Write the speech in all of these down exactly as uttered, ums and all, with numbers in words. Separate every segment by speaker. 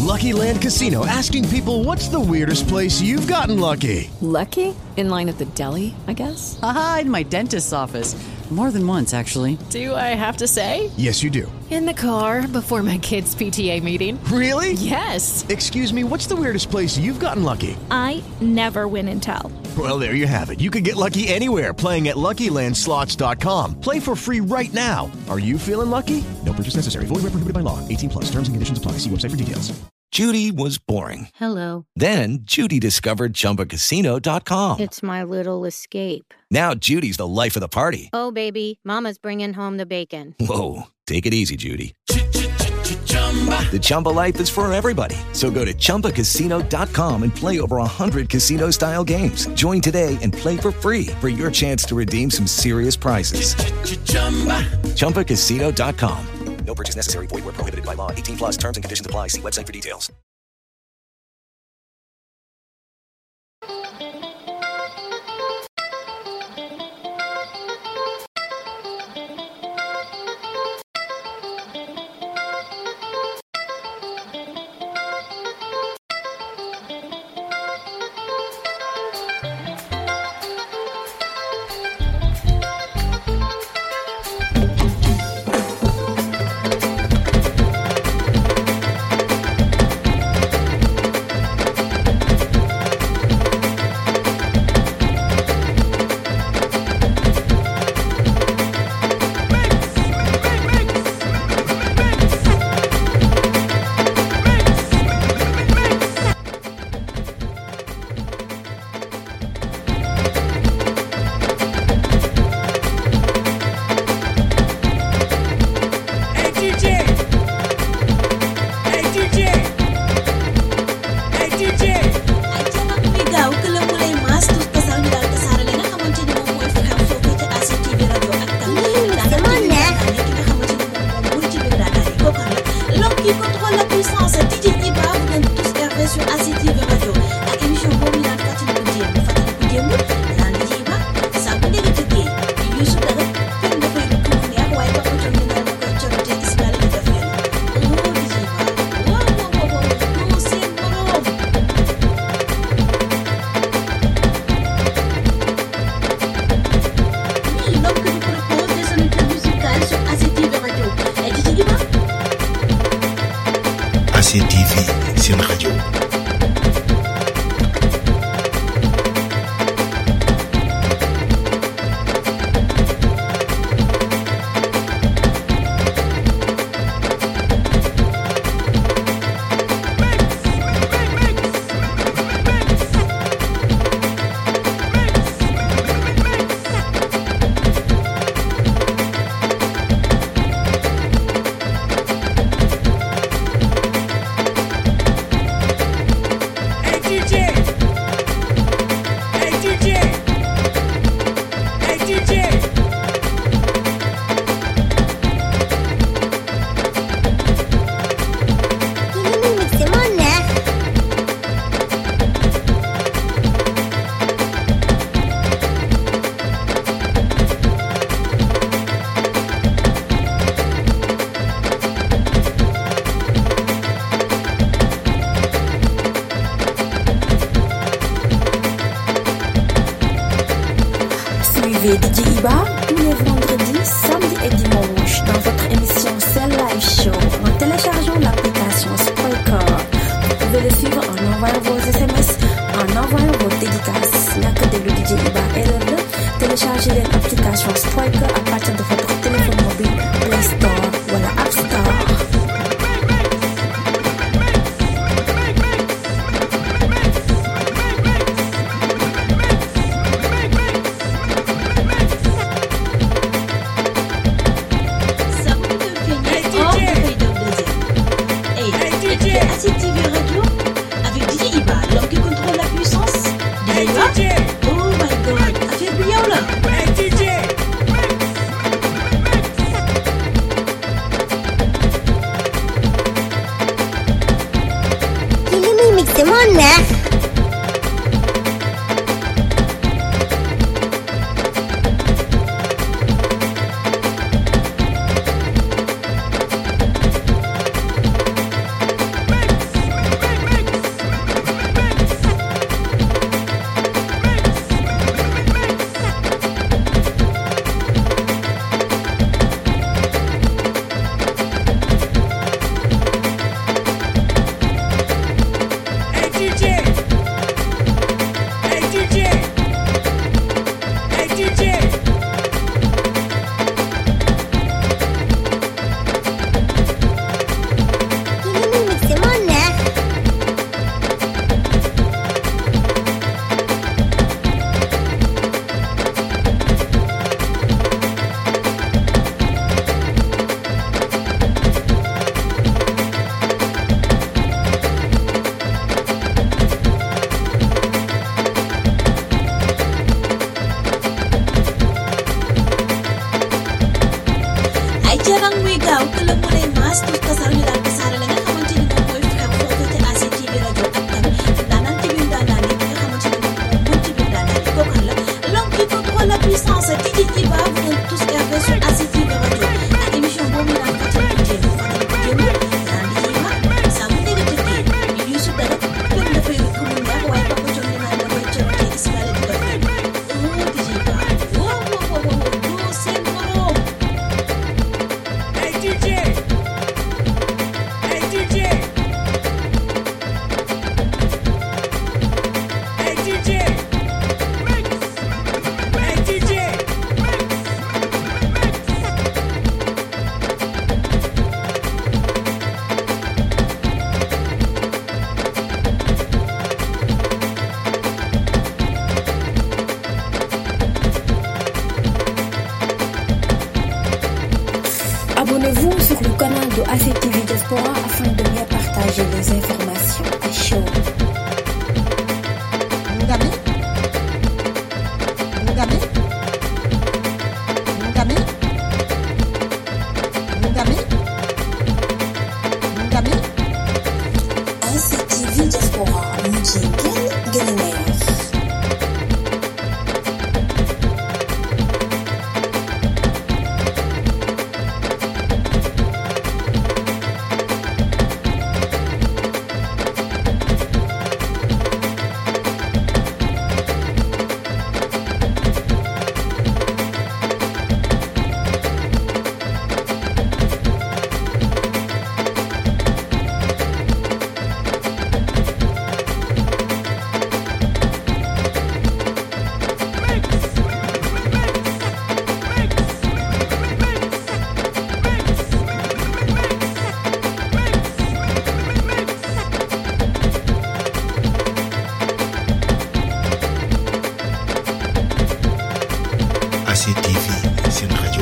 Speaker 1: Lucky Land Casino, asking people, what's the weirdest place you've gotten lucky?
Speaker 2: Lucky? In line at the deli, I guess?
Speaker 3: Aha, in my dentist's office. More than once, actually.
Speaker 2: Do I have to say?
Speaker 1: Yes, you do.
Speaker 2: In the car before my kids' P T A meeting.
Speaker 1: Really?
Speaker 2: Yes.
Speaker 1: Excuse me, what's the weirdest place you've gotten lucky?
Speaker 4: I never win and tell.
Speaker 1: Well, there you have it. You can get lucky anywhere, playing at Lucky Land Slots dot com. Play for free right now. Are you feeling lucky? No purchase necessary. Void where prohibited by law. eighteen plus. Terms and conditions apply. See website for details.
Speaker 5: Judy was boring.
Speaker 6: Hello.
Speaker 5: Then Judy discovered Chumba Casino dot com.
Speaker 6: It's my little escape.
Speaker 5: Now Judy's the life of the party.
Speaker 6: Oh, baby, mama's bringing home the bacon.
Speaker 5: Whoa, take it easy, Judy. The Chumba life is for everybody. So go to Chumba Casino dot com and play over one hundred casino-style games. Join today and play for free for your chance to redeem some serious prizes. Chumba Casino dot com. No purchase necessary. Void where prohibited by law. eighteen plus. Terms and conditions apply. See website for details.
Speaker 7: A C T V, c'est une radio.
Speaker 8: Suivez D J Iba tous les vendredis, samedis et dimanches dans votre émission Cell Live Show en téléchargeant l'application Spreaker. Vous pouvez le suivre en envoyant vos S M S, en envoyant vos dédicaces. N'a que de le D J Iba et le téléchargez l'application Spreaker à partir de votre téléphone mobile, Play Store ou la App Store.
Speaker 9: A C T V Radio avec D J Iba, l'homme qui contrôle la puissance. D J Iba, oh my god, affaire bu yow la. Hey D J.
Speaker 10: Ki li muy mixé moo neex.
Speaker 8: d'information à chaud.
Speaker 11: Ngami Ngami Ngami Ngami Ngami
Speaker 8: A C T V Diaspora Mujinken Gelener.
Speaker 7: A C T V, c'est une radio.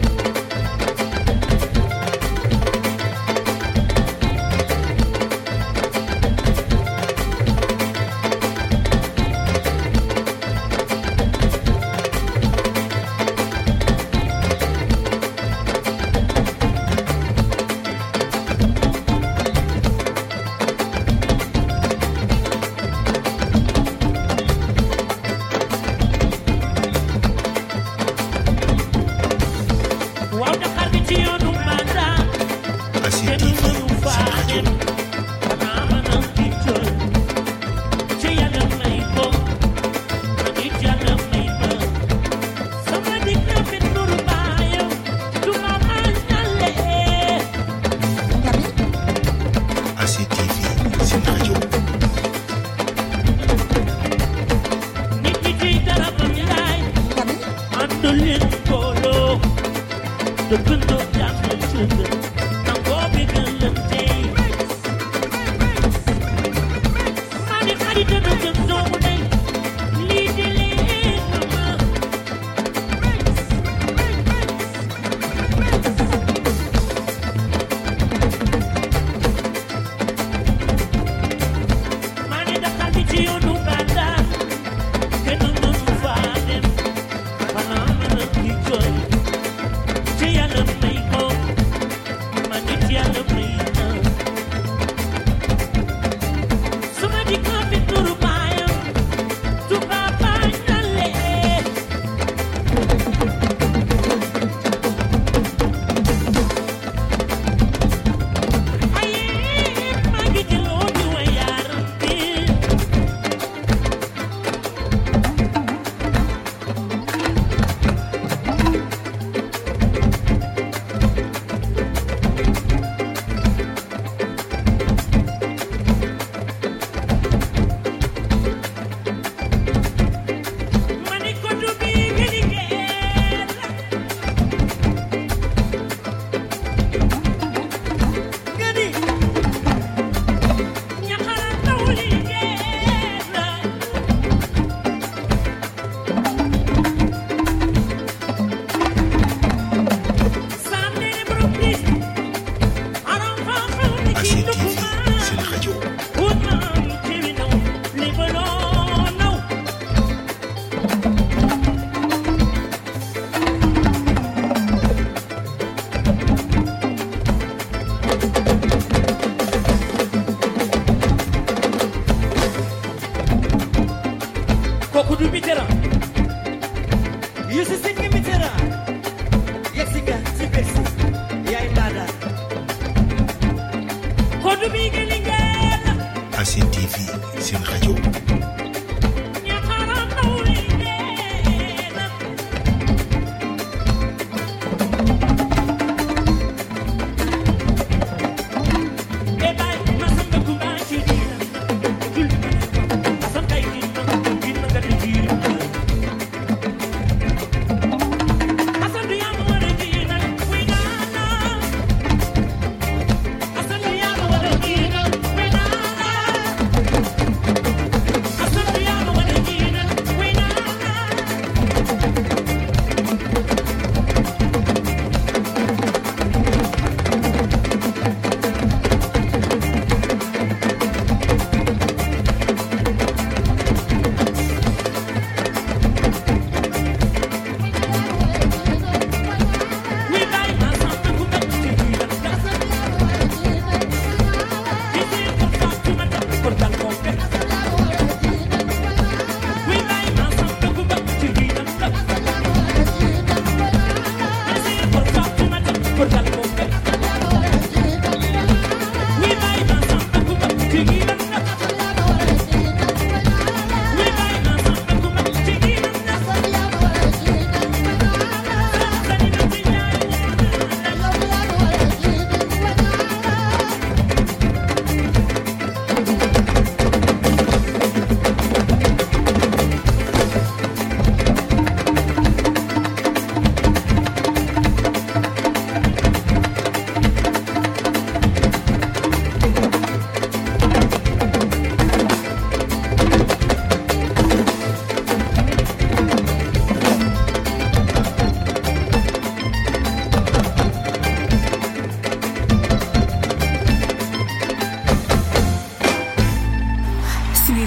Speaker 7: A C T V, c'est une radio.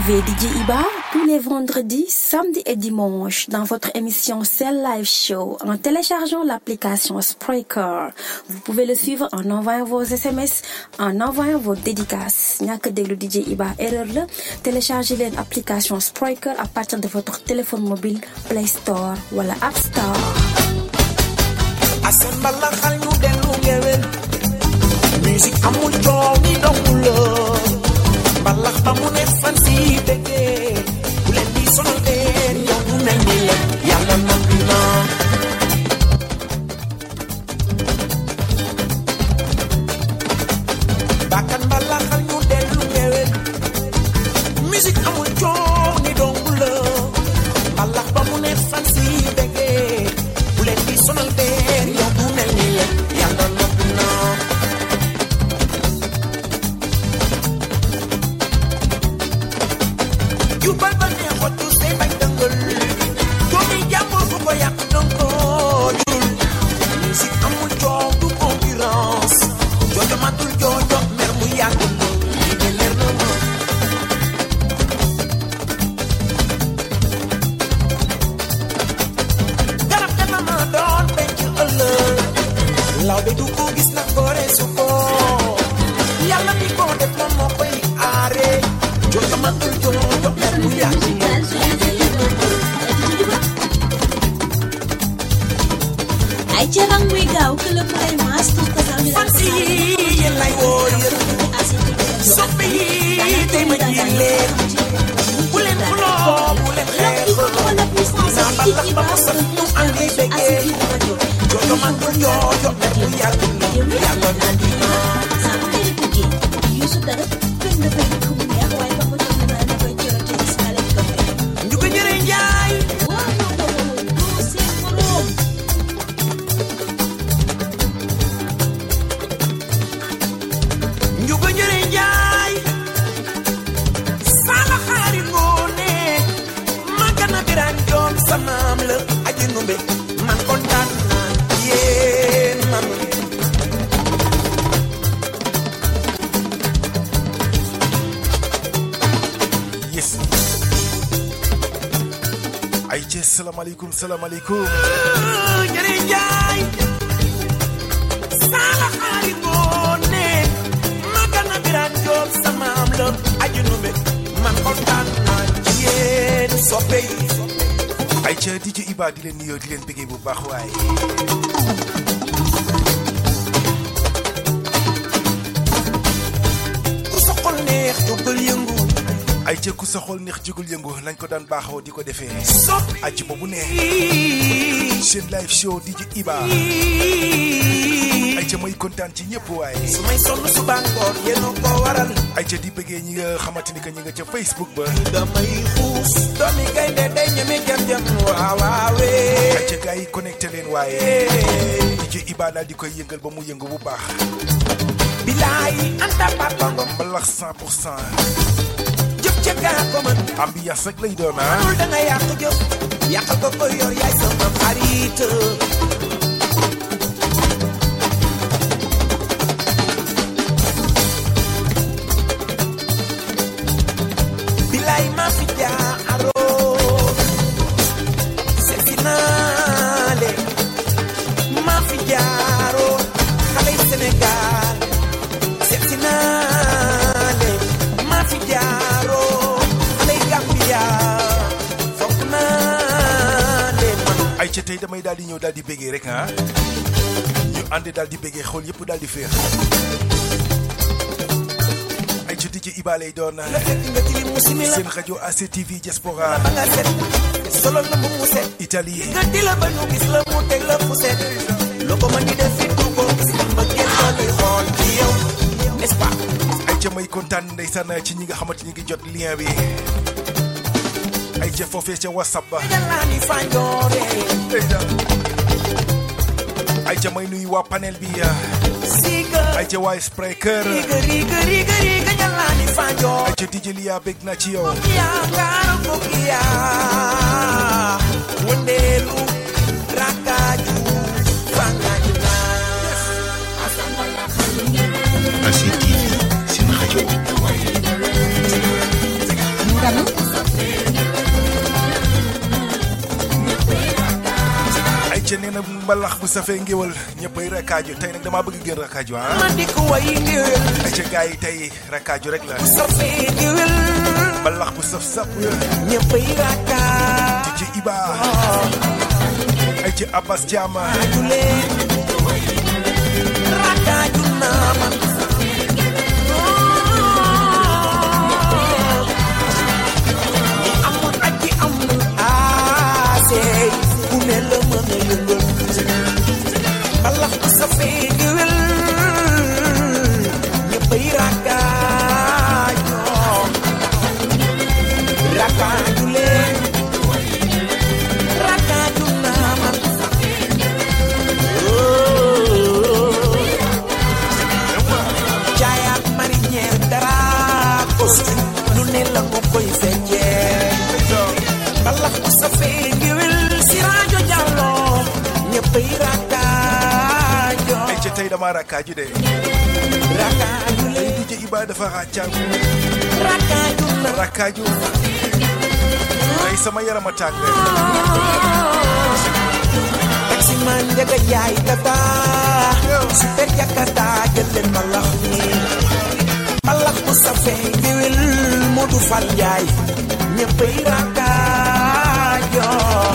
Speaker 8: Retrouvez D J Iba tous les vendredis, samedis et dimanches dans votre émission Cell Live Show en téléchargeant l'application Spreaker. Vous pouvez le suivre en envoyant vos S M S, en envoyant vos dédicaces. ñàkk déglu D J Iba erreur la. Téléchargez l'application Spreaker à partir de votre téléphone mobile Play Store wala App Store.
Speaker 11: Asan bala xal ñu delu ngewel musique amul coow ni dongul balax ba mu ne fan si bëggee bu leen di sonal leen yow du mel ni la yàlla noppi na bakkan bala xal ñu delu ngewel musique amul coow ni dongul balax ba mu ne fan si bëggee bu leen di sonal leen yow du mel ni la yàlla noppi na you bal bal ne what to say by dangle doomi jàmbur fu ko yàq donko jul musique amul coow du concurrence joojo matul joojo mer mu yàgg lo li de leer na ma garab dama ma doon penc ëllëg law be du ko gis na gore su ko yàlla mi ko def moom moo koy aare joojo matul joojo mer mu yàgg
Speaker 9: ay jarang muy gaaw que le play master ko sa mi
Speaker 11: fansi yéen lay woo yéen soppi yi tey ma ji leen bu leen xuloo bu leen xeex naa balax ba mu saf ñu andi bëggee joojo matul joojo mer mu yàgg yàlla na dina
Speaker 9: sama xëy na tëggee Youssou dara gën na fay ko mu neex waaye ba ko jox na na koy jëro ci iskale ko fay
Speaker 11: ñu ko jëre njaay
Speaker 9: waaw do seen morom
Speaker 11: ñu ko jëre njaay sala xaari ngoone magana biraan joom sa maam la aji numbe man kontaan naa yéen man
Speaker 12: yes ay ci salaamaaleykum salaamaaleykum
Speaker 11: jëre njaay sala xaari ngoone magana biraan joom sa maam la aji numbe man kontaan naa yéen soppe yi
Speaker 12: ay ca D J Iba di leen nuyoo di leen bëggee bu baax waaye
Speaker 11: ku sa xol neex jógal yëngu
Speaker 12: ay ca ku sa xol neex jógal yëngu nañ ko daan baaxoo di ko defee aji boobu ne seen live show D J Iba ay ca may kontaan ci ñëpp waaye
Speaker 11: su may sonn suba ngoon yéen a ko waral
Speaker 12: ay ca di bëggee ñi nga xamante ni que ñi nga ca Facebook ba
Speaker 11: damay xuus doomi gaynde day ñeme jam jam waaw waawee
Speaker 12: ay ca gars yi connecté leen waaye D J Iba daal di koy yëngal ba mu yëngu bu baax
Speaker 11: bilaay anta papa ngom
Speaker 12: mbalax cent pour cent
Speaker 11: jëf ca gaa ko man
Speaker 12: ambiance rek lay doon ah
Speaker 11: manul da nga yàq jëf yàqal ko ko yor yaay sama xarit bilaay ma fi jaaroo seeti naa leen ma fi jaaroo xale yi Sénégal seeti naa leen ma fi jaaroo xale yi Gambia foog naa leen man
Speaker 12: ay ca tey damay daal di ñëw daal di bëggee rek ah ñu ànd daal di bëggee xool yëpp daal di féex ay ca D J Iba lay doon seen rajo A C T V Diaspora
Speaker 11: ba nga set solo la mu mu set
Speaker 12: Italie
Speaker 11: nga di la ba ñu gis la mu teg la fu set loo ko mën di def fi du ko gis ba kenn ko lay xool ci yow n'est-ce pas
Speaker 12: ay ca may kontaan ndeysaan ci ñi nga xamante ñi ngi jot lien bi ay ca foofee ca WhatsApp ba
Speaker 11: yàlla ni fanjoore
Speaker 12: ay ca may nuyu waa panel bi
Speaker 11: siga
Speaker 12: ay ca waa Spreaker
Speaker 11: riga riga riga riga yàlla ni fanjoore
Speaker 12: ay ca D J Lia bég na ci yow
Speaker 11: ya kaaro fokiya wëndeelu rakaju fangaju na
Speaker 7: A C T V seen rajo
Speaker 8: tamit.
Speaker 12: ay ca nee na mbalax bu safee ngéwal ñëppay rakkaaju tey nag damaa bëgg gën rakkaaju ah.
Speaker 11: ma di ko way ngéwal.
Speaker 12: ay ca gars yi tey rakkaaju rek la.
Speaker 11: bu safee ngéwal.
Speaker 12: mbalax bu saf sap.
Speaker 11: ñëppay rakkaaju.
Speaker 12: ci Iba. ay ca Abbas Diama.
Speaker 11: rakkaaju naa ma. ku ne la mën a yëngal mbalax bu safee ngéwél ñëppay rakkaajoo rakkaaju leen rakkaaju naa ma jaayaat marinière dara costume lu ne la ko koy fekkee mbalax bu safee ngéwél si rajo Jallo ñëppay rakkaaju
Speaker 12: ay ca tey dama rakkaaju de
Speaker 11: rakkaaju
Speaker 12: ay D J Iba dafa ràccaagu
Speaker 11: rakkaaju na
Speaker 12: rakkaaju tey sama yaram a tàng
Speaker 11: taxi man njaga jaay tata super jakarta jël leen mbalax mi mbalax bu safee ngéwél Modou Fall Njaay ñëppay rakkaaju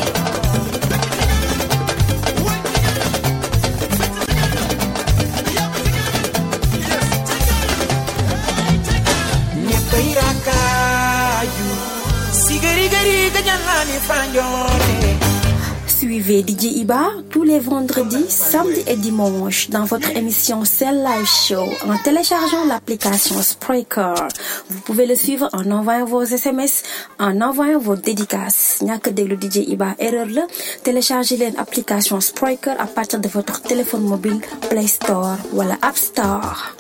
Speaker 8: Suivez D J Iba tous les vendredis, samedis et dimanches dans votre émission Cell Live Show en téléchargeant l'application Spreaker. Vous pouvez le suivre en envoyant vos S M S, en envoyant vos dédicaces. ñàkk déglu D J Iba erreur la. Téléchargez l'application Spreaker à partir de votre téléphone mobile Play Store wala App Store.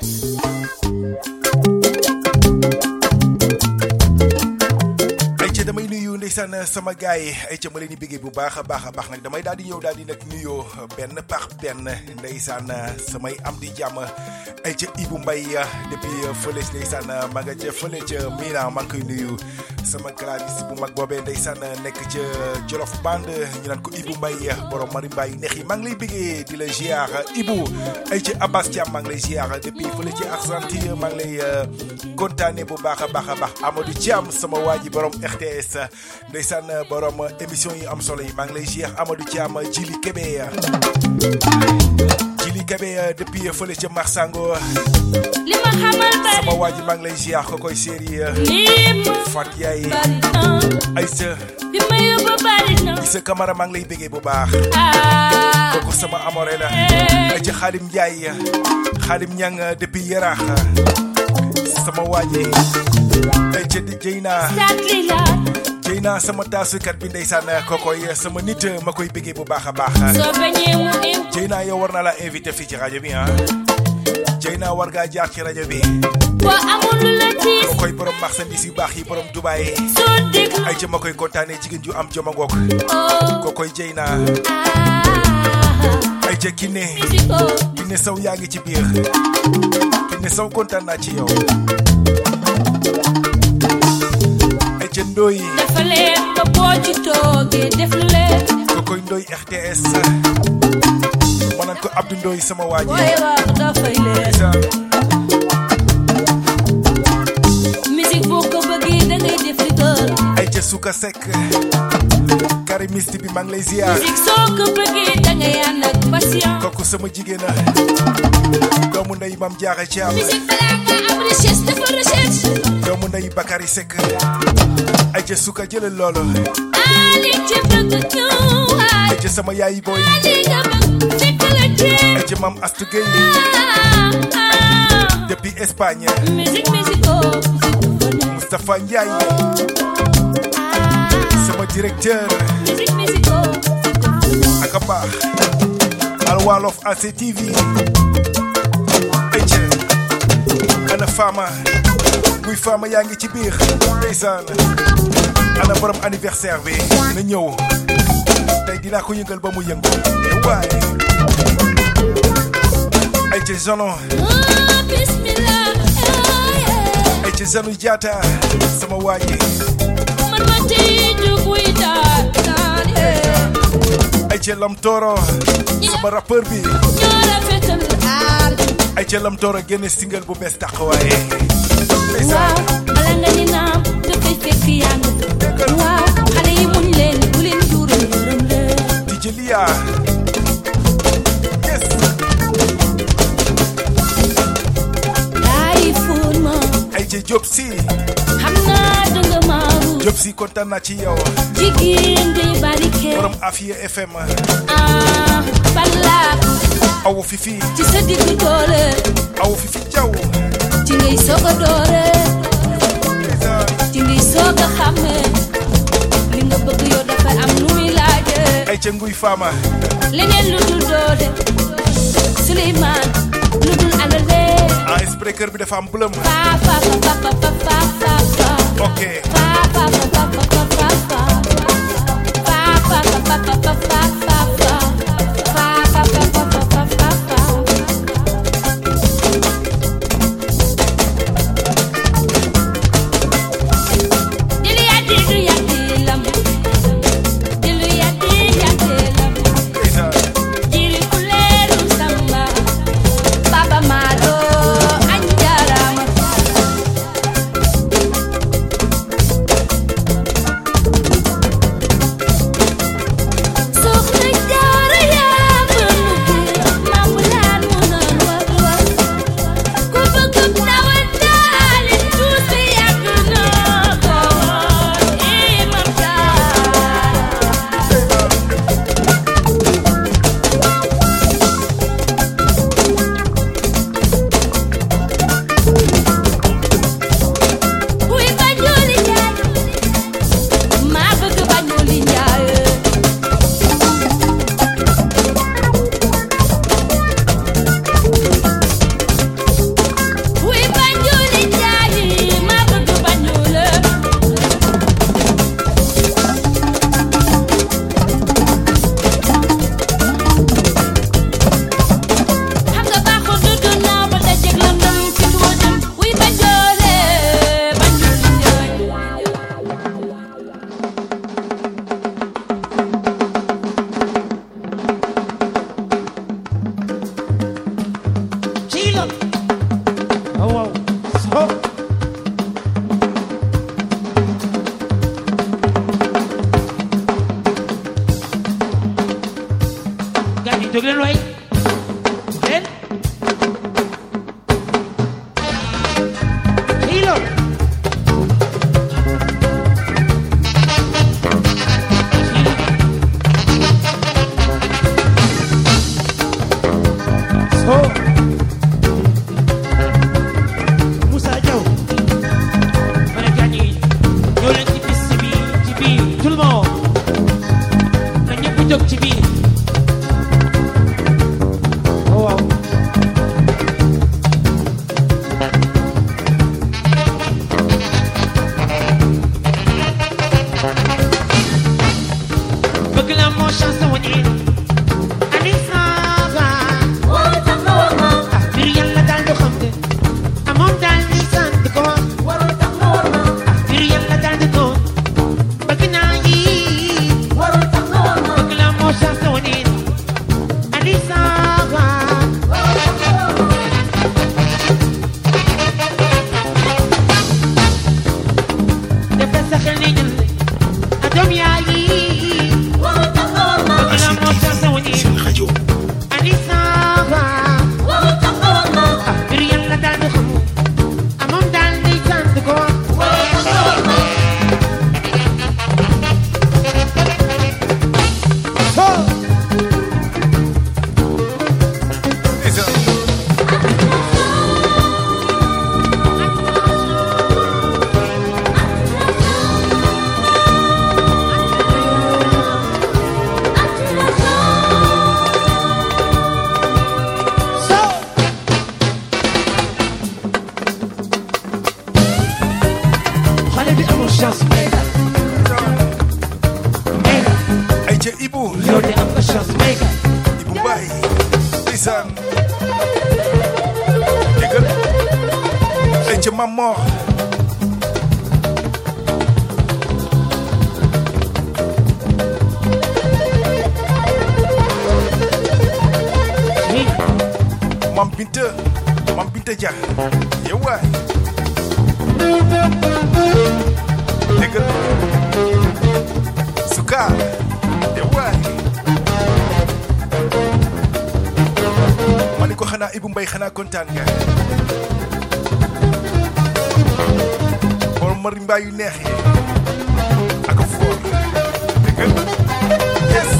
Speaker 12: damay nuyu ndeysaan sama gaay yi ay ca ma leen di bëggee bu baax a baax a baax nag damay daal di ñëw daal di nag nuyoo benn par benn ndeysaan samay am di jàmm ay ca Ibou Mbaye depuis fële ndeysaan ma nga ca fële ca Milan maa ngi koy nuyu sama claviste bu mag boobee ndeysaan nekk ca Jolof Band ñu naan ko Ibou Mbaye borom marimba yu neex yi maa ngi lay bëggee di la ziar Ibou ay ca Abbas Thiam maa ngi lay ziar depuis fële ci Argentine maa ngi lay kontaane bu baax a baax a baax Amadou Thiam sama waa ji borom R T S ndeysaan borom émission yi am solo yi maa ngi lay ziar Amadou Thiam Jili Kébé Jili Kébé depuis fële ca Marsango
Speaker 4: li ma xamal bari
Speaker 12: sama waa ji maa ngi lay ziar ko koy séeri Fat Yaay Aïssa
Speaker 4: bi ma yóbbu bari na
Speaker 12: Aïssa Camara maa ngi lay bégee bu baax kooku sama amore la ay ca Xaadim Njaay Xaadim Ñang depuis Yaraax sama waa ji ay ca di Jeyna Jeyna sama taasukat bi ndeysaan kokoy sama nit ma koy bégee bu baax a baax Jeyna yow war naa la invité fii ci rajo bi ah Jeyna war ngaa jaar ci rajo bi
Speaker 4: boo amul lu la tiis
Speaker 12: kokoy borom marchandise yu baax yi borom Dubaay ay ca ma koy kontaane jigéen ju am joma ngoog kokoy Jeyna ay ca Kiné Kiné Sow yaa ngi ci biir Kiné Sow kontaan naa ci yow ay ca Ndoy
Speaker 4: dafa leen ba boo ci toogee def leen
Speaker 12: kokoy Ndoy R T S ma naan ko Abdou Ndoy sama waa ji
Speaker 4: booy wax dafay leen musique boo ko bëggee da ngay def li gën
Speaker 12: ay ca Suka Seck karimiste bi maa ngi lay ziar
Speaker 4: musique soo ko bëggee da ngay ànd ak patient
Speaker 12: kooku sama jigéen a doomu ndey Mam Diarra Thiam
Speaker 4: musique balaa nga am recherche dafa recherche
Speaker 12: doomu ndey Bakary Seck ay ca Suka jëlal loolu
Speaker 4: ali ci bëgg ñu
Speaker 12: ay ca sama yaay booy
Speaker 4: ali nga bëgg fekk la ci
Speaker 12: ay ca Mam Astou Gueye depuis Espagne
Speaker 4: musique musique
Speaker 12: Moustapha Ndiaye sama directeur
Speaker 4: musique musique
Speaker 12: ak a baax Al Wolof A C T V ay ca ana Fama muy Fama yaa ngi ci biir ndeysaan ana borom anniversaire bi na ñëw tey dinaa ko yëngal ba mu yëngu waaye ay ca Zono
Speaker 4: bismillah
Speaker 12: ay ca Zanu Diatta sama waaji Ayca Lam Toro sama rappeur bi Ayca Lam Toro génne single bu bees tax waaye
Speaker 4: waaw bala nga ni naam dafay fekk yaa ngi waaw xale yi muñ leen bu leen juural yërëm leen
Speaker 12: di jëliya yes
Speaker 4: daay fuun ma
Speaker 12: Ayca Diop si
Speaker 4: xam naa danga maaru
Speaker 12: Diop si kontaan naa ci yow
Speaker 4: jigéen di barike
Speaker 12: borom Afia F M
Speaker 4: ah balla
Speaker 12: awu fifi
Speaker 4: ci sa diggu doole
Speaker 12: awu fifi jaw
Speaker 4: ci ngay soog a doore ci ngay soog a xàmme li nga bëgg yow dafa am nu muy laaje
Speaker 12: Ayca nguy faama
Speaker 4: leneen lu dul doole Souleymane lu dul alale
Speaker 12: ah spreaker bi dafa am blum
Speaker 4: pa pa pa pa pa pa pa pa
Speaker 12: ok
Speaker 4: pa pa pa pa pa pa pa pa pa pa pa pa pa pa
Speaker 12: Mam Binta Mam Binta Dia yow waay déggal Suka yow waay ma ni ko xanaa Ibou Mbaye xanaa kontaan nga borom mari mbaa yu neex yi ak foor déggal yes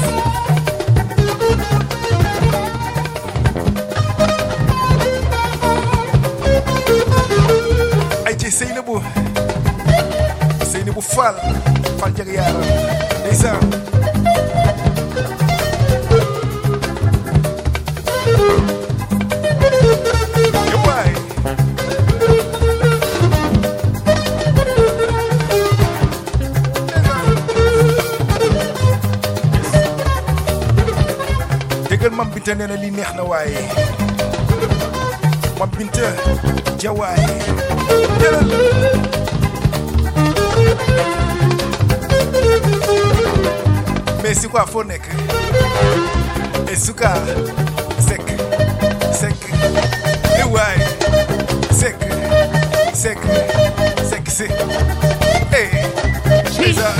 Speaker 12: ay ci Seynabou Seynabou Fall Fall jag yaaram ndeysaan yowaay déggal Mam Binta nee na li neex na waaye Mam Binta jawaay jëlal mais c'est quoi foo nekk et Suka sek sek e waay sek sek sek si eh César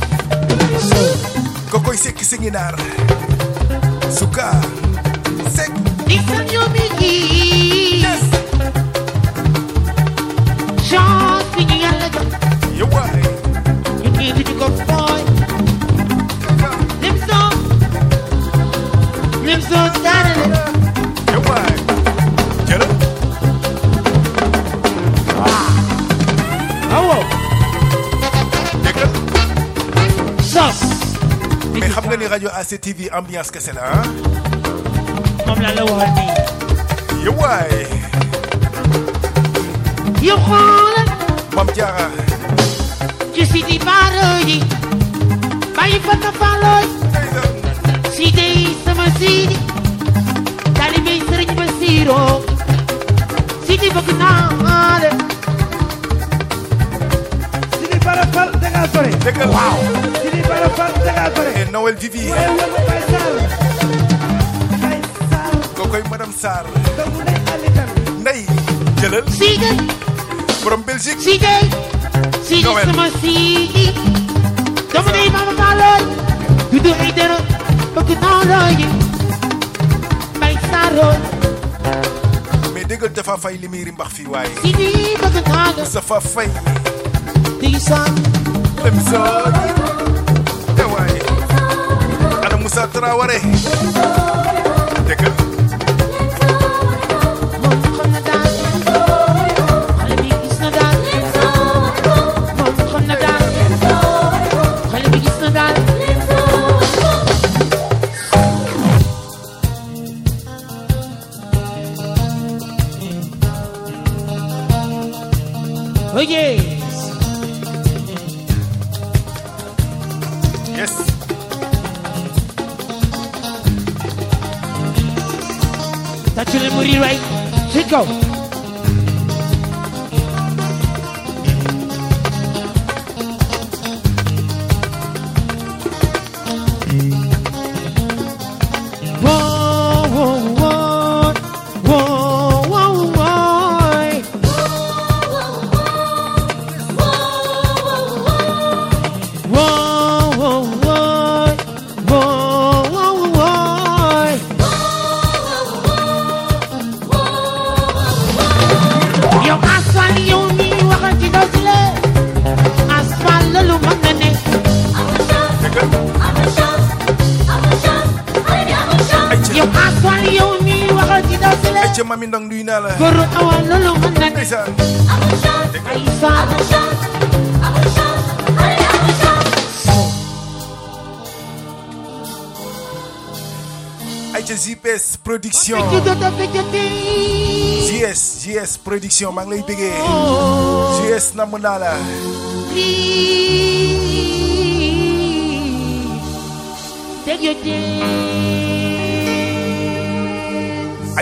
Speaker 12: kokoy sek si ngi naar Suka sek
Speaker 13: Listen to me, yes. Chance when you got like
Speaker 12: you why
Speaker 13: you give it a good boy. Them so, them so started.
Speaker 12: You why? Get it?
Speaker 13: Ah. Oh.
Speaker 12: Déggal.
Speaker 13: Sos.
Speaker 12: Mais xam nga ni radio A C T V ambiance kese la ah.
Speaker 13: Moom la la waxal nii.
Speaker 12: You why?
Speaker 13: You xoolal.
Speaker 12: Mam Diarra.
Speaker 13: ci Sidi Bara yi. bàyyi fa na falooy. Sidi sama Sidi. taalibe Sëriñ Basiru. Sidi bëgg naa la.
Speaker 14: Sidi Bara Fall da ngaa sore.
Speaker 12: Déggal
Speaker 14: waaw. Sidi Bara Fall da ngaa sore.
Speaker 12: Et Noël Vivi. Kokoy madame Sarr. Ndey jëlal.
Speaker 13: Sidi.
Speaker 12: Borom Belgique.
Speaker 13: Sidi. Sidi sama Sidi. dama ne Mama Falooy. Dudu ay dara bëgg naa la yi. Mbay Sarr.
Speaker 12: mais déggal dafa fay li muy rimbax fii waaye.
Speaker 13: Sidi bëgg naa la.
Speaker 12: dafa fay.
Speaker 13: Digi Sarr.
Speaker 12: Dem Sarr. te waaye. ana Moussa Traoré. déggal.
Speaker 13: Oh yes.
Speaker 12: Yes.
Speaker 13: That's your memory, right? Let's go.
Speaker 12: Mami Ndong nuyu naa la.
Speaker 13: Goro awal lolo mën na
Speaker 12: ndeysaan.
Speaker 13: ay saa.
Speaker 12: ay ca J P S production. J S J S production maa ngi lay bëggee. J S namm naa la.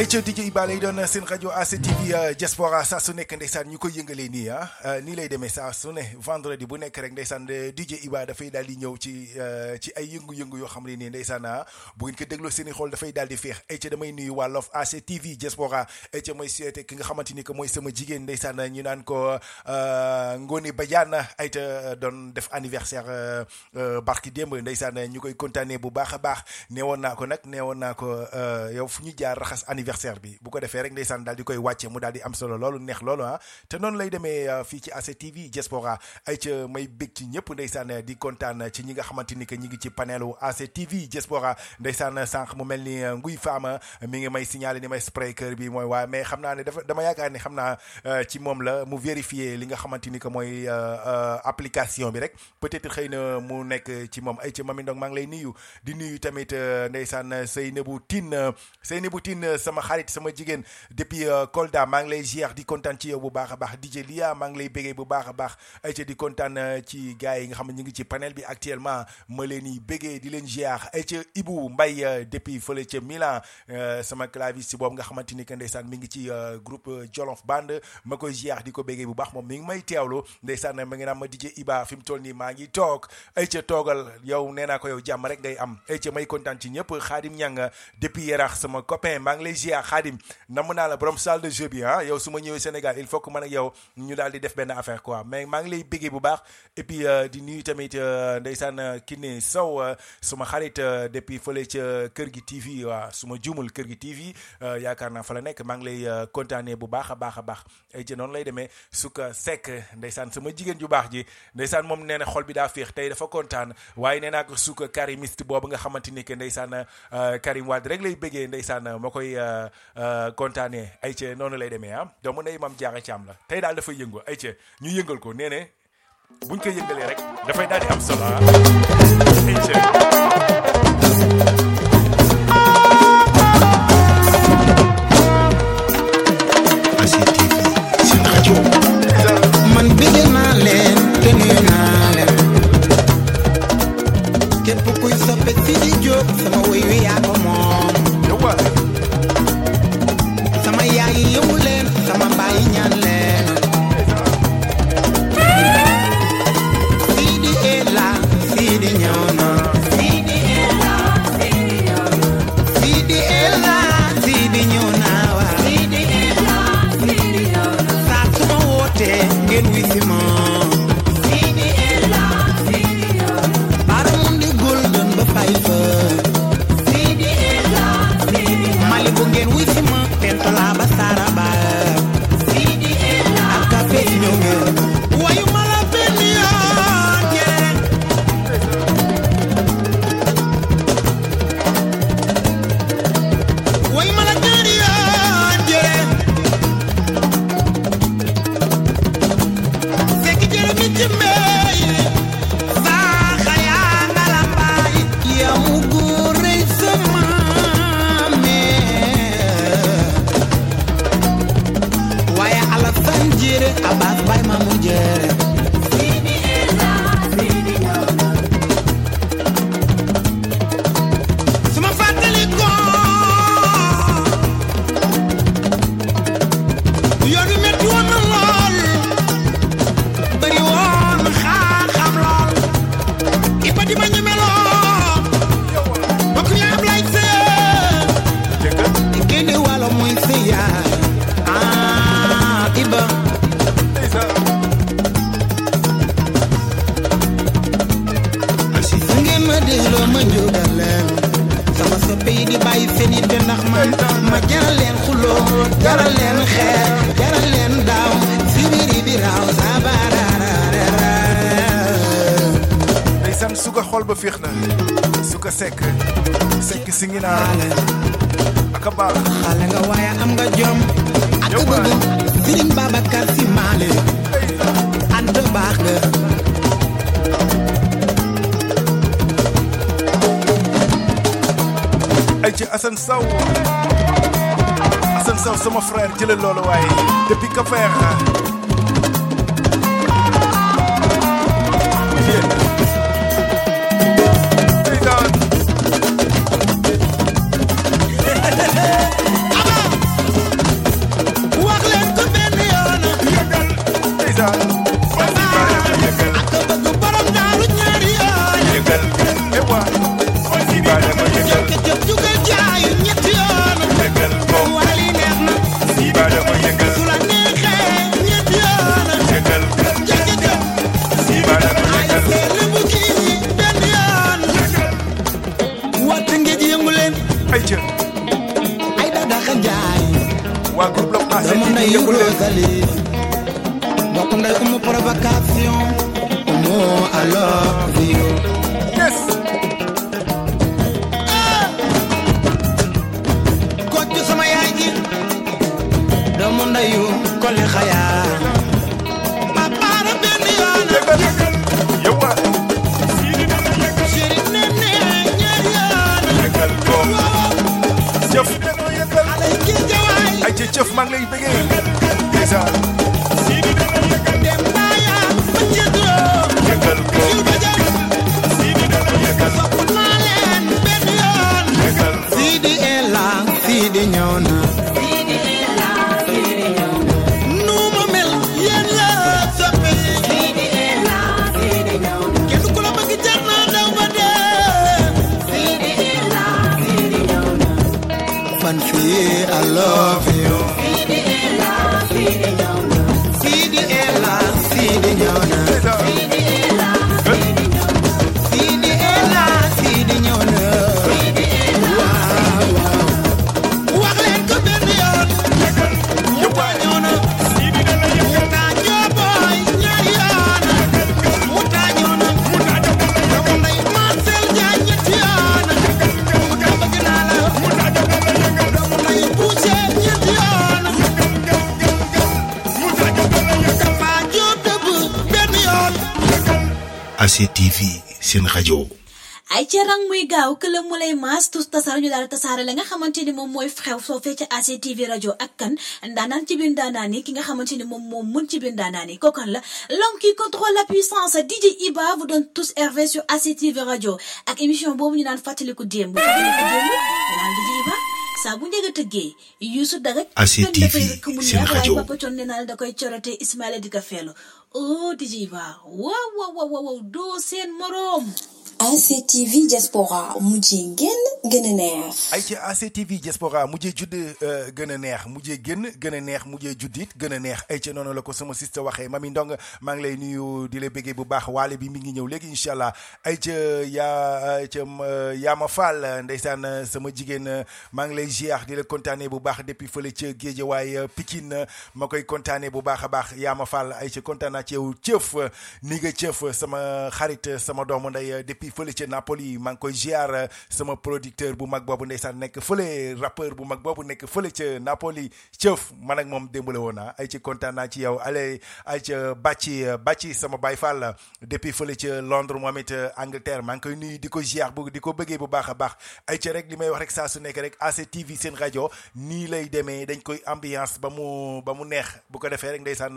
Speaker 12: ay ca D J Iba lay doon seen rajo A C T V Diaspora saa su nekk ndeysaan ñu koy yëngalee nii ah nii lay demee saa su ne vendredi bu nekk rek ndeysaan D J Iba dafay daal di ñëw ci ci ay yëngu-yëngu yoo xam ne nii ndeysaan bu ngeen ko dégloo seen i xool dafay daal di féex ay ca damay nuyu waa Love A C T V Diaspora ay ca mooy souhaité ki nga xamante ni que mooy sama jigéen ndeysaan ñu naan ko Ngoni Badiane ay ca doon def anniversaire barki démb ndeysaan ñu koy kontaanee bu baax a baax neewoon naa ko nag neewoon naa ko yow fu ñu jaar raxas anniversaire bi bu ko defee rek ndeysaan daal di koy wàcce mu daal di am solo loolu neex loolu ah te noonu lay demee fii ci A C T V Diaspora ay ca may bég ci ñëpp ndeysaan di kontaan ci ñi nga xamante ni que ñi ngi ci panelu A C T V Diaspora ndeysaan sànq mu mel ni nguy faama mi ngi may signaler ni may spray kër bi mooy waa mais xam naa ne dafa dama yaakaar ni xam naa ci moom la mu vérifier li nga xamante ni que mooy application bi rek peut-être xëy na mu nekk ci moom ay ca Mami Ndong maa ngi lay nuyu di nuyu tamit ndeysaan Seynabou Tine Seynabou Tine sama xarit sama jigéen depuis Kolda maa ngi lay ziar di kontaan ci yow bu baax a baax D J Lia maa ngi lay bégee bu baax a baax ay ca di kontaan ci gars yi nga xam ne ñu ngi ci panel bi actuellement ma leen di bégee di leen ziar ay ca Ibou Mbaye depuis fële ca Milan sama claviste boobu nga xamante ni que ndeysaan mi ngi ci groupe Jolof Band ma koy ziar di ko bégee bu baax moom mi ngi may teewlu ndeysaan ma ngi naan ma D J Iba fi mu toll nii maa ngi toog ay ca toogal yow nee naa ko yow jàmm rek ngay am ay ca may kontaan ci ñëpp Khadim Niang depuis Yarax sama copain maa ngi lay ziar Khadim namm naa la borom salle de jeu bi ah yow su ma ñëwee Sénégal il faut que man ak yow ñu daal di def benn affaire quoi mais maa ngi lay béggee bu baax et puis di nuyu tamit ndeysaan Kiné Sow suma xarit depuis fële ca Kër gi T V waaw su ma juumul Kër gi T V yaakaar naa fa la nekk maa ngi lay kontaanee bu baax a baax a baax ay ci noonu lay demee Suka Seck ndeysaan sama jigéen ju baax ji ndeysaan moom nee na xol bi daa féex tey dafa kontaan waaye nee naa ko Suka karimiste boobu nga xamante ni que ndeysaan Karim Wade rek lay béggee ndeysaan ma koy kontaanee ay ca noonu lay demee ah doomu ndey Mame Diarra Thiam la tey daal dafay yëngu ay ca ñu yëngal ko nee ne buñ ko yëngalee rek dafay daal di am solo ah ay ca
Speaker 11: man bëgg naa leen te nuyu naa leen képp kuy soppe si di jóg sama woy wi yaa ko moom sama yaay yi yëngu leen sama baay yi ñaan leen Sidi Ela Sidi ñëw na Sidi Ela Sidi ñëw na Sidi Ela Sidi ñëw na wa Sidi Ela Sidi ñëw na saa su ma wootee ngeen wi si ma Sidi Ela Sidi ñëw na bara mun di golden ba fay fa Sidi Ela Sidi mali bu ngeen wi si ma pentola ba saraba Sidi Ela ak café ñëw ngeen wayu mala benn yoon ñeneen wayu mala ñaari yoon jëreen sekk jërë mi ci mbey saaxa yaa nga la mbaay yaa mu góor rëy sama waaye Alassane Diéré Abbas Baye Mamour Diéré Sidi Ela Sidi ñëw na su ma fàttali ko yoon wi metti woon na lool bëri woon xam-xam lool Iba di ma ñeme lool bokk ñu Ablaye Seye génne wàllo mooy Seye Iba asi su ngeen ma dégloo ma njóogal leen sama soppe yi di bàyyi seen yitte ndax man ma jaral leen xuloo jaral leen xeer jaral leen daaw sibiri bi raaw sabararara
Speaker 12: ndeysaan Suka xol ba féex na Suka Seck Seck si ngi naa ak a baax
Speaker 11: xale nga waaye am nga jom ak bëgg Serigne Babacar Sy Malick anta baax nga
Speaker 12: ay ci Assane Sow Assane Sow sama frère jëlal loolu waaye depuis que faire
Speaker 15: Rosalie mbokk ndey umu provocation umu I love you.
Speaker 12: Yes.
Speaker 15: Kocc sama yaay ji doomu ndeyu Koli Xaya papaara benn yoon
Speaker 12: yow jëf ay ca jëf maa ngi lay bëggee déjà
Speaker 15: dem naa yaa ma jëndoo
Speaker 12: yëgal ko
Speaker 15: sopp naa leen benn yoon Sidi Ela Sidi ñëw na nu ma mel yéen la soppe Sidi Ela Sidi ñëw na kenn ku la bëgg jar naa daw ba dee Sidi Ela Sidi ñëw na man fii I love you Sidi Ela Sidi ñëw na Sidi Ela Sidi ñëw na Sidi Ela Sidi ñëw na Sidi Ela Sidi ñëw na waaw waaw wax leen ko benn yoon Mouta ñëw na Mouta Jooboy ñaari yoon Mouta ñëw na doomu ndey Marcel Diagne ñetti yoon Mouta bëgg naa la doomu ndey Boucher ñetti yoon Papa Diop dëbb benn yoon
Speaker 7: A C T V seen rajo.
Speaker 9: ay ca rang muy gaaw këlam mu lay maas tous tasaar ñu daal tasaare la nga xamante ni moom mooy xew soo fee ca A C T V rajo ak kan ndaanaan ci biir ndaanaan yi ki nga xamante ni moom moom mën ci biir ndaanaan yi kookan la l'homme qui contrôle la puissance D J Iba vous donne tous R V sur A C T V rajo ak émission boobu ñu naan fàttaliku démb fàttaliku démb naan D J Iba saa bu njëkk a tëggee Youssou Daga
Speaker 7: A C T V seen rajo.
Speaker 9: Papa Thione nee naa la da koy corote Ismaïla di ko feelu oh D J Iba waaw waaw waaw waaw doo seen moroom
Speaker 8: A C T V Diaspora mujjee génn gën a neex.
Speaker 12: ay ci A C T V Diaspora mujjee judd gën a neex mujjee génn gën a neex mujjee juddit gën a neex ay ci noonu la ko sama sista waxee Mami Ndong maa ngi lay nuyu di la bëggee bu baax waale bi mi ngi ñëw léegi incha allah ay ca yaa ca Yaama Fall ndeysaan sama jigéen maa ngi lay ziar di la kontaanee bu baax depuis fële ca Géejawaay Pikine ma koy kontaanee bu baax a baax Yaama Fall ay ca kontaan naa ci yow cëf ni nga cëf sama xarit sama doomu ndey depuis fële ca Napoli maa ngi koy ziar sama producteur bu mag boobu ndeysaan nekk fële rappeur bu mag boobu nekk fële ca Napoli cëf man ak moom démbale woon naa ay ci kontaan naa ci yow allez ay ca bàcci bàcci sama Baye Fall depuis fële ca Londres moom it Angleterre maa ngi koy nuyu di ko ziar bu di ko bëggee bu baax a baax ay ca rek li may wax rek saa su nekk rek A C T V seen rajo nii lay demee dañ koy ambiance ba mu ba mu neex bu ko defee rek ndeysaan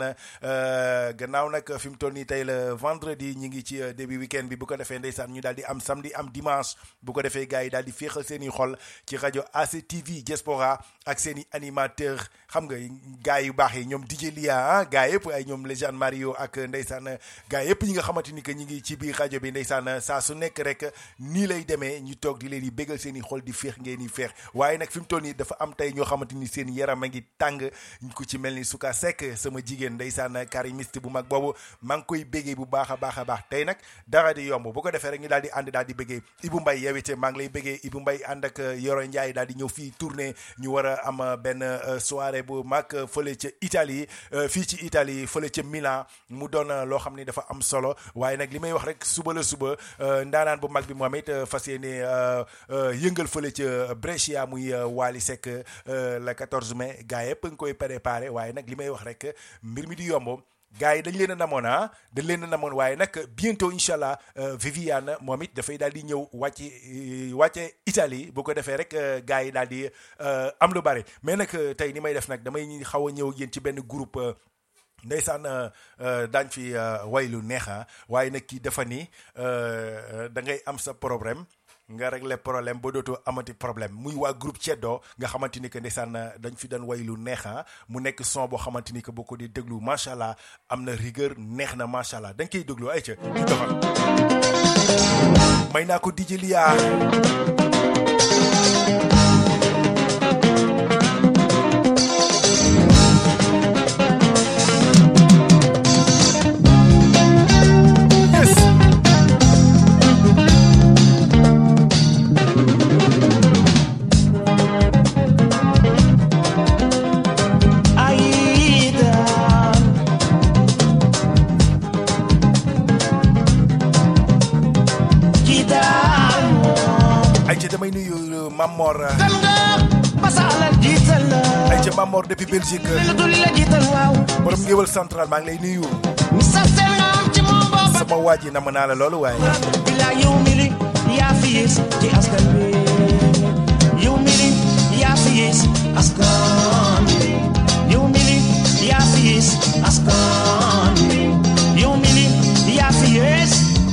Speaker 12: gannaaw nag fi mu toll nii tey la vendredi ñi ngi ci début weekend bi bu ko defee ndeysaan ñu daal di am samedi am dimanche bu ko defee gars yi daal di féexal seen i xol ci rajo A C T V Diaspora ak seen i animateur xam nga gars yu baax yi ñoom D J Lia ah gars yëpp ay ñoom Légende Mario ak ndeysaan gars yëpp ñi nga xamante ni que ñi ngi ci biir rajo bi ndeysaan saa su nekk rek nii lay demee ñu toog di leen di bégal seen i xol di féex ngeen di féex waaye nag fi mu toll nii dafa am tey ñoo xamante ni seen yaram a ngi tàng ku ci mel ni Souka Seck sama jigéen ndeysaan karimiste bu mag boobu maa ngi koy bégee bu baax a baax a baax tey nag dara di yomb bu ko defee rek ñu daal di ànd daal di bégee Ibou Mbaye yow it maa ngi lay bégee Ibou Mbaye ànd ak Yoro Ndiaye daal di ñëw fii tournée ñu war a am benn soirée bu mag fële ca Italie fii ci Italie fële ca Milan mu doon loo xam ni dafa am solo waaye nag li may wax rek suba la suba ndaanaan bu mag bi moom it fas yéene yëngal fële ca Brescia muy Wally Seck le quatorze mai gars yëpp nga koy préparé waaye nag li may wax rek mbir mi di yomb gars yi dañ leen a namoon ah dañ leen a namoon waaye nag bientôt incha allah Viviane moom it dafay daal di ñëw wàcce wàcce Italie bu ko defee rek gars yi daal di am lu bari mais nag tey ni may def nag damay xaw a ñëw yéen ci benn groupe ndeysaan daañ fi way lu neexa waaye nag kii dafa ni da ngay am sa problème nga régler problème ba dootoo amati problème muy waa groupe Ceddo nga xamante ni que ndeysaan dañ fi doon way lu neexa mu nekk son boo xamante ni que boo ko di déglu macha allah am na rigueur neex na macha allah dañ koy déglu ay ca ñu doxal may naa ko D J Lia
Speaker 11: Aida
Speaker 12: damay nuyu Mamor
Speaker 15: basalal jiital la
Speaker 12: ay ca Mamor depuis Belgique
Speaker 15: la duli la jiital waaw
Speaker 12: borom ngéwal central maa ngi lay nuyu
Speaker 15: sa sel nga am ci moom booba
Speaker 12: sama waaji nam naa la loolu waaye
Speaker 15: bila yow mili yaa fi yées ci askan wi yow mili yaa fi yées askan wi yow mili yaa fi yées askan wi yow mili yaa fi yées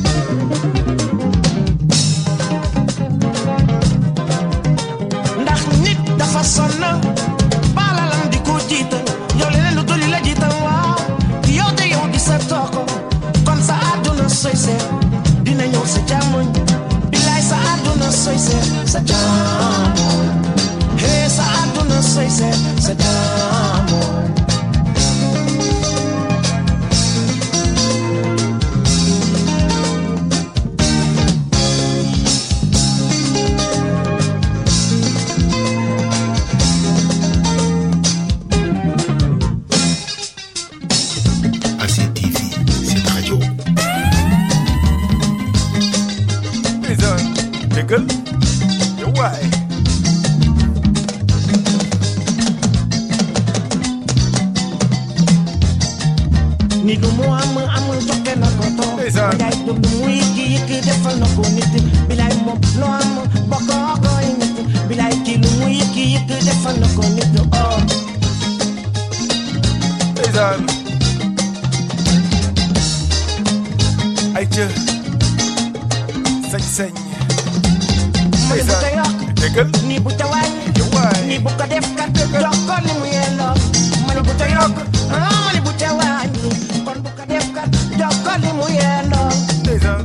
Speaker 15: ndax nit dafa sonn baalalam di ko jiital yow leneen lu dul la jiital waaw yow de yow di sa tooko kon sa àdduna soy seet dina ñëw sa jàmmoñ bilaay sa àdduna soy seet sa jàmmoñ hee sa àdduna soy seet sa jàmmoñ
Speaker 12: déggal yow waay
Speaker 15: ni lu mu am amul joxe na ko to yaay du muy ki yëkk defal na ko nit bilaay moom loo am bokk ko nit bilaay ki lu muy ki yëkk defal na ko nit oh
Speaker 12: ndeysaan ay ca sañ sañ
Speaker 15: ni bu ca yokk
Speaker 12: déggal
Speaker 15: ni bu ca wàññi ni bu ko def kat jox ko ni mu yelloo ma ni bu ca yokk ah ma ni bu ca wàññi kon bu ko def kat jox ko ni mu yelloo
Speaker 12: ndeysaan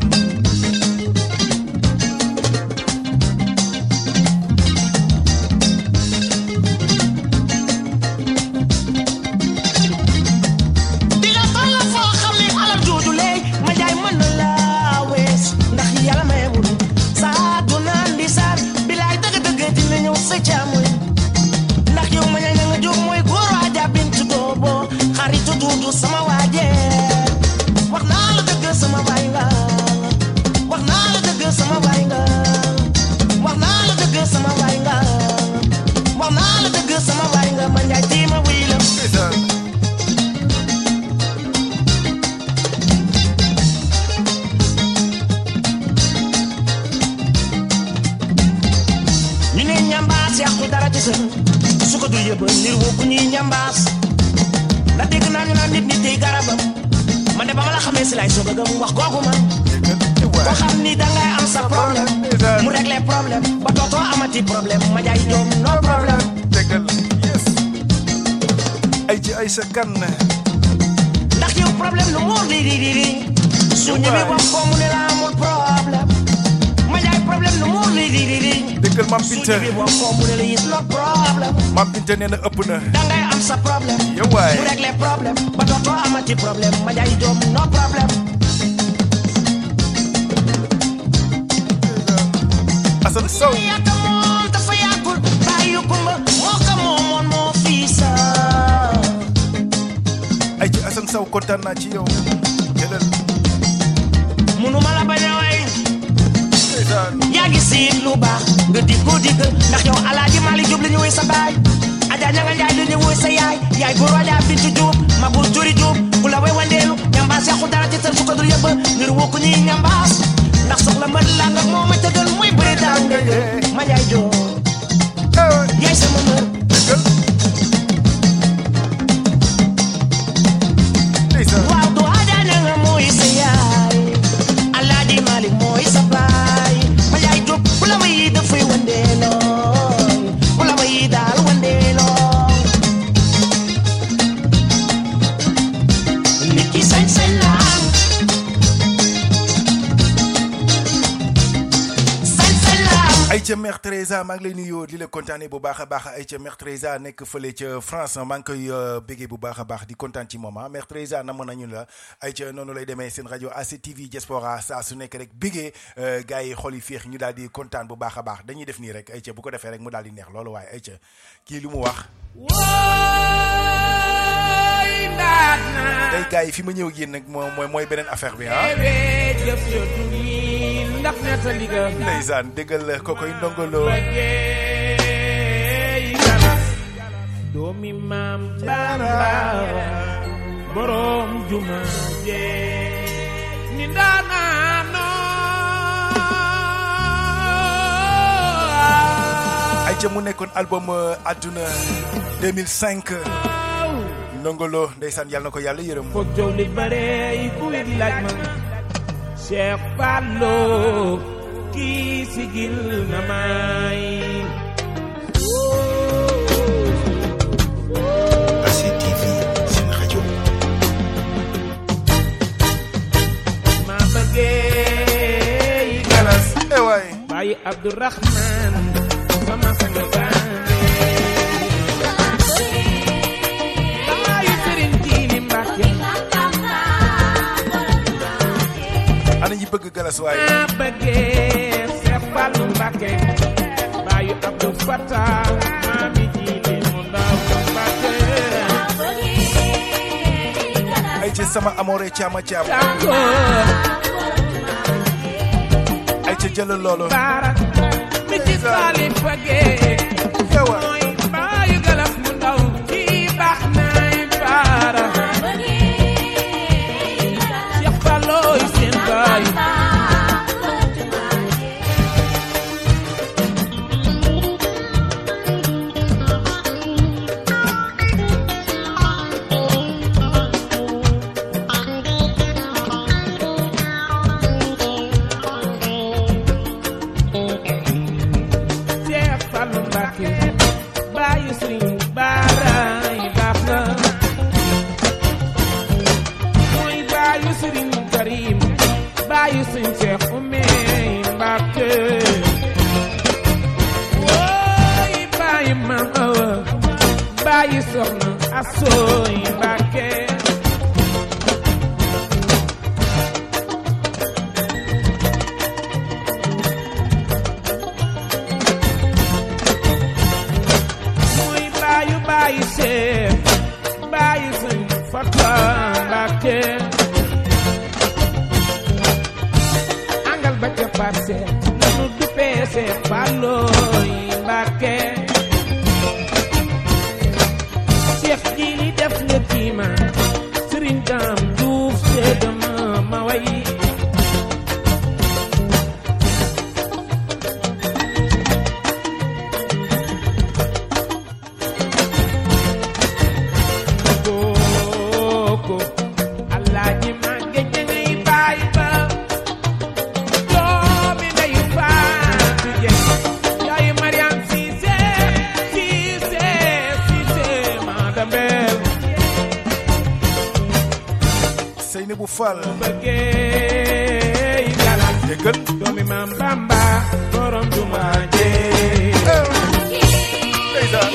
Speaker 15: di nga toll foo xam ne alal jooju léegi ma jaay mën na laa wees ndax yàlla mayewul saa du naan di saar bilaay dëgg-dëgg dina ñëw sa càmmoñ ndax yow ma ña nga jóg mooy góor waaja bintu doobo xaritu duudu sama waaje wax naa la dëgg sama baay nga wax naa la dëgg sama baay nga wax naa la dëgg sama baay nga wax naa la dëgg sama baay nga ma njaay tiima wuy la ñu ne ñambaas yàqu dara ci sën su ko dul yëba nir woo ku ñuy ñambaas la dégg naa ñu naan nit nit tey garabam man de ba ma la xamee si lay soog a gëm wax kooku man ko xam ni dangay am sa problème mu régler problème ba dootoo amati problème ma jaay joom no problème
Speaker 12: déggal yes ay ci ay sa kan
Speaker 15: ndax yow problème lu muur li di di di su ñëwee wax ko mu ne la amul problème ma jaay problème lu muur li di di di
Speaker 12: déggal Mam Binta
Speaker 15: su ñëwee wax ko mu ne la is no problème
Speaker 12: Mam Binta nee na ëpp na
Speaker 15: dangay am sa problème
Speaker 12: yow waay
Speaker 15: mu régler problème ba dootoo amati problème ma jaay joom no problème
Speaker 12: Assane Sow
Speaker 15: yàgg moom dafa yàggul bàyyi kumba moo ko moomoon moo fii sa
Speaker 12: ay ci Assane Sow kontaan naa ci yow jëlal
Speaker 15: munuma la bañ a way yaa ngi siin lu baax nga di ko digg ndax yow Alaaji Malick Diop la ñu woy sa baay Adja Ñanga Njaay la ñu woy sa yaay yaay góor Adja Bintu Diop ma bu juri Diop bu la way wandeelu ñambaas yàqu dara ci seen su ko dul yëbb ngir woo ko ñuy ñambaas ndax soxla mbër la nga moo ma tëgal muy bëri daan nga ma Njaay Diop yaay sama mbër waaw du Adja Ñanga mooy sa yaay Alaaji Malick mooy sa baay ma Njaay Diop bu la ma yi dafay wandeeloo bu la ma yi daal wandeeloo nit ki sañ-sañ la am sañ-sañ la am
Speaker 12: ay ca Mère Teresa maa ngi lay nuyoo di la kontaane bu baax a baax ay ca Mère Teresa nekk fële ca France maa ngi koy béggee bu baax a baax di kontaan ci moom ah Mère Teresa namoon nañu la ay ca noonu lay demee seen rajo A C T V Diaspora saa su nekk rek béggee gars yi xol yi féex ñu daal di kontaan bu baax a baax dañuy def nii rek ay ca bu ko defee rek mu daal di neex loolu waaye ay ca kii lu mu wax tey gars yi fi ma ñëw yéen nag moo mooy mooy beneen affaire bi ah
Speaker 13: ndax nettali ga
Speaker 12: ndeysaan déggal ko koy ndongolo
Speaker 13: doomi maam Bamba borom juma je ni ndaanaano
Speaker 12: ay ca mu nekkoon album Adduna deux mille cinq ndongolo ndeysaan yàlla na ko yàlla yërëm
Speaker 13: foog jow li bare yi ku di laaj ma Cheikh Fallo kii sigil na may
Speaker 7: A C T V seen rajo
Speaker 13: ma bëggee galas
Speaker 12: eh waay
Speaker 13: Baye Abdourahman sama sang baane Baye Serigne Djili Mbacké
Speaker 12: ana ñi bëgg galas waay
Speaker 13: ma bëggee Cheikh Fallou Mbacké Baye Abdou Fatah mami Djili mu ndaw Mbacké
Speaker 12: ay ci sama amore caama caam ay ci jëlal loolu
Speaker 13: barak mi ci Salif bëggee mooy Baye galas mu ndaw kii baax nay baara Cheikh Fallou seen baay Cheikh Fallou Mbacké Baye Serigne baaraay baax na mooy Baye Serigne Karim Baye Serigne Cheikh Oumy Mbacké wooy Baye Mam Awa Baye Soxna Asooy Mbacké muy Baye Baye Cheikh Baye Serigne Fatah Mbacké angal ba ca parce nanu duppee Cheikh Fallou Mbacké Cheikh Djili def nga tiima Serigne Dame Diouf seedama ma way koko Alaaji Maguette ngay baay ba doomi nday Fatou Dieng yaay Mariam Cissé Cissé Cissé madambel
Speaker 12: Seynabou Fall
Speaker 13: bëggee galas
Speaker 12: déggal
Speaker 13: doomi maam Bamba borom juma je
Speaker 12: ndeysaan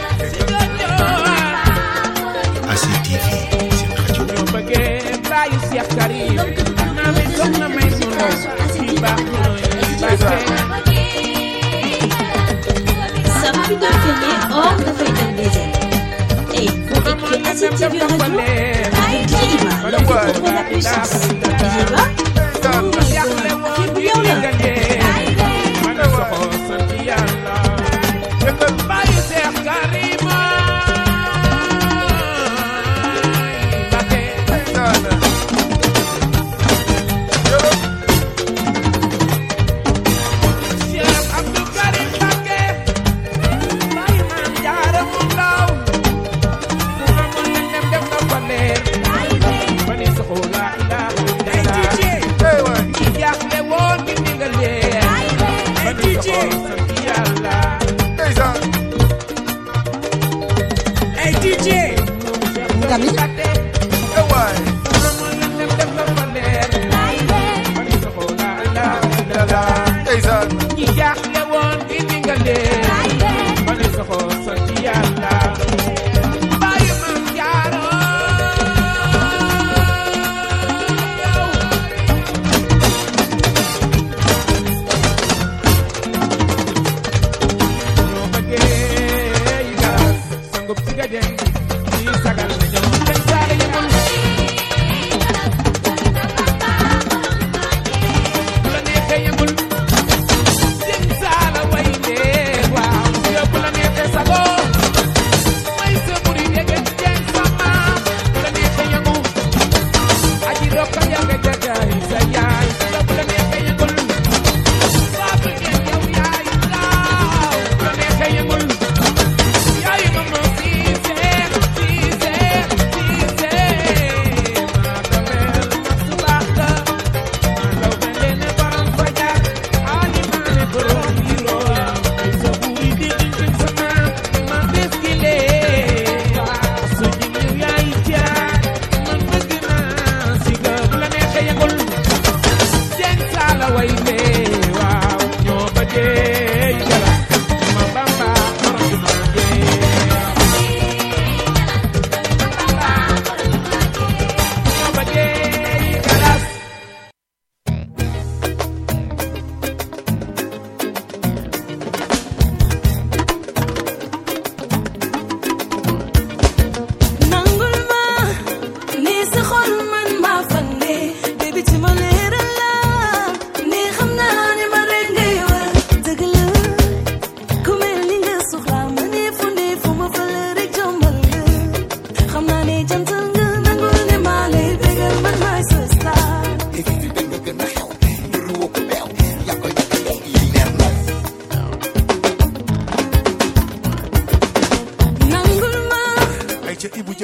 Speaker 7: A C T V seen rajo
Speaker 13: ñoo bëggee Baye Cheikh Karim naa mi soxna may mu ndaw ci baax nooy Mbacké
Speaker 9: Sa plus préféré hors de Fayda Désert. Et vous écoutez A C T V Radio avec Djiliba, le retour de la puissance. Djiliba, fi bu yow la.
Speaker 13: man soxo sant Yàlla Baye Cheikh Karim Mbacké Cheikh Abdou Karim Mbacké Baye Maam Jaara mu ndaw fu ma mën na dem def na fa leer ba ni soxo la ilaha illallah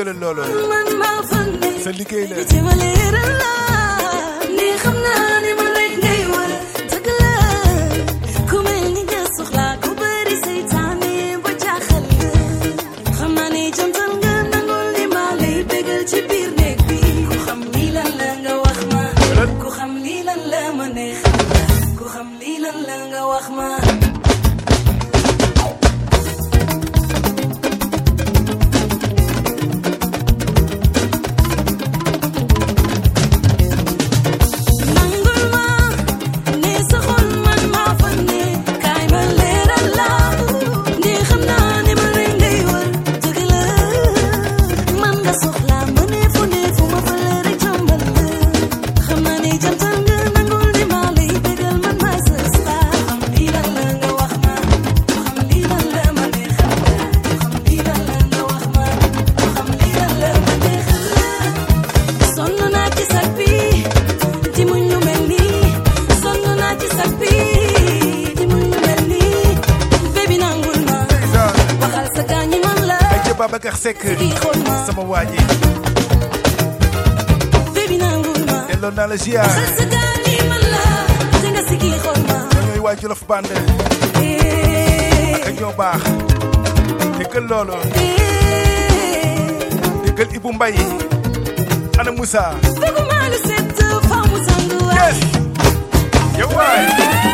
Speaker 12: jëlal loolu
Speaker 4: man maa fande
Speaker 12: sa liggéey la
Speaker 4: ci ma leeral la ni xam naa ni ma rek ngay war dëgg la ku mel ni nga soxla ku bëri seytaane ba jaaxal xam naa ni jantal nga nangul ni ma lay bégal ci biir néeg bi ku xam lii lan la nga wax ma ku xam lii lan la ma neex ku xam lii lan la nga wax ma
Speaker 12: Babacar Seck sama waa ji delloo naa la ziar ñooy waa Jolof Band ak ñoo baax déggal loolu déggal Ibou Mbaye ana Moussa yes yow waay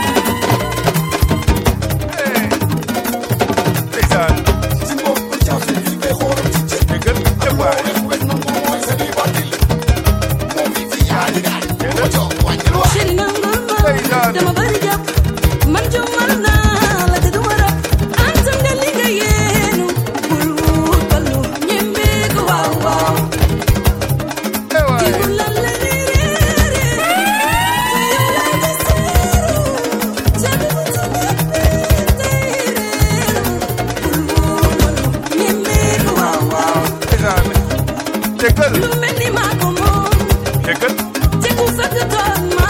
Speaker 12: ndeysaan
Speaker 4: dama bari jàpp man jumal naa la te du ma rab antam nga li nga yéenu bul wut ballu ñembe ko waaw waaw dibu lan la ni réere te yow lay deseeru jabi bu tunet biir tey réeru bul wut ballu ñembe ko waaw waaw
Speaker 12: déggal
Speaker 4: lu mel ni maa ko moom
Speaker 12: déggal
Speaker 4: te ku fekk toog ma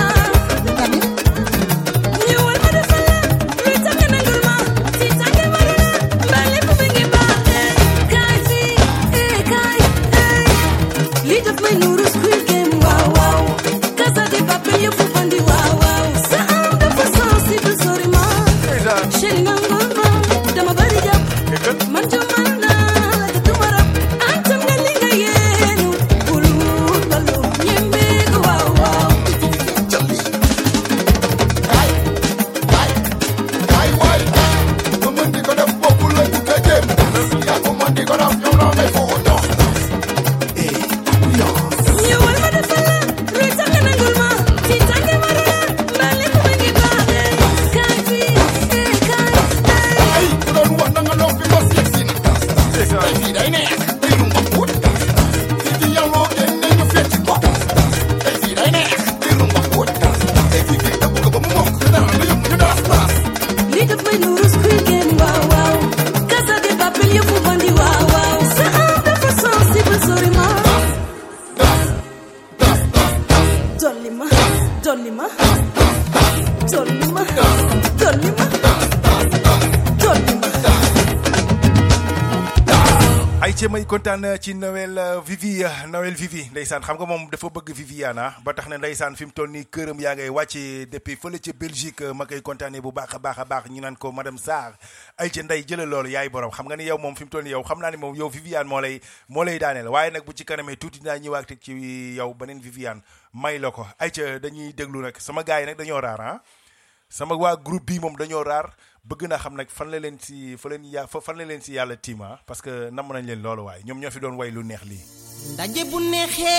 Speaker 12: may kontaan ci Noël Vivi Noël Vivi ndeysaan xam nga moom dafa bëgg Viviana ba tax ne ndeysaan fi mu toll nii këram yaa ngay wàcce depuis fële ca Belgique ma koy kontaanee bu baax a baax a baax ñu naan ko madame Sarr ay ca ndey jëlal loolu yaay borom xam nga ni yow moom fi mu toll nii yow xam naa ni moom yow Viviane moo lay moo lay daaneel waaye nag bu ci kanamee tuuti dinaa ñëwaat ci yow beneen Viviane may la ko ay ca dañuy déglu nag sama gars yi nag dañoo raar ah sama waa groupe bi moom dañoo raar bëgg naa xam nag fan la leen si fa leen ya fan la leen si yàlla tiima parce que namm nañ leen loolu waaye ñoom ñoo fi doon way lu neex lii
Speaker 15: ndaje bu neexee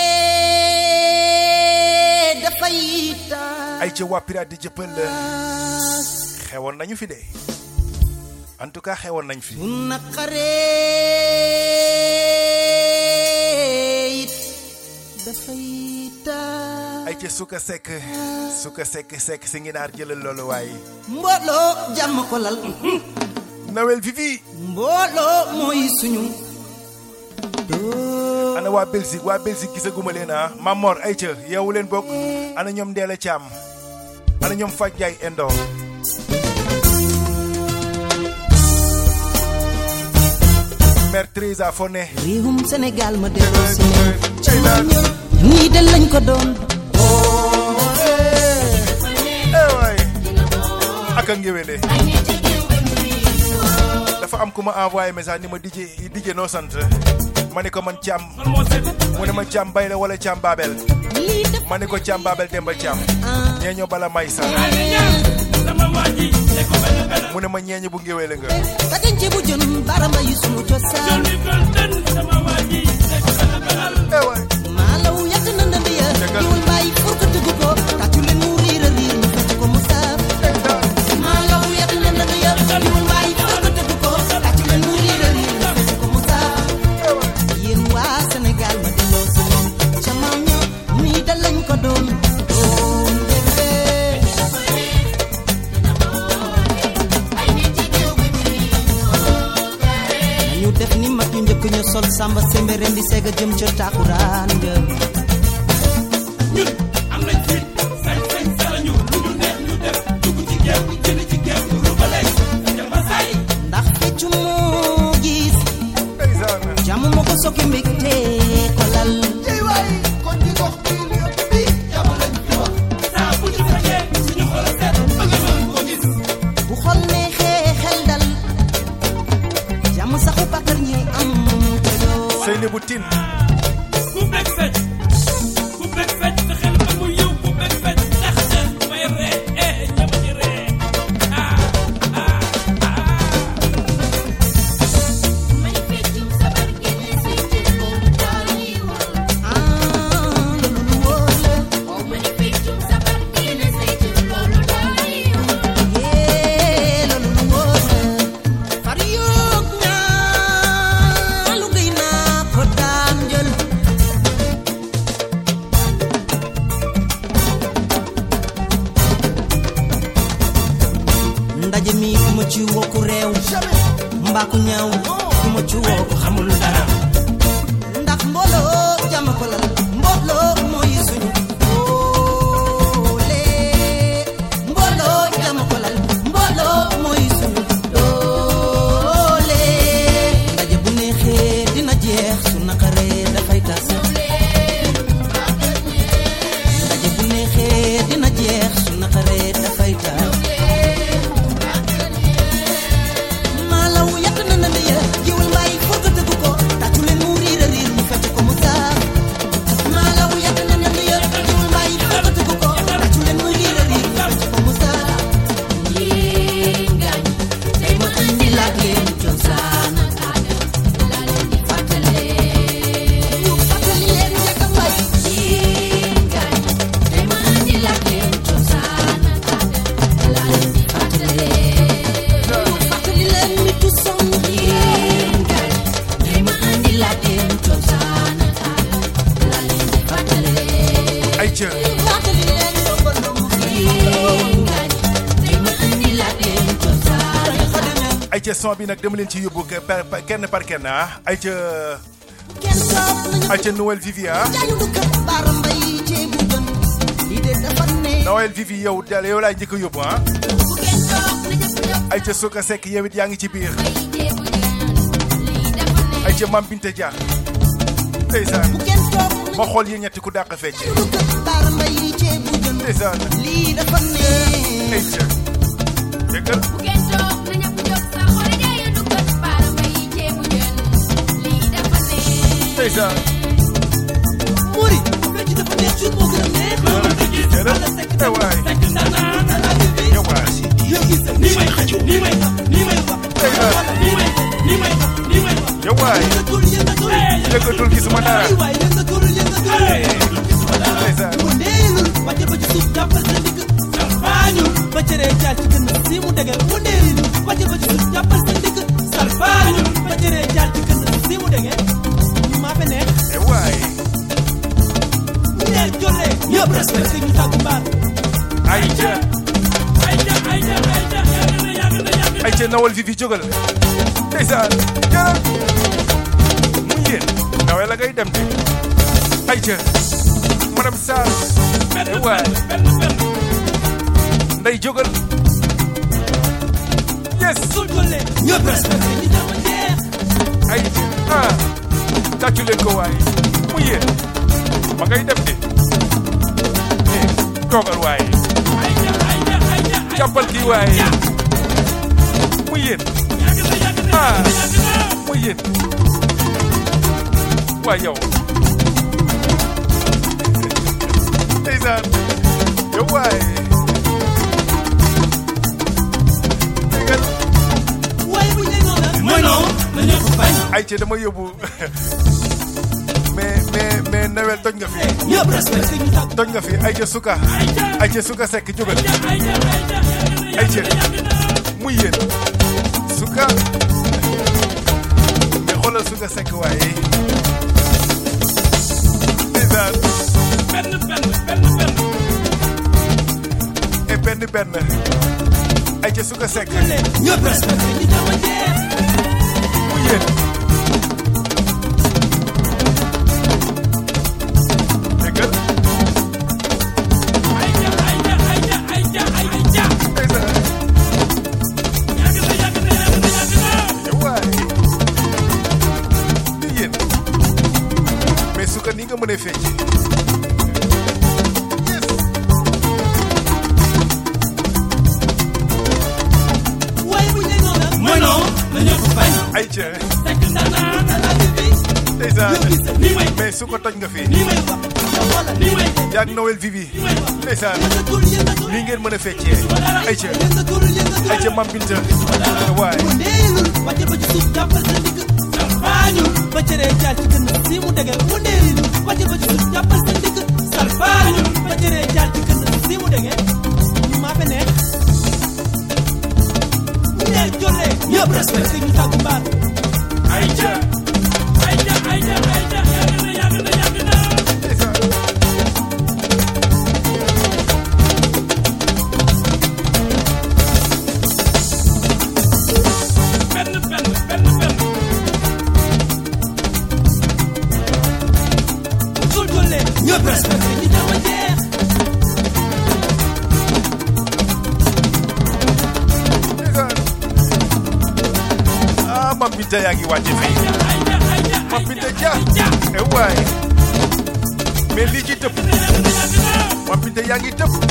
Speaker 15: dafay taal
Speaker 12: ay ca waa pirate di jëppal xewoon nañu fi de en tout cas xewoon nañ fi
Speaker 15: bu naqaree it dafay taal
Speaker 12: ay ca suka sekk suka sekk sekk si ngi naar jëlal loolu waaye
Speaker 15: mbooloo jàmm ko lal
Speaker 12: Noël Vivi
Speaker 15: mbooloo mooy suñu
Speaker 12: ana waa Belgique waa Belgique gisaguma leen ah Mamor ay ca yeewu leen bokk ana ñoom Ndeela Thiam ana ñoom Faj Njaay Endo Mère Teresa Foné
Speaker 16: réewum Sénégal ma delloo si leen ca maam ña nii de lañ ko doon
Speaker 12: eh waay aka ngéwéle dafa am ku ma envoyé message ni ma DJ DJ noo sant ma ne ko man Thiam mu ne ma Thiam Bay la wala Thiam Babel ma ne ko Thiam Babel Demba Thiam ñeeño bala may sa mu ne ma ñeeño bu ngéwéle nga
Speaker 16: ka denc bu jën baramba yi sunu cosaan
Speaker 12: eh waay
Speaker 16: maalaw yàgg na ndënd ya diwul bàyyi pour ko tëgg ko tàccu leen mu riir a riir ñu fecc ko mu saaf maalaw yàgg na ndënd ya diwul bàyyi pour ko tëgg ko tàccu leen mu riir a riir ñu fecc ko mu saaf yéen waa Sénégal ma delloo si leen ca maam ña nii da lañ ko doon ñu def ni mag ñu njëkk ñu sol samba sembe ren di seega jëm ca taakuraan nga
Speaker 15: ñun am nañ fit sañ sañ salañu lu ñu neex ñu def dugg ci géew jënd ci géew rubale jamba say
Speaker 16: ndax feccu moo gis jàmm moo ko sokki mbégte ko lal
Speaker 15: kon di gox bi lépp bi jàmm lañ fi wax saa bu ñu fekkee suñu xol a seet ba nga mën ko gis
Speaker 16: bu xol neexee xel dal jàmm saxu bakkar ñi am ko yoo
Speaker 12: Seynabou Tine
Speaker 15: ku bekk fecc ku bekk fecc sa xel amul yow ku bekk fecc tax na may ree eh ñama ci ree ah ah ah may feccum sabar génne si ci loolu daal yi wol
Speaker 16: ah loolu wóor la
Speaker 15: oh may feccum sabar génne si ci loolu daal yi wol
Speaker 16: yee loolu wóor la far yoog ñaa lu gëy naa ko daan jël ndaje mi ku ma ci woo ku réew mbaa ku ñaaw ku ma ci woo ku xamul dara ndax mbooloo jàmm ko lal mbooloo mooy suñu doole mbooloo jàmm ko lal mbooloo mooy suñu doole ndaje bu neexee dina jeex su naqaree dafay tas ndaje bu neexee dina jeex su naqaree dafay tas maalaw yàq na na ndey jiwul mbaay pour que tëgg ko tàccu leen mu riir a riir ñu fecc ko mu saaf maalaw yàq na na ndey jiwul mbaay pour que tëgg ko tàccu leen mu riir a riir ñu fecc ko mu saaf yéen gaañ tey ma andi laaj leen cosaan ak aada laa leen di fàttale ñu fàttali leen njëkk a mbay yéen gaañ tey ma andi laaj leen cosaan ak aada laa leen di fàttale fàttali leen mi tu son yéen gaañ tey ma andi laaj leen cosaan ak aada laa leen di fàttale
Speaker 12: ay ca
Speaker 16: fàttali leen ndongo yéen gaañ tey ma andi laaj leen cosaan ak aada
Speaker 12: ay ca son bi nag dama leen ci yóbbu ke- par- par- kenn par kenn ah ay ca
Speaker 16: kenn toog nañu
Speaker 12: ay ca Noël Vivi ah
Speaker 16: jaayu du kër baara mbay ceebu jën lii de dafa ne
Speaker 12: Noël Vivi yow dal yow laay njëkk a yóbbu ah
Speaker 16: bu kenn toog nañu ñëpp
Speaker 12: ay ca Soka Seck yow it yaa ngi ci biir ay ca Mam Binte Dia ndeysaan
Speaker 16: bu kenn toog
Speaker 12: ma xool yéen ñetti ku dàq fecc
Speaker 16: du kër baara mbay ceebu jën
Speaker 12: ndeysaan
Speaker 16: lii dafa ne
Speaker 12: ay ca déggal
Speaker 15: bu kenn toog na ñëpp jóg sa xol jaayu du kër baara mbay ceebu jën lii dafa neex
Speaker 12: ndeysaan
Speaker 16: Mori fecc dafa neex ci moo gën a neex
Speaker 12: jërëjëf eh waay yow waay
Speaker 15: ni may ni may ni may
Speaker 12: ndeysaan
Speaker 15: ni may ni may ni may
Speaker 12: yow waay yëkkatul gisuma dara ndeysaan
Speaker 16: salfaañu ba cëree jaar ci gën si mu dëgër mu ndeelu wàcce ba ci suuf jàppal sa ndigg salfaañu ba cëree jaar ci gën si mu dëgër maa fe neex
Speaker 12: eh waay
Speaker 16: ñeer joree ñëpp respecté ñu tàggu mbaar
Speaker 12: ay ca
Speaker 15: ay ja ay ja ay ja yàgg na yàgg na yàgg na
Speaker 12: ay ca Noël Vivi jógal ndeysaan jërëjëf mu yéen Noël la ngay dem de ay ca madame Sarr eh waay nday jógal yes
Speaker 16: sul jole ñëpp respecté ñu tàggu jeex
Speaker 12: ay ca tàccu leen ko waaye mu yéen ma ngay dem de eh toogal waaye jàppal kii waaye mu yéen ah mu yéen waa yow ndeysaan yow waaye déggal
Speaker 15: mooy non na ñëpp bañ
Speaker 12: ay ci dama yóbbu mais mais mais Noël toj nga fi
Speaker 15: ñëpp respecté ñu tàgg
Speaker 12: toj nga fi ay ca suka ay ca suka sekk jógal ay ca muy yéen suka mais xoolal suka sekk waaye ndeysaan
Speaker 15: benn benn benn benn
Speaker 12: et benn benn ay ca suka sekk
Speaker 15: ñëpp respecté ñu dama jeex
Speaker 12: muy yéen déggal
Speaker 15: ay ja ay ja ay ja ay ja ay ja
Speaker 12: ndeysaan
Speaker 15: yàgg na yàgg na yàgg na yàgg na
Speaker 12: waay ni yéen mais suka ni nga mën a fecc
Speaker 15: mooy non na ñëpp bañ
Speaker 12: ay ca
Speaker 15: sekk ndana ndana bi
Speaker 12: ndeysaan
Speaker 15: ni may
Speaker 12: mais su ko toj nga fi
Speaker 15: ni may wax wala ni may
Speaker 12: yaag Noël Vivi ndeysaan
Speaker 15: yëngatul yëngatul
Speaker 12: li ngeen mën a feccee ay ca
Speaker 15: yëngatul yëngatul
Speaker 12: ay ca Mam Binta waay
Speaker 15: ndeelul wàcce ba ci suuf jàppal sa ndigg salfaañu ba cëree jaar ci gën si mu dëgër mu ndeelul wàcce ba ci suuf jàppal sa ndigg salfaañu ba cëree jaar ci gën si mu dëgër maa fe neex ndeel jolle ñëpp respecté ñu tàggu mbaar ay ca ay ca ay ca ay ca yàgg na yàgg na yàgg na benn benn benn benn sul jolle ñëpp respecté ñu dama jeex
Speaker 12: ah Mam Binta yaa ngi wàcce fii Mam Binta ja eh waay mais lii ci tëb Mam Binta yaa ngi tëb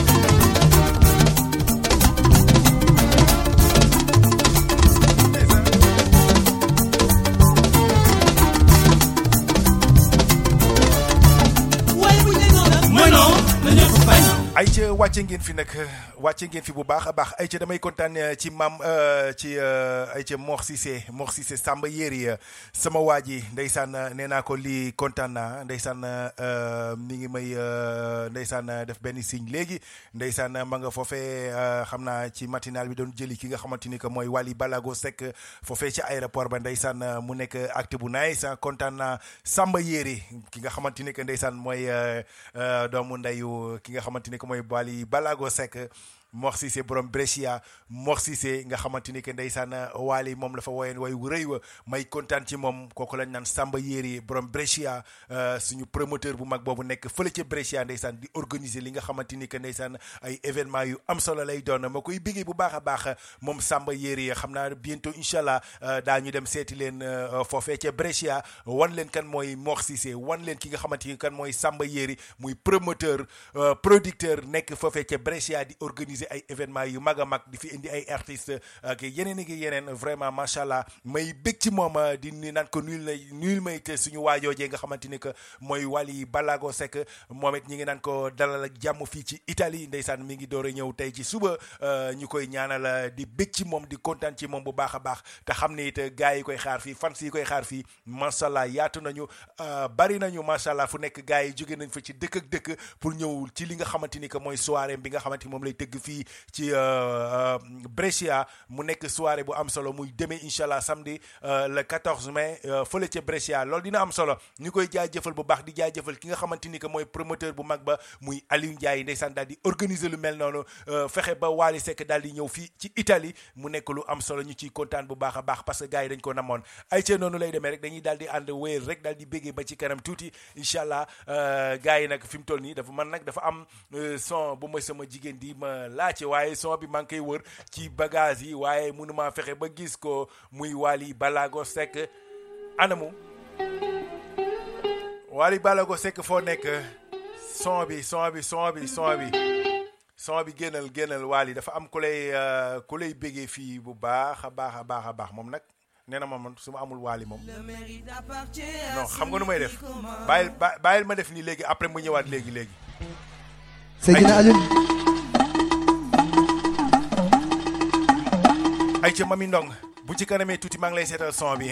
Speaker 15: mooy non na ñëpp bañ
Speaker 12: ay ca wàcce ngeen fi nag wàcce ngeen fi bu baax a baax ay ca damay kontaan ci maam ci ay ca Mor Cissé Mor Cissé Samba Yéri sama waa ji ndeysaan nee naa ko lii kontaan naa ndeysaan mi ngi may ndeysaan def benn signe léegi ndeysaan ma nga foofee xam naa ci matinal bi doon jëli ki nga xamante ni que mooy Wally Balago Seck foofee ci aéroport ba ndeysaan mu nekk acte bu nice kontaan naa Samba Yéri ki nga xamante ni que ndeysaan mooy doomu ndeyu ki nga xamante ni que mooy Wally Balago Seck Mor Cissé borom Brescia Mor Cissé nga xamante ni que ndeysaan Wally moom la fa woyeen way wu rëy wa may kontaan ci moom kooku lañ naan Samba Yéri borom Brescia suñu promoteur bu mag boobu nekk fële ca Brescia ndeysaan di organiser li nga xamante ni que ndeysaan ay événement yu am solo lay doon ma koy bégee bu baax a baax moom Samba Yéri xam naa bientôt incha allah daa ñu dem seeti leen foofee ca Brescia wan leen kan mooy Mor Cissé wan leen ki nga xamante ni kan mooy Samba Yéri muy promoteur producteur nekk foofee ca Brescia di organiser ay événement yu mag a mag di fi indi ay artistes ak yeneen ak yeneen vraiment macha allah may bég ci moom di ni naan ko nuyul na nuyul may te suñu waajoojee nga xamante ni que mooy Wally Balago Seck moom it ñi ngi naan ko dalal ak jàmm fii ci Italie ndeysaan mi ngi door a ñëw tey ci suba ñu koy ñaanal di bég ci moom di kontaan ci moom bu baax a baax te xam ne it gars yi koy xaar fii fans yi koy xaar fii macha allah yaatu nañu bari nañu macha allah fu nekk gars yi jóge nañ fa ci dëkk ak dëkk pour ñëw ci li nga xamante ni que mooy soirée bi nga xamante ni moom lay tëgg fii ci Brescia mu nekk soirée bu am solo muy demee incha allah samedi le quatorze mai fële ca Brescia loolu dina am solo ñu koy jaajëfal bu baax di jaajëfal ki nga xamante ni que mooy promoteur bu mag ba muy Aliou Ndiaye ndeysaan daal di organiser lu mel noonu fexe ba Wally Seck daal di ñëw fii ci Italie mu nekk lu am solo ñu ciy kontaan bu baax a baax parce que gars yi dañ ko namoon ay ca noonu lay demee rek dañuy daal di ànd wéyal rek daal di béggee ba ci kanam tuuti incha allah gars yi nag fi mu toll nii dafa man nag dafa am son bu mooy sama jigéen di ma laajte waaye son bi maa ngi koy wër ci bagage yi waaye mënuma fexe ba gis ko muy Wally Balago Seck anamu Wally Ballago Seck foo nekk son bi son bi son bi son bi son bi génnal génnal Wally dafa am ku lay ku lay bégee fii bu baax a baax a baax a baax moom nag nee na ma man su ma amul Wally moom non xam nga nu may def bàyyil bàyyil ma def nii léegi après mu ñëwaat léegi léegi.
Speaker 14: Seydina Alioune.
Speaker 12: ay ca Mami Ndong bu ci kanamee tuuti maa ngi lay seetal son bi.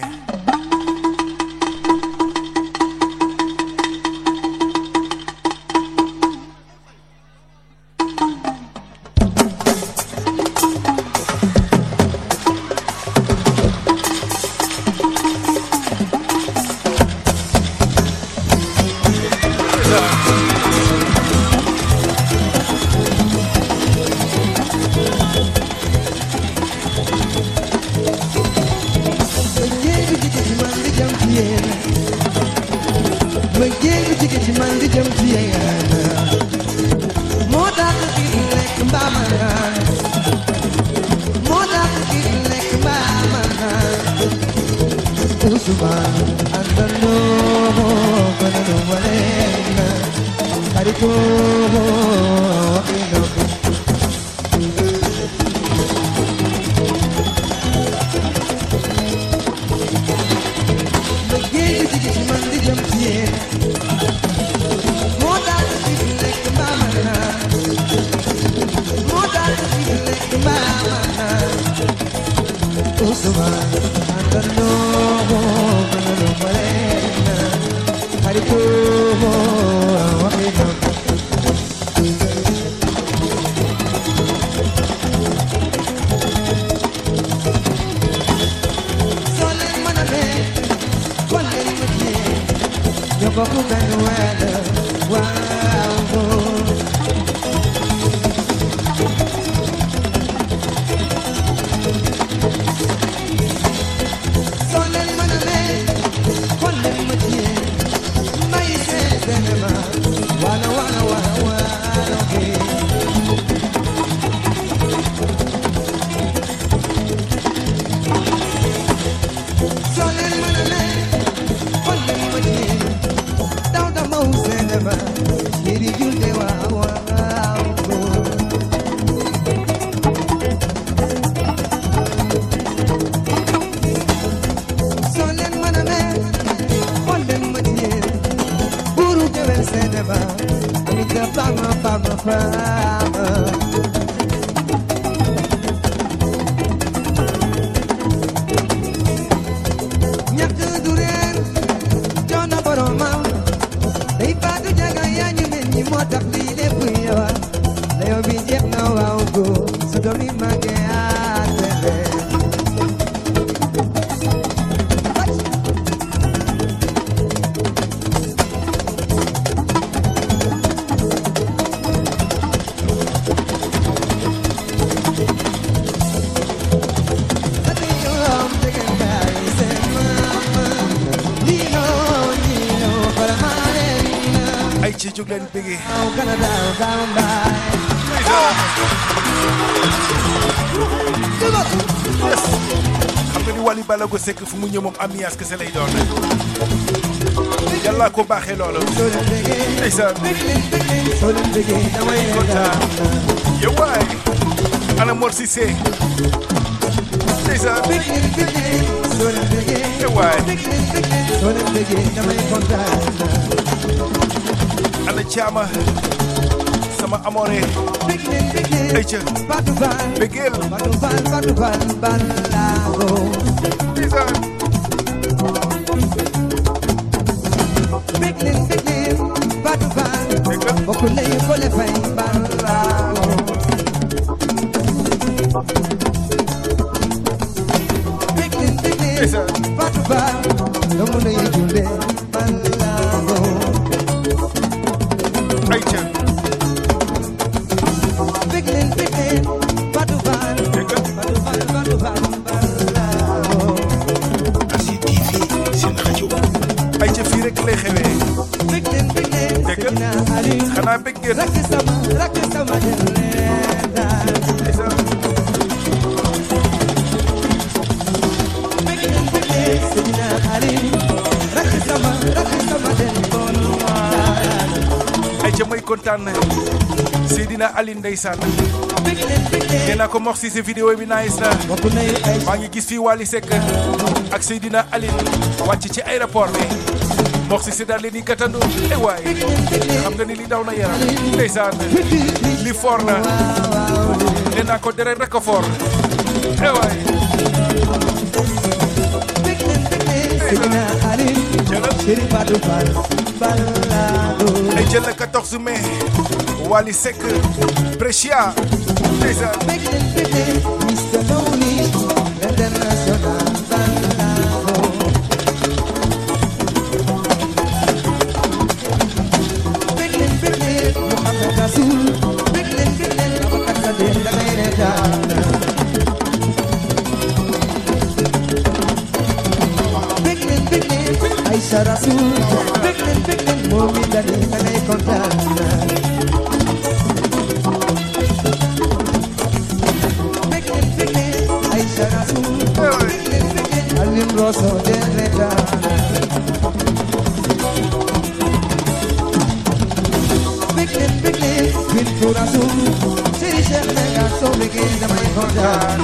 Speaker 12: Ballago Seck fu mu ñëw moom ambiance kese lay doon yàlla ko baaxee loolu ndeysaan damay kontaan yow waay ana Mor Cissé ndeysaan yow waay ana Thiama sama amore ayca begel
Speaker 14: Beglin beglin batu ban bokku lay ko le fay balago Beglin beglin batu ban domu lay julde balago
Speaker 12: ayca
Speaker 14: Beglin beglin batu ban batu ban batu ban balago
Speaker 7: Asi T V seen rajo
Speaker 12: ayca fii rek lay xewee dégg nga xanaa bëgg ngeen
Speaker 14: rakk sama rakk sama Seydina Ali rakk sama rakk sama den bon
Speaker 12: kontaan Seydina Aline ndeysaan nee naa ko mox si sa vidéo bi nice na maa ngi gis fii Wally Seck ak Seydina Aline wàcc ci aéroport bi mox si si daal leen di gàttandu eh waay xam nga ni li daw na yaram ndeysaan li fort na nee naa ko deret rek a fort eh waay
Speaker 14: Seydina Aline Chéri Badou Fall balado
Speaker 12: ay jël le quatorze mai Wally Seck Brescia ndeysaan
Speaker 14: mister Lonely International balado Beglen beglen Mohamed Rasoul Beglen beglen Abakat Kader damay reetaan Beglen beglen Aïcha Rasoul Beglen beglen moom mi dali damay kontaan Alim Rosso de Retana Beglen beglen Bintu Rasul Seri Cheikh Mega so begin damay kontaan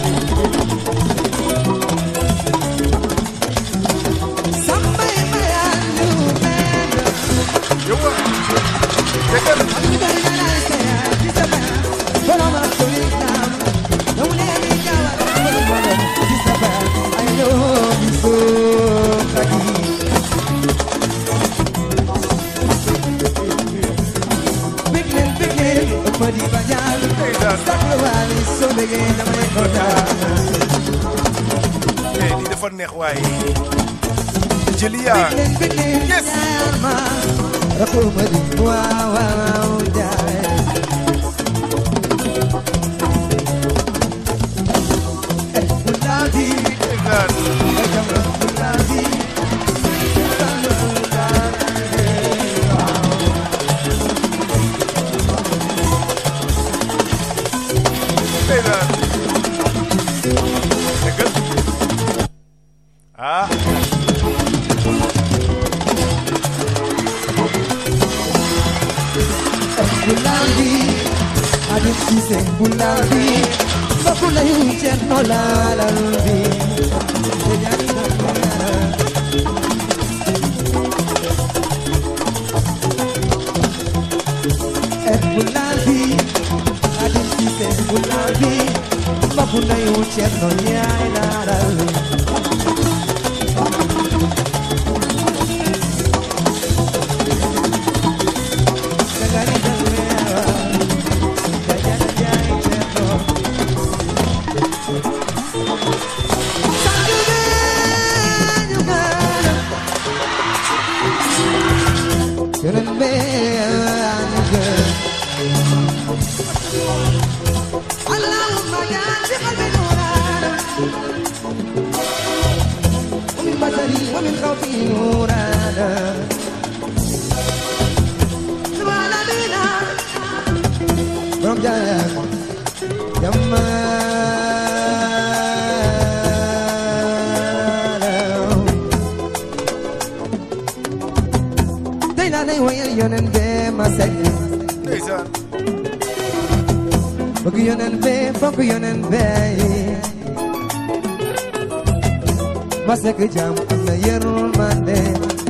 Speaker 14: Sambay mayan ñu men
Speaker 12: yowa tegal
Speaker 14: Ami bari na lay kaya ci sa ba Borom ak solikam Don't let me go ci sa ba I love you so Kaki Beglen beglen Madi banyal Saklo wali so begin damay kontaan
Speaker 12: eh li dafa neex waay Jëliya yes
Speaker 14: Rako madi waaw waaw jaay Buladi
Speaker 12: God
Speaker 14: Buladi
Speaker 12: ndeysaan tegal ah
Speaker 14: Buladi Adit Sise Buladi Bakula yu cherno la la lundi Ejani na kara Et Buladi Adit Sise Buladi Bakula yu cherno ya la la lundi ومن خوفي نورانا سبحان بنا برمجان جمالا دينا ني وين يونن بما سجن
Speaker 12: ndeysaan
Speaker 14: بك يونن بي بك يونن بي Masek jam am na yërmande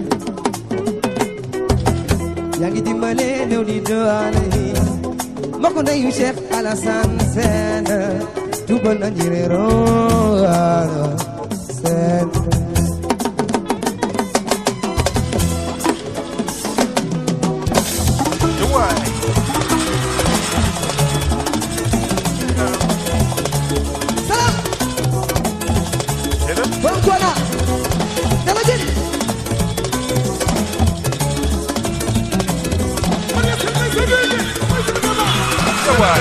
Speaker 14: yaa ngi dimbale néew di doole yi mbokk ndeyu Cheikh Alassane Sène jubal na njëriñoo Sène
Speaker 12: waay
Speaker 14: Borom Tuuba dama jël
Speaker 12: waay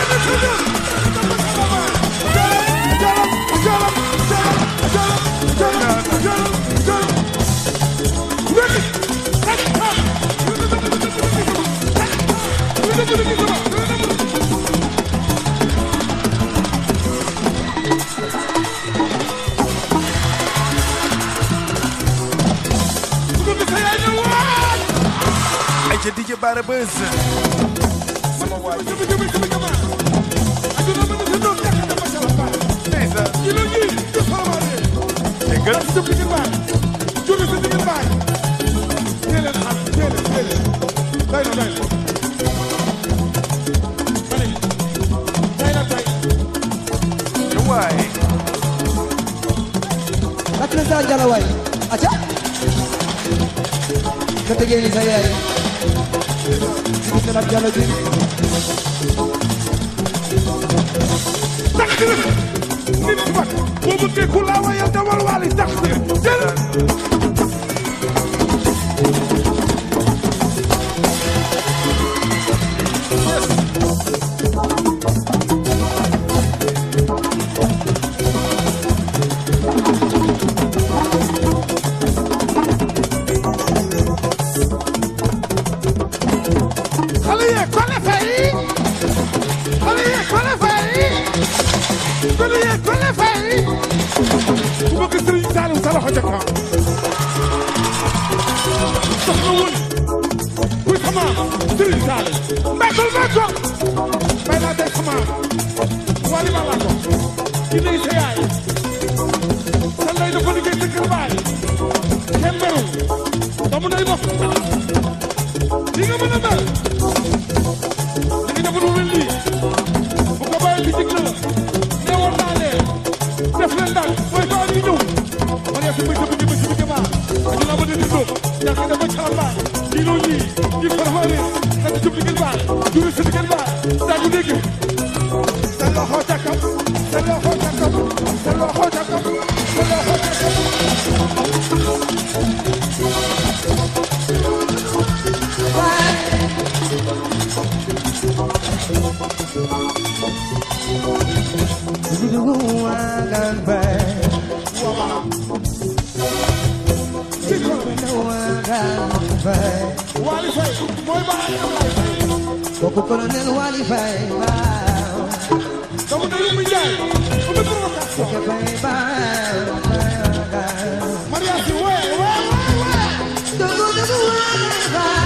Speaker 12: ay ca D J Bara Buzz waay
Speaker 14: Sa jalaway acha ketegé ni saya kita nak jalo ji
Speaker 12: takdir nit wat bo bëgge ku la wayal dawal wali takdir jël
Speaker 14: Koko Colonel Wali Faye Bao
Speaker 12: Kamu dari Mijay Untuk provokasi
Speaker 14: Koko Faye Bao
Speaker 12: Maria si we we we
Speaker 14: Dogo dogo Wali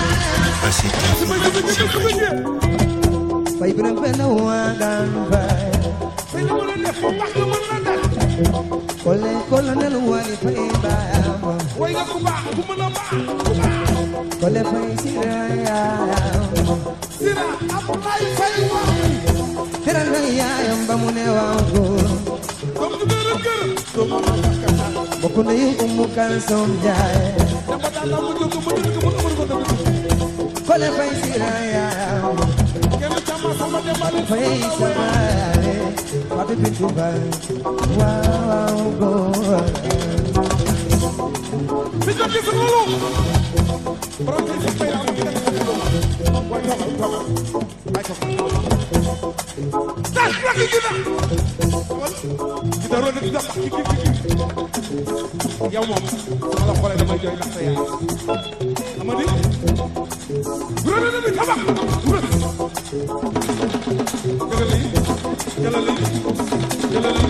Speaker 14: Faye Faye Biram Pena Wagan Faye
Speaker 12: Faye na wala def Pak na mën na def
Speaker 14: Kole Colonel Wali Faye Bao
Speaker 12: Way nga ku baax ku mën a baax ku baax
Speaker 14: Kole Faye Siraya
Speaker 12: Sira Abdoulaye Faye wa
Speaker 14: Teral na yaayam ba mu ne waaw góor
Speaker 12: Dom du gërëm gërëm Dom ma bakata
Speaker 14: Bokk na yu Umu Kalsom Jaay
Speaker 12: Dama daan na mu jóg mu jóg mu amul ko dama
Speaker 14: Kole Faye Siraya
Speaker 12: Kenn sama sama dem ale
Speaker 14: Faye Sabare Fatou Bintou Faye waaw góor
Speaker 12: Mi ko gis ngolo Borom ci Faye la ngi def Way togal togal Way togal Das la ki gina Kita ro ni dafa ki ki ki Yow mom sama la xolé damay joy ndax sa yaay Amadi Ro ni mi tabax Jalali Jalali Jalali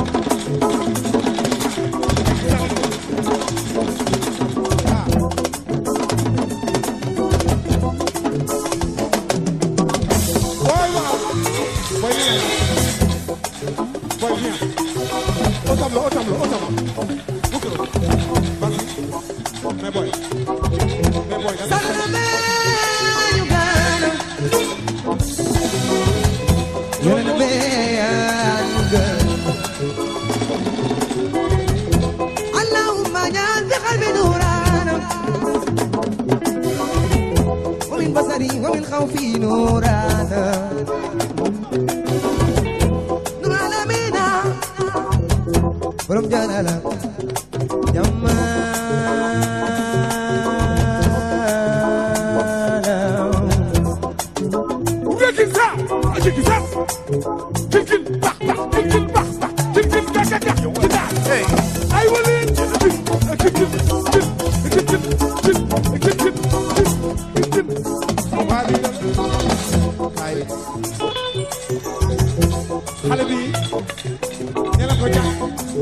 Speaker 12: Otamlo, otamlo, otamlo. Bukro. Vas-y. Me voy. Me voy.
Speaker 14: Sálvame, Uganda. You're the man, Uganda. Allahumma ja'al bi qalbi nurana. Wa min basari wa min khawfi nurana. Borom jalala jamala
Speaker 12: Ugekin sa Ugekin sa Kinkin bak bak Kinkin bak bak Kinkin kak kak kak Kita Hey Ay wali Kinkin Kinkin Kinkin Kinkin Kinkin Wali Kay Xale bi Nela ko jàkk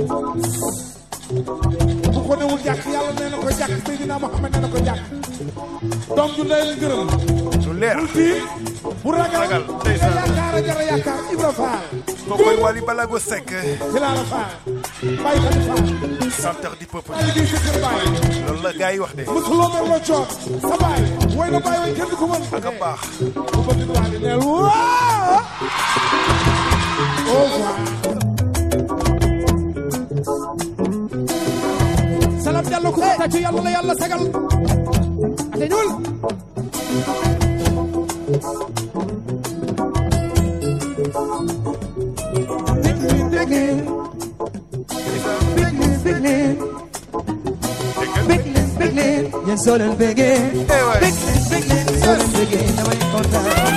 Speaker 12: bu ko newul jàkk yàlla nee na ko jàkk Seydina Muhammad nee na ko jàkk doom ju ndeyam gërëm lu leer bul tiit
Speaker 14: bu ragal
Speaker 12: ndeysaan
Speaker 14: yaakaar a jar a yaakaar Ibra Fall
Speaker 12: kookoy Wally Balago Seck
Speaker 14: ci laa la Fall Baye Khady Fall
Speaker 12: chanteur du peuple
Speaker 14: Baye di sa kër Baye
Speaker 12: loolu la gars yi wax de
Speaker 14: musuloo mer la coot sa Baye woy na Baye way kenn du ko mën
Speaker 12: ak a baax
Speaker 14: bu bëgg Wally neel waa au revoir Salam Diallo ku ta ci yàlla la yàlla sagal ate ñuul
Speaker 17: Yéen soo leen bëggee bég bég leen soo leen bëggee damay kontaan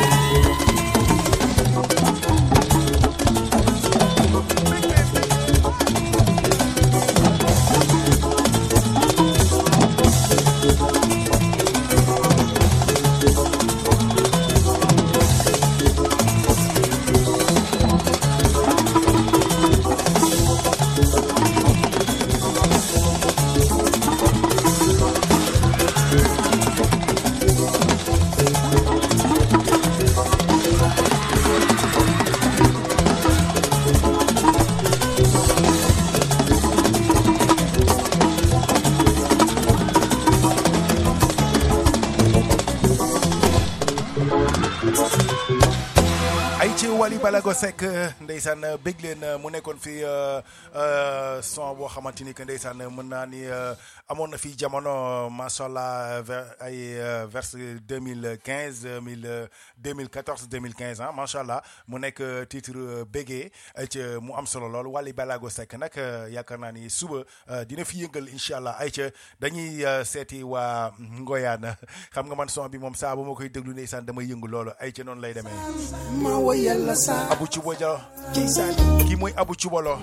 Speaker 12: Wally Balago Seck ndeysaan bëgg leen mu nekkoon fi son boo xamante ni que ndeysaan mën naa ni amoon na fi jamono macha allah ay vers deux mille quinze deux mille quatorze deux mille quinze ah macha allah mu nekk titre béggee ci mu am solo lool Wally Balago Seck nag yaakaar naa ni suba dina fi yëngal incha allah ay ca dañuy seeti waa Ngoyaan xam nga man son bi moom saa bu ma koy déglu ndeysaan damay yëngu loolu ay ca noonu lay demee. Abu Cubo Jalo kii mooy Abu Cubolo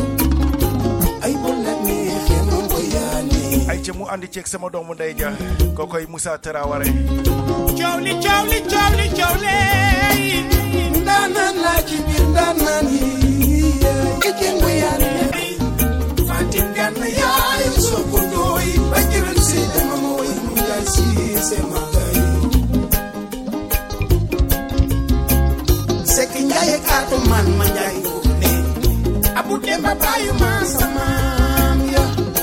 Speaker 12: ay ca mu àndi ceeg sama doomu ndey ja kookoy Moussa Traoré
Speaker 15: cowli cowli cowli cowli ndaanaan laa ci biir ndaanaan yi ike ngoyaane Fatim Gana yaay soo ko ndooy ba jëral si dama mooy mu jaay si sema Seki njaye kaatu man ma njaay ne Abu Demba bayu ma samam ya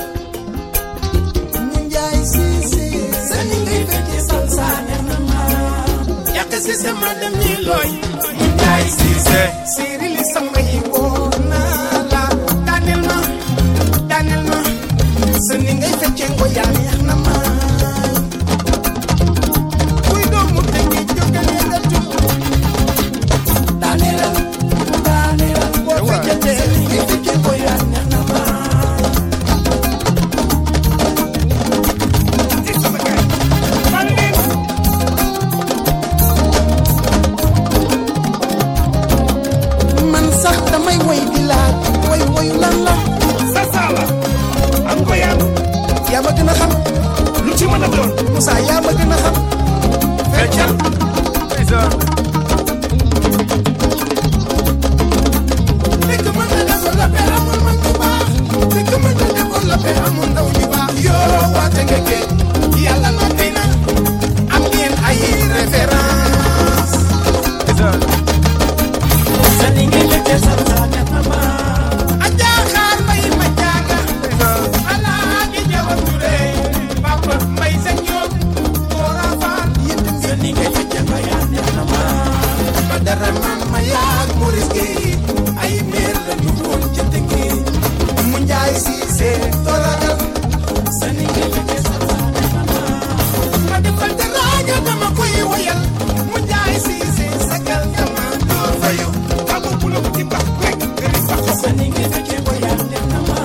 Speaker 15: mu njaay sisi sani ngay fekke salsa na ma yak sisi ma dem ni loy mu njaay sisi siri li sama yi wona la danel ma danel ma sani ngay fekke ngo ya neex na ma kuy do mu tegi jogale nga tu Danela, Danela, what we get if you can boy and nama. This is the guy. Man sax damay way di laaj way way lan la sa sala am ko yaa yaa ma gën a xam lu ci mën a doon Moussa yaa ma gën a xam feccal Yàlla na tey na am ngeen ay référence sa ni ngeen lekk sa sa ñatama aja xaar may ma jaaga ala di jawab ture papa may sa ñoom ora faal sa ni ngeen lekk ba ya ñatama ba dara man ma yaag mu risqué ay meer la ñu woon ci tënki mu njaay si see toragal sa ni ngeen lekk dama koy woyal mu jaay si si sagal dama door fayu abu bulo ci bax rek gëri bax sa ni ngeen fekke woyal def na ma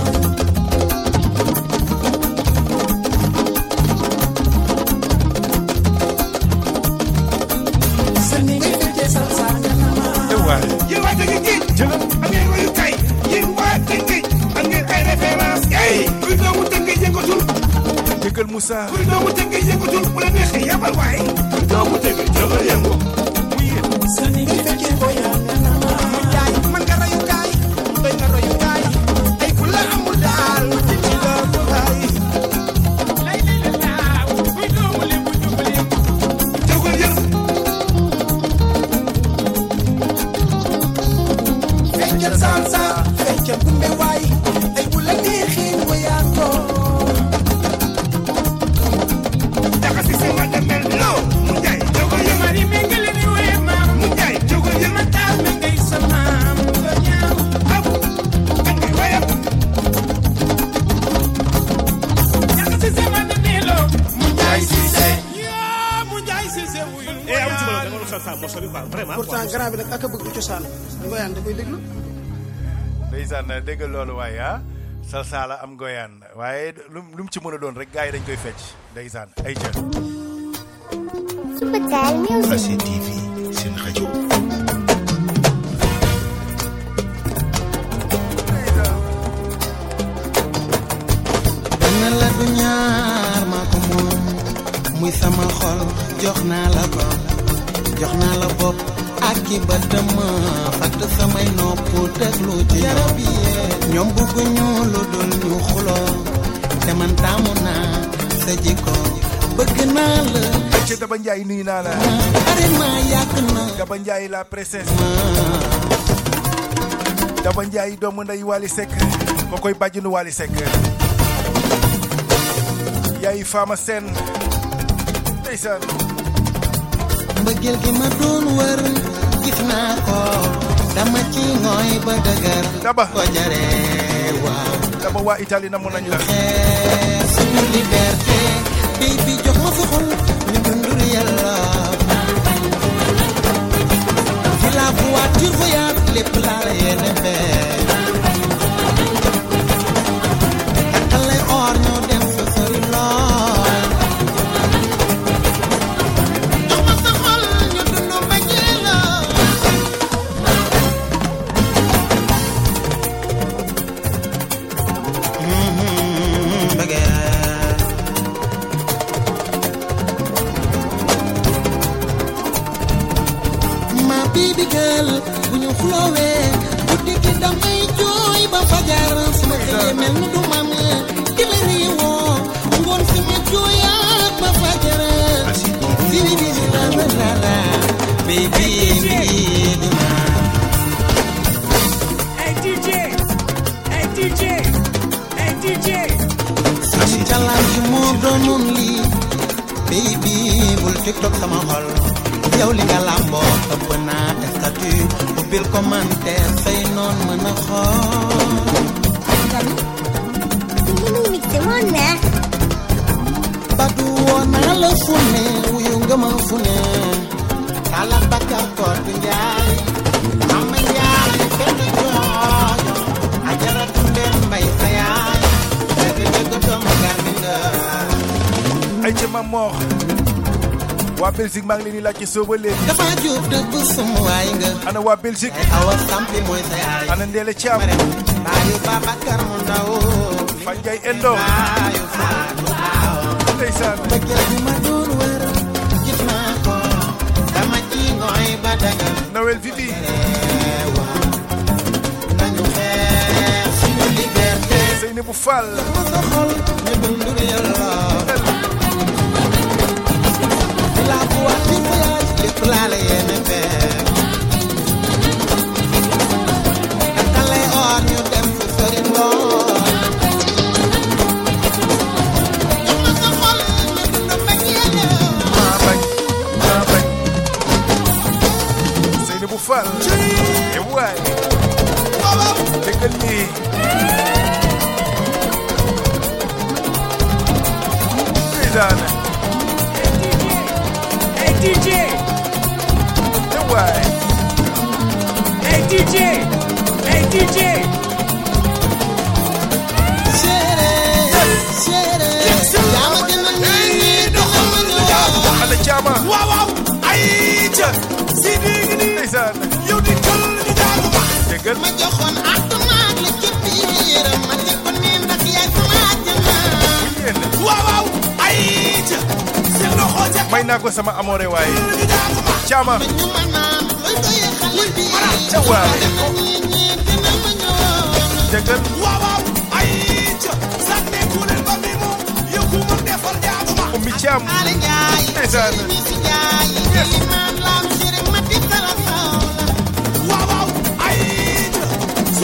Speaker 15: sa ni ngeen fekke sal sa na ma yow wa dëgg gi jël am ngeen wayu kay yéen waa dëgg am ngeen ay référence kay kuy doomu dëgg yëngatul
Speaker 12: dëggal Moussa
Speaker 15: kuy doomu dëgg yëngatul bu la neexee yabal waay kuy doomu dëgg jëgal yëngu mu yéen sa ni ngay fekkee booya na ma mu jaay man nga royu kaay doy nga royu kaay ay ku la amul daal ci ci la ko laay lay lay la daaw kuy doomu li bu jubali jëgal yëngu
Speaker 11: salsa fecca gumbe waay ay bu la neexee woyaa ko
Speaker 15: daxa si sama demel lo mu jaay jogo yu mari mengale ni we ma mu jaay jogo yu ma taal me ngay sama ba ñaaw aw ak waya daxa si sama demel lo mu jaay si se ya mu jaay si se wuyu
Speaker 18: eh am ci ma da nga salsa mo sori quoi vraiment
Speaker 19: pourtant grand bi nag ak a bëgg cosaan ngoyaan da koy déglu
Speaker 12: ndeysaan dégg loolu waaye ah salsa la am ngoyaan waaye lu lu mu ci mën a doon rek gars yi dañ koy fecc ndeysaan ay jën
Speaker 7: Subatel Music A C T V seen rajo
Speaker 16: benn la du ñaar maa ko moom muy sama xol jox naa la ko jox naa la bopp ak ki ba dama fàtt samay nopp déglu ci yow ñoom bëgguñu lu dul ñu xuloo te man taamu naa sa jikko bëgg naa la
Speaker 12: ci Daba Ndiaye nuyu naa la
Speaker 16: arima yàgg na
Speaker 12: Daba Ndiaye la princesse Daba Ndiaye doomu nday Wally Seck ko koy bàjjinu Wally Seck yaay Fama Sène ndeysaan
Speaker 16: mbëggeel gi ma doon wër gis naa ko dama ci ngooy ba dëgër
Speaker 12: Daba
Speaker 16: ko jaree waaw
Speaker 12: Daba waa Italie namu nañ la
Speaker 16: suñu liberté baby jox ma sa xol ñu dundur yàlla fi la voiture voyage lépp laa la yéene fee takkal lay or ñu dem fa sori lool jox ma sa xol ñu dundu mbëggeel la ma baby girl bu ñu xulowee guddi gi damay jooy ba fajar sama xëyee mel ni du mam di la riiwoo ngoon si ma jooyaat ba fajar si bi bi la la la la baby bi di ma
Speaker 15: hey D J hey D J hey D J
Speaker 16: suñu challenge moo doonoon lii baby bul tiktok sama xol yow li nga làmboo ëpp naa statut ubbil commentaire say noon mën a xool
Speaker 10: li muy mixé moo neex
Speaker 16: badu woo naa la fu ne wuyu nga ma fu ne kala bakka koor bi njaay am njaay benn joojo ajaratu ndeen mbay sa yaay dëgg dëgg doomu garmi nga
Speaker 12: ay ci ma moox waa Belgique maa ngi leen di laaj ci sooba léegi
Speaker 16: dafa jub dëgg sum waay nga
Speaker 12: ana waa Belgique
Speaker 16: awa sampi mooy sa yaay
Speaker 12: ana Ndéle Thiam
Speaker 16: baayu Babacar mu ndaw
Speaker 12: Fanjay Endo
Speaker 16: baayu Fatou Awa
Speaker 12: ndeysaan
Speaker 16: bëggeel bi ma doon wër gis naa ko dama ci ngooy ba dagal
Speaker 12: Noël Vivi
Speaker 16: nañu xeex suñu liberté
Speaker 12: Seynabou Fall
Speaker 16: sa xol ñu dundur yàlla la voiture voyage lépp laa la yéene fee takkal lay or ñu dem fu sori lool jox ma sa xol ñu dund mbëggeel
Speaker 12: maa bañ maa bañ Seynabou Fall e waay dëggal lii ndeysaan
Speaker 15: D J
Speaker 12: e waay
Speaker 15: hey D J hey D J
Speaker 16: chéri chéri yaa ma gën a nii doxal ma ñëw
Speaker 12: ana caama
Speaker 15: waaw waaw ay ca si dégg ni
Speaker 12: ndeysaan
Speaker 15: yow di kal di jaagu ba
Speaker 12: dëggal
Speaker 16: ma joxoon àttumaak la ci biir ma ne ko nii ndax yaay sama àjjana
Speaker 15: waaw waaw ay ca seen loxo ca
Speaker 12: may naa ko sama amoore waaye caama
Speaker 16: ñu ma naan looy doyee xale bi
Speaker 12: ca waay dëggal
Speaker 15: waaw waaw ay ca sànne ku leen ba mi mu yëkku mu defal jaagu ma
Speaker 12: ummi caam
Speaker 16: ale njaay
Speaker 12: ndeysaan
Speaker 16: si njaay li naan laam chéri ma di tala sawla
Speaker 15: waaw waaw ay ca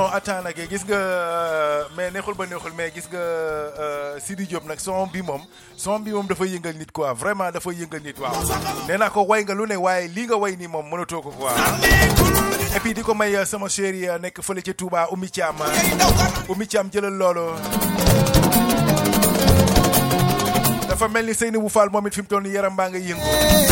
Speaker 12: attends nag gis nga mais neexul ba neexul mais gis nga Sidi Diop nag son bi moom son bi moom dafa yëngal nit quoi vraiment dafa yëngal nit waaw nee naa ko way nga lu ne waaye lii nga way nii moom mënatoo ko quoi et puis di ko may sama chéri nekk fële ca Touba Oumy Thiam Oumy Thiam jëlal loolu dafa mel ni Seynabou Fall moom it fi mu toll nii yaram baa nga yëngu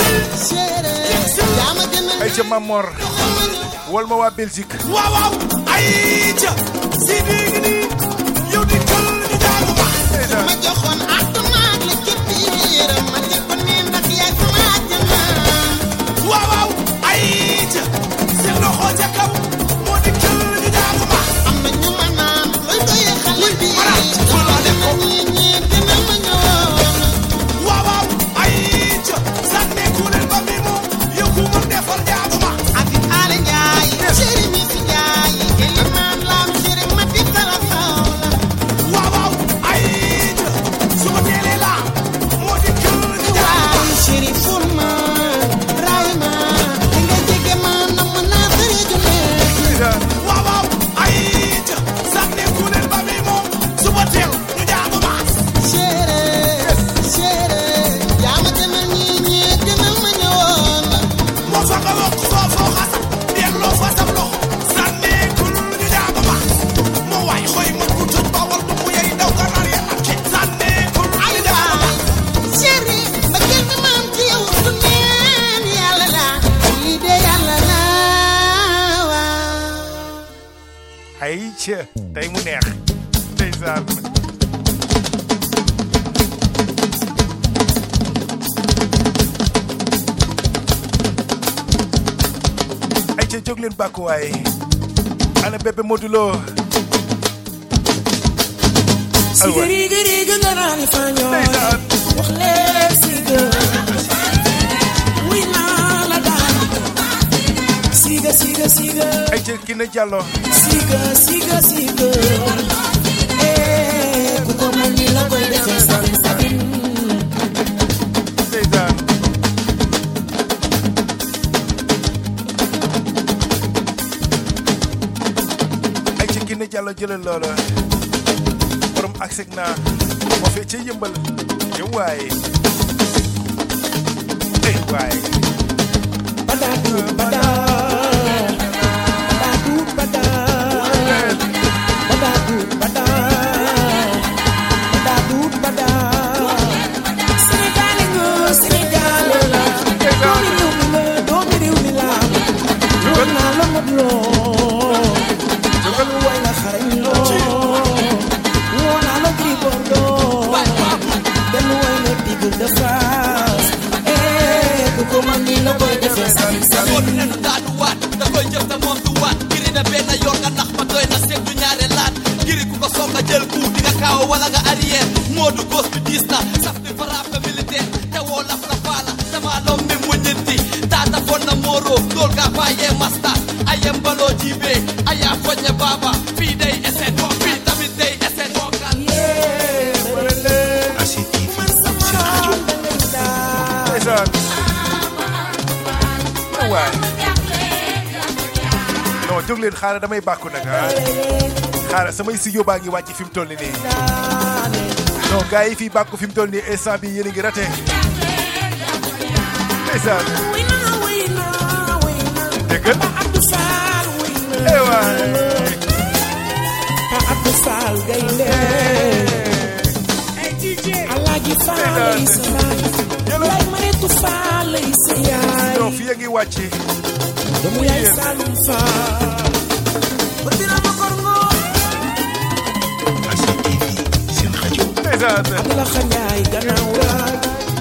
Speaker 12: ay ca Mamor wol ma waa Belgique
Speaker 15: waaw waaw ay ca Sidi ngi nii yow di kal di jaagu ba ma joxoon atamaak la ci biir ma ne ko ne ndax yaay sama àjjana waaw waaw ay ca seen loxo ca kaw moo di kal di jaagu ba am na ñu ma naan looy doyee xale bi dama ñi ñi dina ma ñëwoon waaw waaw ay ca sànne ku leen ba mi moom yow ku ma defal jaagu ba ak ale njaay chéri mi si njaay eli man lam chéri ma di kala sawla waaw waaw ay ca su ma teelee la moo di kal di jaagu ba chéri ful ma ray ma di nga jege ma nam na tere jume waaw waaw ay ca sànne ku leen ba mi moom su ma teel ñu jaagu ba chéri chéri yaa ma demal ñi ñi demal ma ñëwoon moo fa nga wax foo foo xasam delloo fa sam loxo sànne ku ñu jaagu ba moo waay xoy ma ku tëj bawal du mu yey daw ganaar ya lakke sànne ku ñu jaagu ba chéri ba gel mi maam ci yow su neen yàlla la lii de yàlla la waaw
Speaker 12: ay ca tey mu neex ndeysaan ay ca jóg leen bàkku waay ana bébé Modou Lo
Speaker 15: sigari gari nga naan faño wax leen siga wi naa la daan siga siga siga
Speaker 12: ay ca Kiné Diallo
Speaker 15: siga siga siga eh ku ko mën ni la koy defee sabin sabin
Speaker 12: ndeysaan ay ca Kiné Diallo jëlal loola borom ak seg naa moo fee ca yëmbal yow waay ey waay
Speaker 15: badatu bada badatu bada badatu bada badatu bada Sénégal nga Sénégal la doomi réew mi la doomi réew mi la woon naa la mot loo jógal way la xarañ loo woon naa la Gris Bordeaux benn way la Tigre de France eh ku ko mën ni la koy defee sami sami
Speaker 20: moo du ne du daanu waat da koy jëf te moom du waat giri na benn yoon nga nax ma doy na seet du ñaare laat giri ku ko soog nga jël ku di nga kaaw wala nga arrière moo du gos bi diis na saf di frappe militaire te woo laf la faala dama lom mi mu ñetti taata fon na mooro dool gaa faayee masta ayem baloo jiibee ayaa foñe baaba fii day eset fii tamit day eset bokkal
Speaker 12: ndeysaan waay non jóg leen xaaral damay bàkku nag ah xaaral samay studio baa ngi wàcc fi mu toll nii non gars yi fii bàkku fi mu toll nii instant bi yéen a ngi raté ndeysaan dégg nga eh waay
Speaker 15: Abdou Fall gaynde Alaaji Fall lay sa baay lay Maritu Fall lay sa yaay
Speaker 12: non fii a ngi wàcc
Speaker 15: doomu yaay Saloum Fall ba dina ma korngo
Speaker 7: Asi T V seen rajo
Speaker 12: ndeysaan
Speaker 15: Abdou Khanyaay gannaaw raay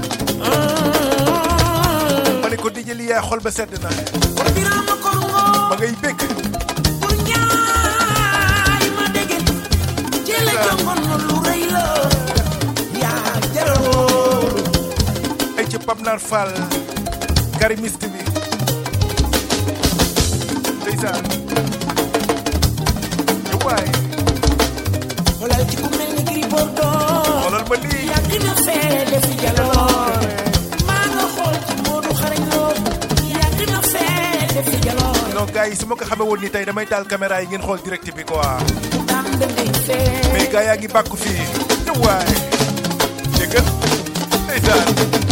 Speaker 12: ma ne ko dijë li yaay xol ba sedd na
Speaker 15: ba dina ma korngo
Speaker 12: ma ngay bëgg
Speaker 15: pour ñaay ma dégg jële jongoon na lu rëy la yaa jaroo
Speaker 12: ay ci Pape Nar Fall karimiste bi ndeysaan yow waay
Speaker 15: xoolal ci ku mel ni Gris Bordeaux
Speaker 12: xoolal ma lii
Speaker 15: yaa gën a fee defi jaloor maa nga xool ci Modou xarañ loo yaa gën a fee defi jaloor
Speaker 12: non gars yi su ma ko xamee woon ni tey damay taal caméra yi ngeen xool direct bi quoi mais gars yaa ngi bàkku fii te waay déggal ndeysaan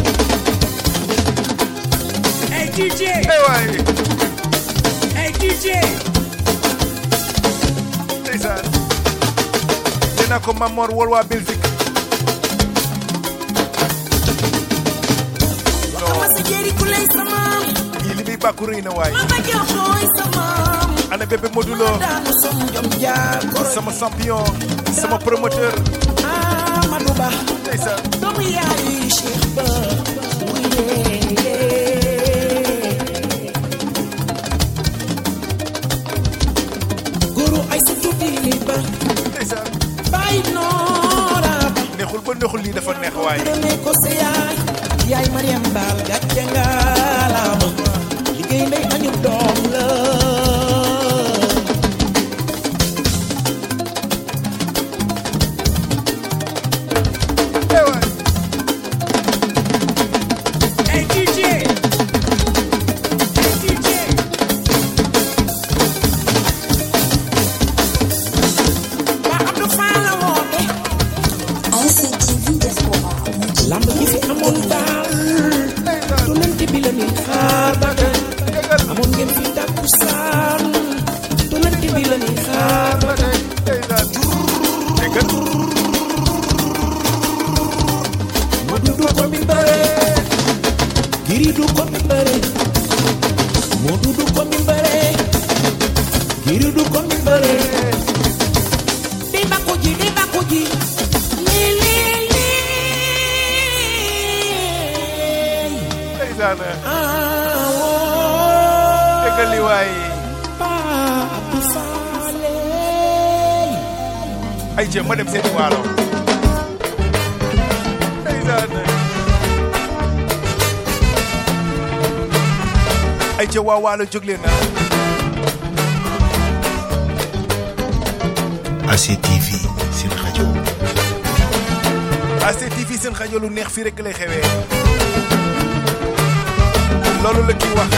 Speaker 15: Hey D J
Speaker 12: hey waay
Speaker 15: Hey D J
Speaker 12: ndeysaan nee naa ko Mamor wol waa Belgique yii li muy bàkku rëy na waay ana bébé modulo sama champion sama promoteur
Speaker 15: Amadou Ba
Speaker 12: ndeysaan
Speaker 15: doomu yaayu Cheikh Ba guru ay sa tuuti ba
Speaker 12: ndeysaan
Speaker 15: bay noora
Speaker 12: neexul ba neexul lii dafa neex waay
Speaker 15: ne ko sa yaay yaay Mariam Baal gàcce nga laama liggéey ndey añu doom la
Speaker 12: ay jéem ma dem seeti waalo ay jéem waa waalo jóg leen na
Speaker 7: A C T V seen rajo
Speaker 12: A C T V seen rajo lu neex fii rek lay xewee loolu la kii wax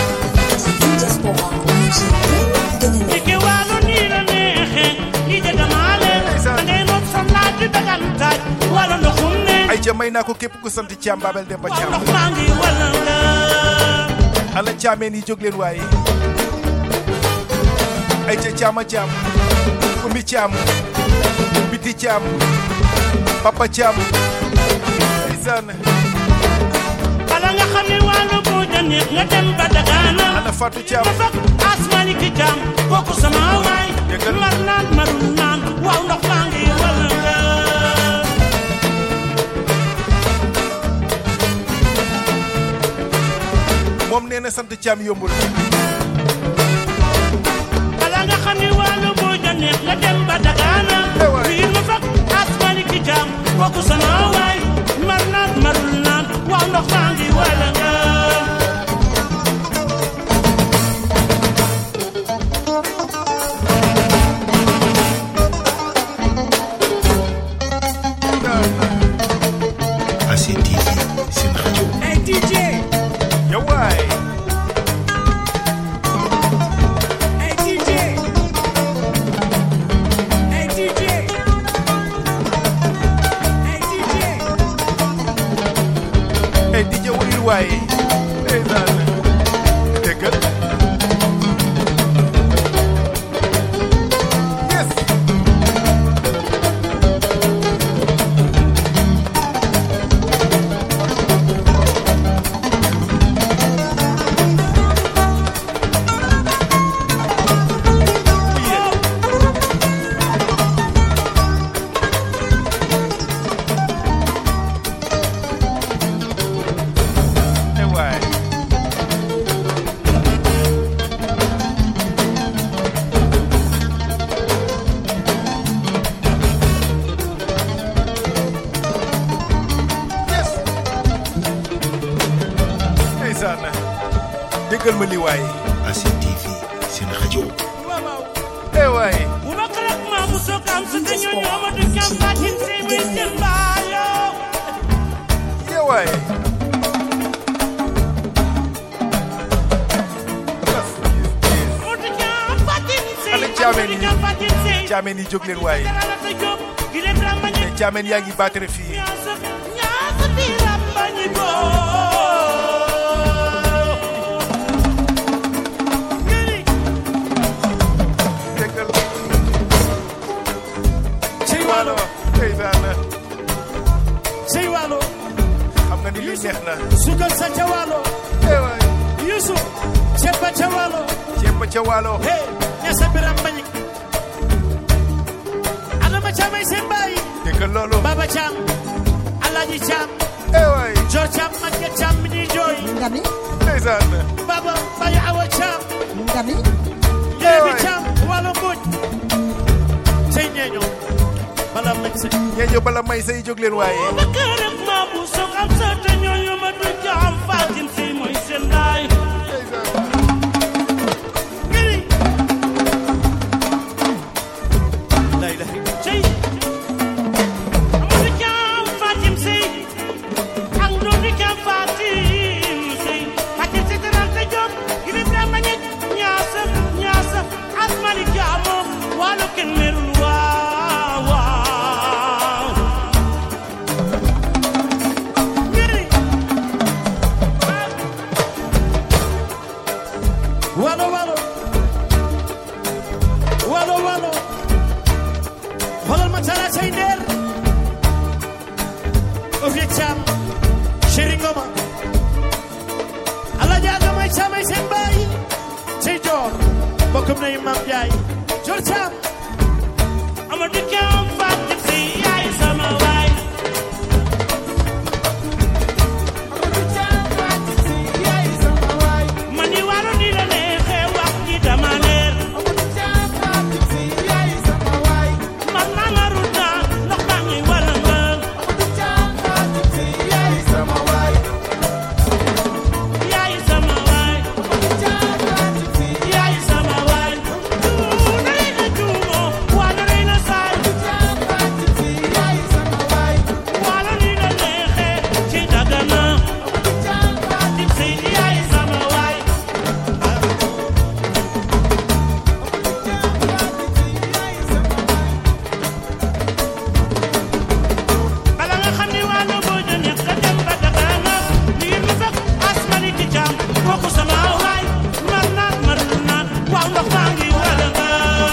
Speaker 13: Dike waalo nii la neexee li jaga maale ngay nopp sa laaj di dagan taaj wala ndoxum ne
Speaker 12: ay ca may naa ko képp ku sant Thiam Babel Demba Thiam
Speaker 13: ndox maa ngi wala la
Speaker 12: ala caameen yi jóg leen waaye ay ca Thiama Thiam Umi Thiam Biti Thiam Papa Thiam ndeysaan
Speaker 13: bala nga xam ne waalo boo jëndee nga dem ba Dagana
Speaker 12: ana Fatou Thiam
Speaker 13: asmani ki Thiam kooku sama waay mar naan marul naan waaw ndox maa ngi wala la
Speaker 12: moom nee na sant Thiam yombul
Speaker 13: bala nga xam ne waalo boo jëndee nga dem ba Dagana fiir ma fak asmani ki Thiam kooku sama waay mar naan marul naan waaw ndox maa ngi wala la
Speaker 7: A C T V seen rajo
Speaker 15: Hey D J
Speaker 12: yow waay
Speaker 15: Hey D J Hey D J Hey D J
Speaker 12: ay D J wuyul waay ndeysaan déggal yes déggal ma li waay
Speaker 7: A C T V seen rajo
Speaker 12: eh waay
Speaker 13: bu ma xalaat maa mu soog am sa dañoo ñoo ma du kam baatin say may seen baayoo
Speaker 12: eh waay
Speaker 13: mu du kam
Speaker 12: Thiamène yi Thiamène yi jóg leen waaye te Thiamène yaa ngi battre fii
Speaker 19: Sey Waalo Sey Waalo
Speaker 12: xam nga ni lii neex na
Speaker 19: sugal sa ca Waalo Yusuf ceeb ba ca Waalo
Speaker 12: ceeb ba ca Waalo
Speaker 19: hey ñasa biram bañi Adama Caamay seen baay
Speaker 12: dégg loolu
Speaker 19: Baba Caam Alaaji Caam
Speaker 12: eh waay
Speaker 19: Jor Caam Maguette Caam mi ñuy jooy
Speaker 14: ngami
Speaker 12: ndeysaan
Speaker 19: Baba Baye Awa Caam
Speaker 14: ngami
Speaker 19: Yeebi Caam Waalo Mbooj sey ñeeño bala may sey
Speaker 12: ñeeño bala may sey jóg leen waaye
Speaker 13: Bakarek ma bu sok am sa te ñooñu ma du jaam Fatim si mooy seen laay ngiri
Speaker 19: lay lay
Speaker 13: cey amadu jaam Fatim si ak ndodu jaam Fatim si Fatim si terante jom gili brama ñet ñaasa ñaasa ak mali jaamo walo ken merul waaw waaw ngiri
Speaker 19: Waalo Waalo Waalo Waalo xoolal ma tara say ndeer Ofie Caam Chéri Ngoma Alaaji Adama Caamay seen baay cey Joor bokkum na Maam Njaay Joor Caam
Speaker 13: amadu jaam Fatim si yaay sama waay mani waro ni la neexe wax ji dama leer man ma marul naa ndox baa ngi wala ngal yaay sama waay yaay sama waay tuuna rey na tuumo waana rey na saay wala ni la neexe ci dagana Fatim si yaay sama waay bala nga xam ni wàllu boo jëlee ka dem ba Dagana lii mu fekk asmani ki caam kooku sama waay mar naa marul naa waaw ndox maa ngi wala nga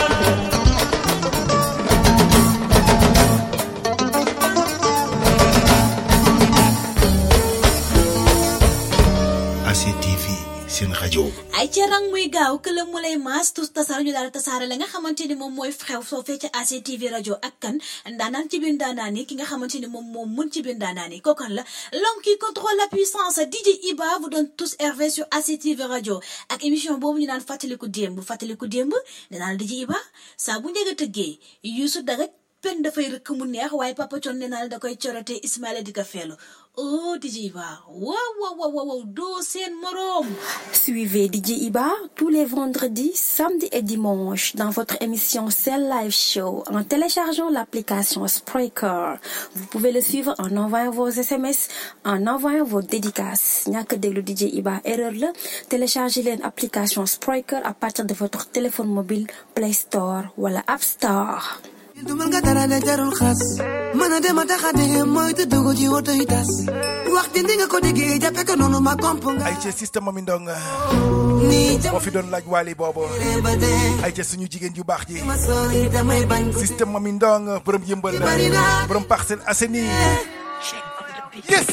Speaker 7: A C T V seen rajo.
Speaker 9: ay ca rang muy gaaw këlam mu lay maas tus tasaar ñu daal tasaare la nga xamante ni moom mooy xew soo fee ca A C T V rajo ak kan ndaanaan ci biir ndaanaan yi ki nga xamante ni moom moom mun ci biir ndaanaan yi kookan la l'homme qui contrôle la puissance D J Iba vous donne tous R V sur A C T V rajo ak émission boobu ñu naan fàttaliku démb fàttaliku démb danaan D J Iba saa bu njëkk a tëggee Youssou Daga pen dafay rëkk mu neex waaye Papa Thione nee naa da koy corote Ismaïla di ko feelu oh D J Iba waaw waaw waaw waaw doo seen moroom.
Speaker 8: Suivez D J Iba tous les vendredis, samedis et dimanches dans votre émission Cell Live Show en téléchargeant l'application Spreaker. Vous pouvez le suivre en envoyant vos S M S, en envoyant vos dédicaces. ñàkk déglu D J Iba erreur la téléchargez leen application Spreaker à partir de votre téléphone mobile Play Store wala App Store.
Speaker 16: dumal nga dara de jarul xas mën a dem a tax a dégg mooy te dugg ci woto yi tas wax di nga ko déggee jàppe ko noonu ma komp nga
Speaker 12: ay ca système Mami Ndong moo fi doon laaj waali boobu ay ca suñu jigéen ju baax ji système Mami Ndong borom yëmbal borom Parcelles Assainies yes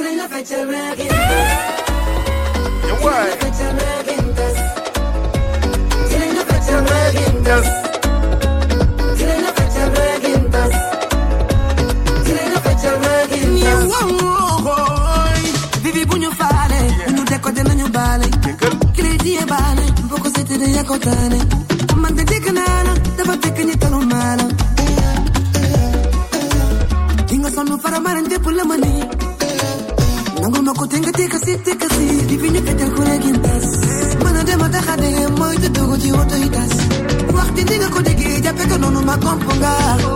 Speaker 12: yow waay yes
Speaker 16: Vivi bu ñu faale ñu décoder nañu baale crédit yi baale boko sété de yakotaane man de dégg naa la dafa fekk ñi talu maala ki nga sonn fara maran dépp la ma ni nangul ma ko te nga teka si teka si di fi ñu fekkal ku regin tas mën a dem a taxade mooy te dogo ci woto yi tas wax di nga ko déggee jàppe ko noonu ma komp nga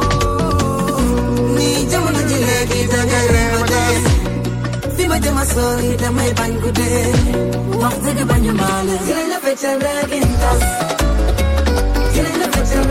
Speaker 16: ni jamono ji léegi da ngay reewate fi ma jëma sori damay bañ guddee wax dëgg bañu maale jëlee la feccal regin tas jëlee la feccal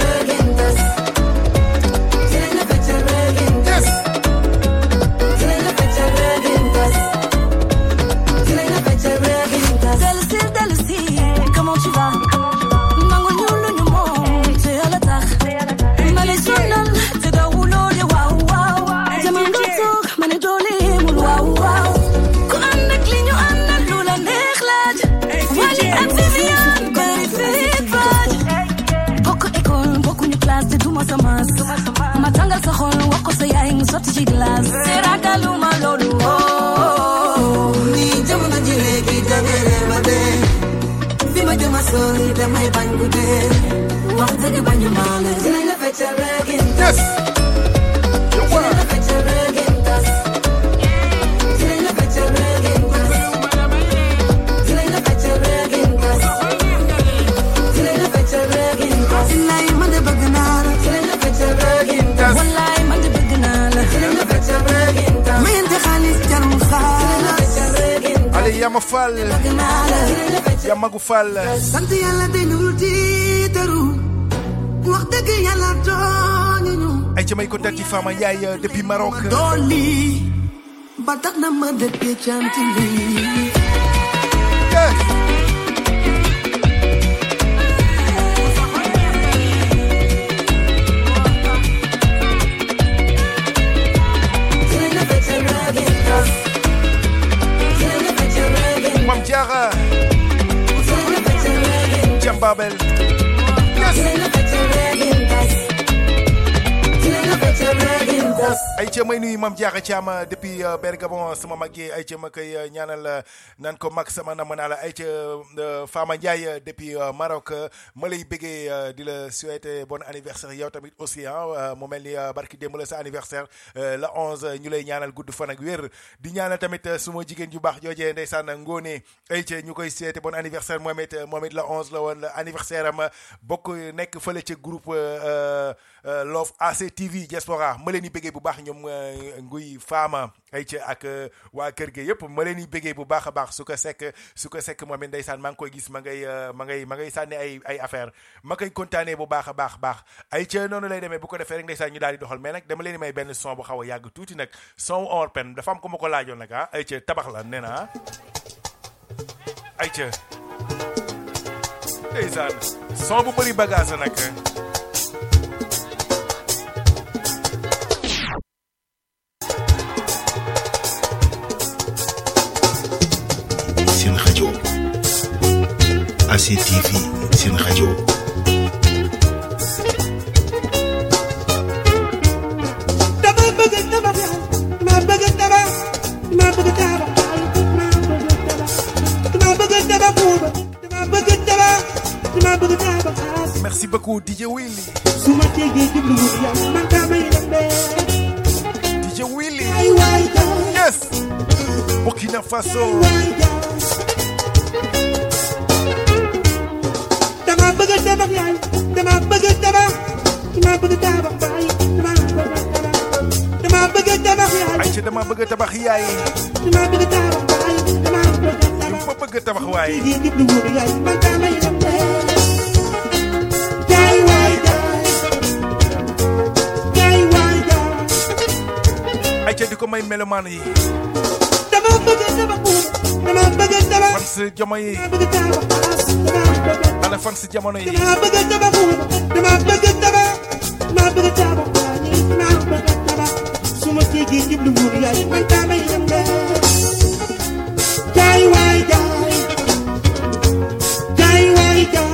Speaker 4: sotti ci glace te ragaluma loolu oh ni jamono ji léegi dangere ba dee fi ma jëma sori damay bañ ku dee wax dëgg bañu maa la dinañ la feccal reggae tas dinañ la feccal reggae tas dinañ la feccal reggae tas dinañ la feccal reggae tas dinañ la feccal reggae tas wallaay man de bëgg naa la dinañ la feccal reggae tas wallaay man de bëgg naa la dinañ la feccal reggae tas mayante xaalis jarul xaalis
Speaker 12: Allez, Yama Fall, Yamagu Fall.
Speaker 4: sant yàlla dañu tiitaru wax dëgg yàlla tooñu
Speaker 12: ay ci may kontaan ci Fama Ndiaye depuis Maroc.
Speaker 4: dooli ba tax na ma dëkkee cant lii
Speaker 12: Mam Diarra Jambabel ay ca may nuyu Mam Diarra Thiam depuis Bergamo sama mag yi ay ca ma koy ñaanal nan ko mag sama nam naa la ay ca Fama Ndiaye depuis Maroc ma lay bëggee di la souhaiter bon anniversaire yow tamit aussi ah mu mel ni barki démb la sa anniversaire la onze ñu lay ñaanal gudd fan ak wér di ñaanal tamit suma jigéen ju baax joojee ndeysaan Ngone ay ca ñu koy souhaiter bon anniversaire moom it moom it la onze la woon anniversaire am bokk nekk fële ca groupe Love A C T V Diaspora ma leen di bëggee bu baax ñoom nguy Fama ay ca ak waa kër ga yëpp ma leen di bëggee bu baax a baax su ko sekk su ko sekk moom it ndeysaan maa ngi koy gis ma ngay ma ngay ma ngay sànni ay ay affaire ma koy kontaanee bu baax a baax baax ay ca noonu lay demee bu ko defee rek ndeysaan ñu daal di doxal mais nag dama leen di may benn son bu xaw a yàgg tuuti nag son or pen dafa am ko ma ko laajoon nag ah ay ca tabax la nee na ay ca ndeysaan son bu bëri bagage nag
Speaker 7: seen rajo A C T V seen rajo
Speaker 15: dama bëgg tabax ma bëgg tabax ma bëgg tabax dama bëgg tabax dama bëgg tabax dama bëgg tabax
Speaker 12: merci beaucoup D J Willy
Speaker 15: suma tegee jublu yàlla man dama yembe
Speaker 12: D J Willy
Speaker 15: ay waay
Speaker 12: yes Burkina Faso
Speaker 15: dama bëgg tabax yaay dama bëgg tabax dama bëgg tabax baay dama bëgg tabax dama bëgg tabax yaay
Speaker 12: ay ca dama bëgg tabax yaay
Speaker 15: dama bëgg tabax baay dama bëgg tabax
Speaker 12: ma bëgg tabax waay
Speaker 15: di jublu wóor yaay man dama yembe yaay waay yaay waay
Speaker 12: ay ca di ko may melomaan yi
Speaker 15: dama bëgg tabax dama bëgg tabax
Speaker 12: fan si jamono yi
Speaker 15: bëgg tabax
Speaker 12: ana fan si jamono yi
Speaker 15: dama bëgg tabax dama bëgg tabax dama bëgg tabax dama bëgg tabax suma tegee jublu wóor yaay man dama yembe yaay waay yaay yaay waay yaay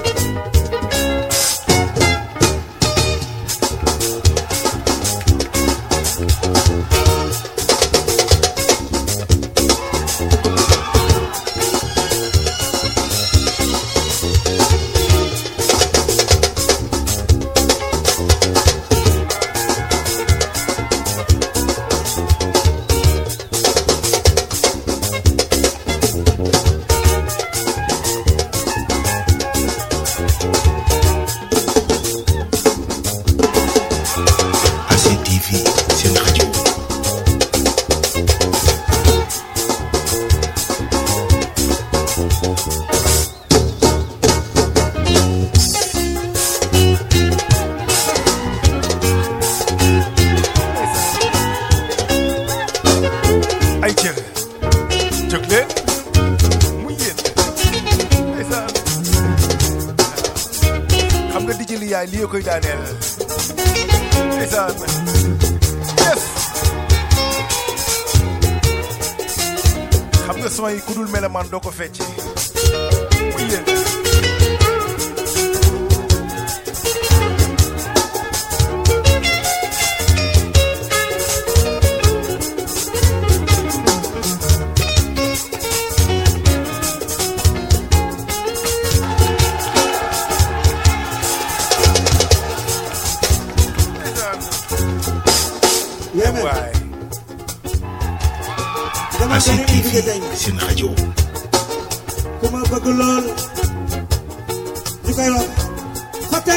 Speaker 12: lii koy daaneel ndeysaan yes xam nga son yi ku dul melaman doo ko fecce muy yéen Yeah, man.
Speaker 7: A C T V seen rajo.
Speaker 14: ku ma bëgg lool ñu koy wax Fata.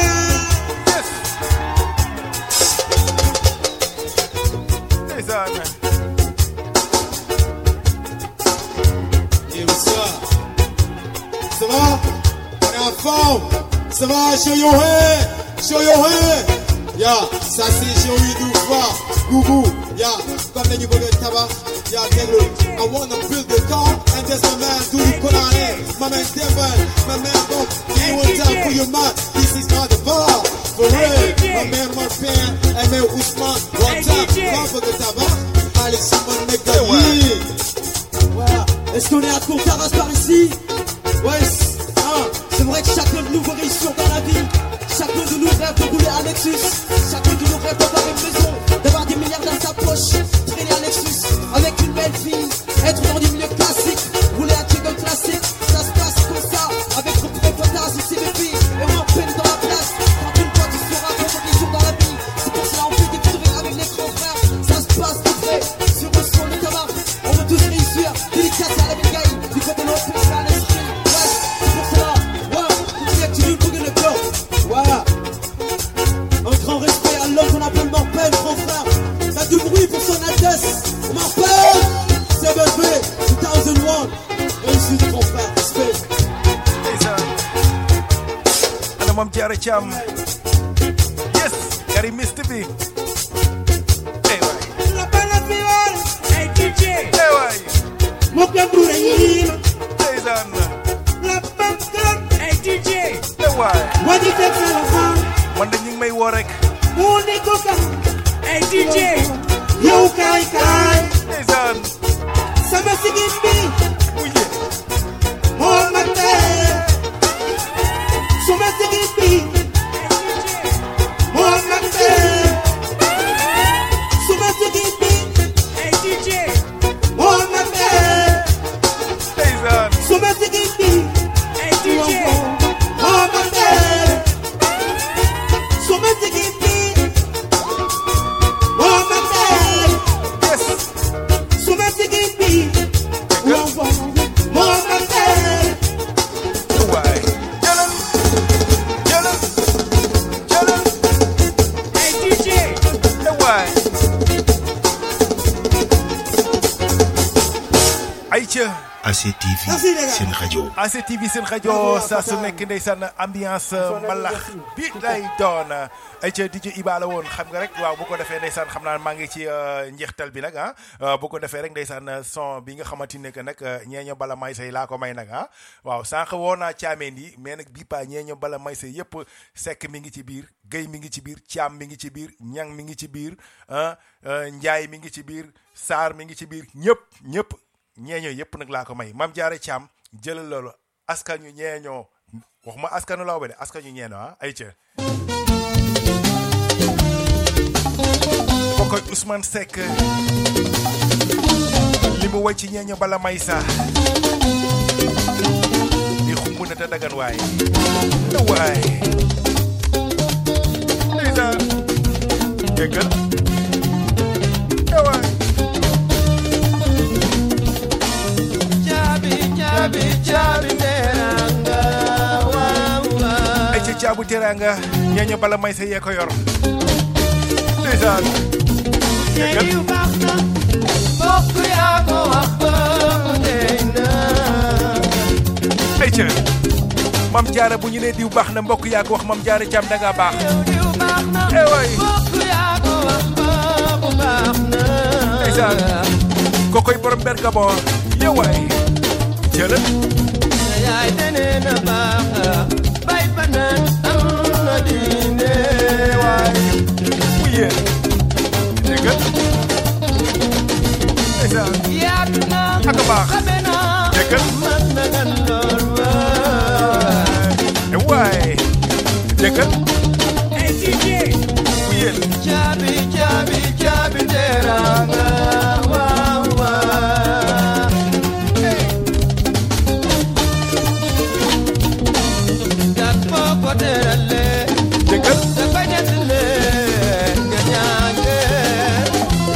Speaker 15: Et bonsoir. Ça va? On est en forme. Ça va? Show your hand. Show your hand. Yeah, ça c'est Joey Doufa. Gougou. Yeah, comme les nouveaux tabac. Yeah, Negro. I wanna build the car and there's my man Dudu Konane. My man Devon. My man Bob. You want time for your man. This is not the bar. For real. My man Marpin. And man Ousmane. One time. Come for the tabac. Allez, someone make the heat.
Speaker 16: Voilà. Est-ce qu'on est à Contaras par ici? Ouais, hein. C'est vrai que chacun de nous veut réussir dans la vie. Chacun de nous rêve de rouler à Lexus. Chacun de nous rêve d'avoir une maison, d'avoir des milliards dans sa poche, traîner à Lexus avec une belle fille, être dans du milieu classique, rouler à Jingle classique. Ça se passe comme ça, avec trop de potas ou C V P, et on en peine dans la place. Quand une fois tu seras compétition dans la vie, c'est pour cela on fait des conneries avec les grands frères. Ça se passe tout près, sur le son de Tamar. On veut tous réussir, délicat à la Belgaï, du côté de l'autre, c'est à l'esprit. Ouais, c'est pour cela, ouais, tu dis que tu veux bouger le corps. Voilà. Un grand respect à l'homme qu'on appelle Morpel, grand frère. Faites du bruit pour son Altesse. Morpel, c'est B B, deux mille un. Réussite, grand frère, respect.
Speaker 12: Ana Mame Diarra Thiam. Yes, Gary Mister B. Hey, waay.
Speaker 14: La bala viol. Hey, D J.
Speaker 12: Hey, waay.
Speaker 14: Mokya Brure Yima.
Speaker 12: Hey, Zan.
Speaker 14: La Bamkan. Hey, D J.
Speaker 12: Hey, waay.
Speaker 14: Wadi Tekala.
Speaker 12: Man de ñu ngi may woo rek.
Speaker 14: Mu ne ko kam. Hey, D J. Yow kay kay.
Speaker 12: Hey, Zan.
Speaker 14: Sama sigin bi.
Speaker 12: Uye.
Speaker 14: Mo mate. Sama sigin bi. Mo mate. Sama sigin bi. Hey, D J. Mo mate.
Speaker 12: Hey, Zan.
Speaker 14: Sama sigin bi. Hey, D J. Mo mate. Sama sigin bi. Mo mate.
Speaker 12: Yes.
Speaker 14: Sama sigin bi. Mo mate.
Speaker 12: Waay. Jëlal. Jëlal. Jëlal.
Speaker 14: Hey, D J.
Speaker 12: Hey, waay. Aïcha.
Speaker 7: A C T V seen rajo.
Speaker 12: A C T V seen rajo saa su nekk ndeysaan ambiance mbalax bi lay doon ay ca D J Iba la woon xam nga rek waaw bu ko defee ndeysaan xam naa maa ngi ci njeextal bi nag ah bu ko defee rek ndeysaan son bi nga xamante ne que nag ñeeño bala may say laa ko may nag ah waaw sànq woo naa caameen yi mais nag bii paa ñeeño bala may say yëpp sekk mi ngi ci biir Guèye mi ngi ci biir Thiam mi ngi ci biir Ñang mi ngi ci biir ah Njaay mi ngi ci biir Saar mi ngi ci biir ñëpp ñëpp ñeeño yëpp nag laa ko may Mame Diarra Thiam jëlal loolu askan ñu ñeeñoo waxuma askanu lawbe de askan ñu ñeeñoo ah ay ca kookoy Ousmane Seck li mu way ci ñeeño bala may sa di xumb na te dagan waay na waay ndeysaan jéggal na waay
Speaker 15: Chabi chabi teranga wawa.
Speaker 12: ay ci caabu teranga ñeeño bala may sa yee ko yor ndeysaan jéggal
Speaker 15: Yu baax na bokk yaa ko wax bokk dey na.
Speaker 12: ay ca Mame Diarra bu ñu nee diw baax na mbokk yaa ko wax Mame Diarra Thiam da nga baax
Speaker 15: Diw baax na
Speaker 12: eh waay
Speaker 15: bokk yaa ko wax bokk baax na.
Speaker 12: ndeysaan kookoy borom Bergamo yow waay jëlal
Speaker 15: Yaay dene na baax bay banan am na diine waay.
Speaker 12: mu yéen déggal ndeysaan
Speaker 15: Yaatu na
Speaker 12: ak a baax
Speaker 15: xame na
Speaker 12: déggal
Speaker 15: man na gan lool waay.
Speaker 12: eh waay déggal
Speaker 14: Hey, D J.
Speaker 12: mu yéen
Speaker 15: Chabi chabi chabi teranga wawa. Gat boko terale
Speaker 12: déggal
Speaker 15: da bañatale nga ñaange.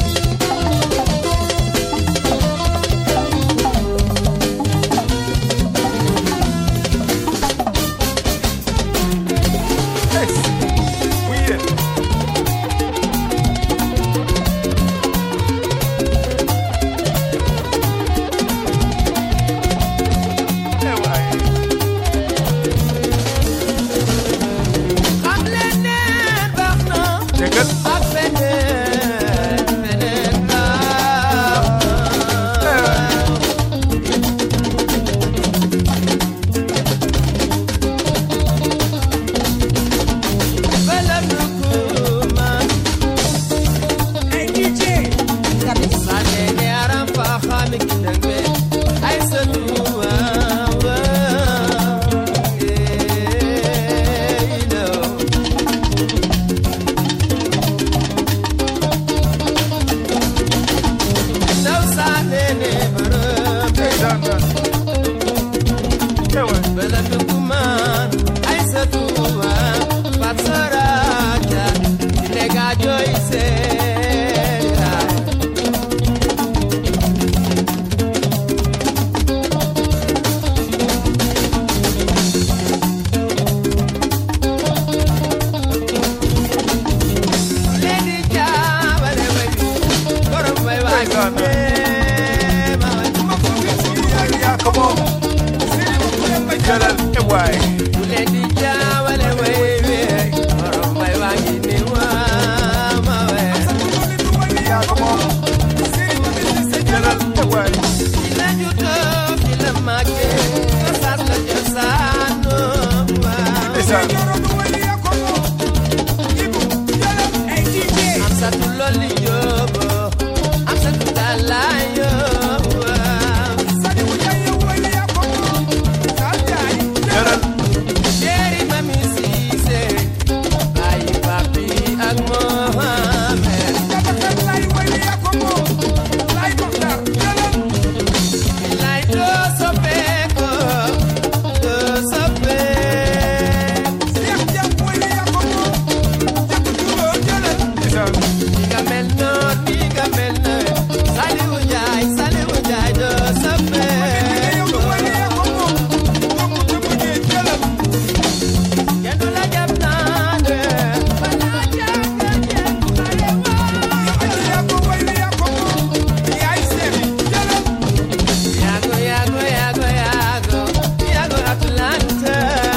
Speaker 12: yaa ko moom jalal e waay
Speaker 14: bu leen di jaawale way wi borom bay waa ngi ni waa ma we
Speaker 12: yaa ko moom jalal e waay
Speaker 14: fi la juddoo fi la màggee cosaan la cosaanu
Speaker 12: ndeysaan
Speaker 14: am satu lolli joobo am satu dalayo Jerry Mami Cissé Baye Papi ak Mohamed Lay do soppeeko do soppeeko Diga mel noon diga mel noon Saliwu Njaay Saliwu Njaay do soppeeko Kenn du la jàpp naa de wala jàpp Yago yago yago yago yago Atlanta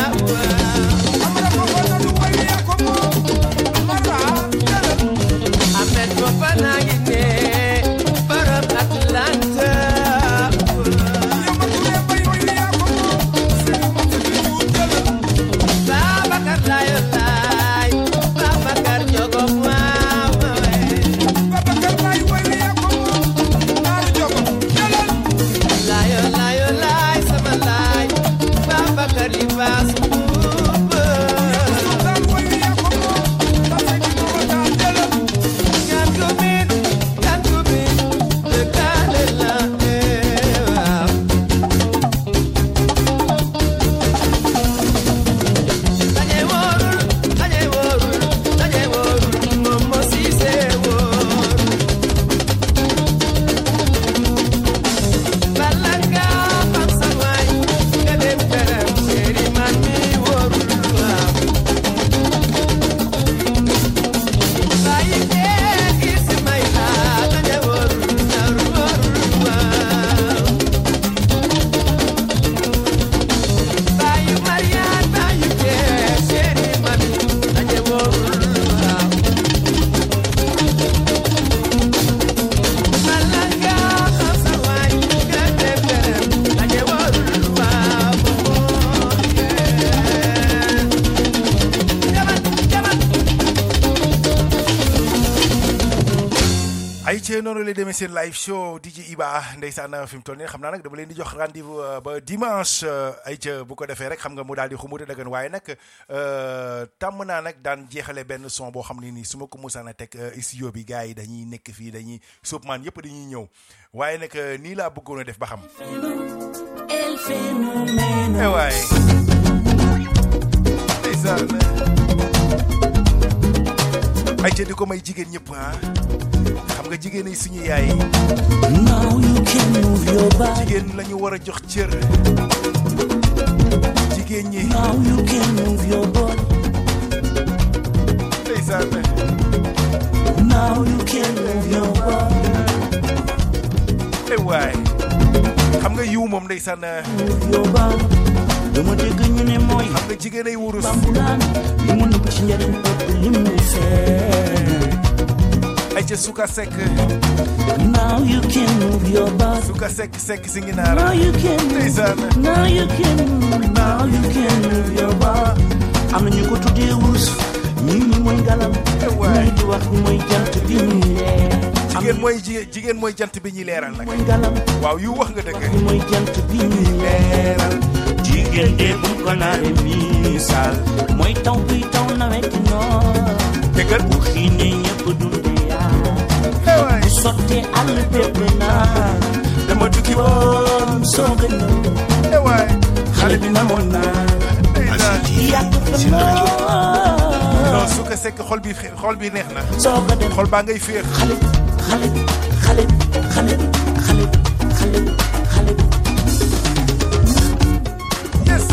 Speaker 14: Ahmed Fofana ngi ne borom Atlanta Babacar layo lay Babacar jogo waaw layo layo lay sama lay Babacar li baas buuba Gan ko min gan ko min de kale la waaw dañe wóorul dañe wóorul dañe wóorul moom moo siise wóor bala nga xam sa waay nga dem këram séeri man mi wóorul waaw bàyyi kee Ismaïla dañe wóorul naru wóorul waaw bàyyi Mariane bàyyi kee séeri man dañe wóorul waaw bala nga xam sa waay nga dem këram dañe wóorul waaw
Speaker 12: ay ci noonu lay demee seen live show D J Iba ndeysaan fi mu toll nii xam naa nag dama leen di jox rendez-vous euh, ba dimanche euh, ay ca bu ko defee rek xam nga mu daal di xumuta dëggan waaye nag euh, tàmm naa nag daan jeexale benn son boo xam ne nii su ma ko musaan a teg euh, studio bi gars yi dañuy nekk fii dañuy soupman yëpp dañuy ñëw waaye nag euh, nii laa bëggoon a def ba xam
Speaker 4: El fenomeno.
Speaker 12: eh waay ndeysaan ay ca di ko may jigéen ñëpp ah xam nga jigéen ay suñu yaay
Speaker 4: Now you can move your body.
Speaker 12: jigéen lañu war a jox cër jigéen ñi
Speaker 4: Now you can move your body.
Speaker 12: ndeysaan
Speaker 4: Now you can move your body.
Speaker 12: eh waay xam nga yiw moom ndeysaan
Speaker 4: Move your body. Dama dégg ñu ne mooy
Speaker 12: xam nga jigéen ay wurus
Speaker 4: bambulaan li mu nëbb ci njëriñ ëpp li mu feeñ.
Speaker 12: ay ca suka sekk
Speaker 4: Now you can move your body.
Speaker 12: suka sekk sekk si ngi
Speaker 4: Now
Speaker 12: naara
Speaker 4: you can
Speaker 12: ndeysaan
Speaker 4: Now you can Now you can move your body. Am na ñu ko tuddee wurus ñii ñi mooy ngalam ñii di wax ni mooy jant bi ñuy leer.
Speaker 12: jigéen mooy ji- jigéen mooy jant bi ñuy leeral nag
Speaker 4: mooy ngalam
Speaker 12: waaw yu wax nga dëgg
Speaker 4: mooy jant bi ñuy leeral. jigéen de bu ko naaree misaal mooy taw bi taw nawet noor.
Speaker 12: dëggal
Speaker 4: bu xiinee ñëpp dundee yaa. bu sottee àll bépp naa. dama tukki woon soog a ñëw.
Speaker 12: waay
Speaker 4: xale bi namoon naa. yàgg fa lool.
Speaker 12: non suka sekk xol bi xol bi neex na
Speaker 4: soog a dem
Speaker 12: xol baa ngay féex
Speaker 4: xale xale xale xale xale xale xale.
Speaker 12: yes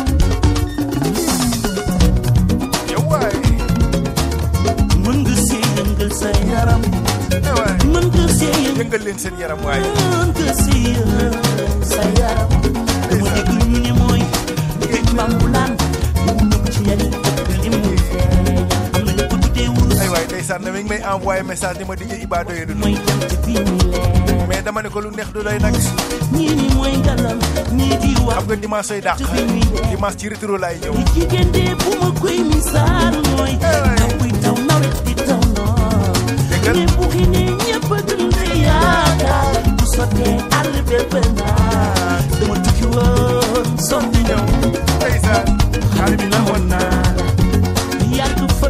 Speaker 12: yow waay
Speaker 4: mën nga sëy
Speaker 15: yëngal sa yaram mën nga see
Speaker 12: yëngal leen seen yaram waaye
Speaker 15: mën nga see sa yaram dama dégg ñu ne mooy géej mbambulaan mu nekk ci yari li mu feeñ am na ñu ko tuddee wurus
Speaker 12: ay waay ndeysaan na mi ngi may envoyé message ni ma di Iba doye du
Speaker 15: mooy jam ci bii mi leen
Speaker 12: mais dama ne ko lu neex du doy nag
Speaker 15: ñii ni mooy ngalam ñii di wax
Speaker 12: xam nga dimanche sooy dàq dimanche ci retour laay ñëw
Speaker 15: li jigéen de bu ma koy misaal mooy taw buy taw nawet di taw noor ne bu xinee ñëpp a dund yaakaar bu sottee àll bépp naa dama tukki woon sotti ñëw
Speaker 12: ndeysaan xale bi namoon naa
Speaker 15: la yàgg fa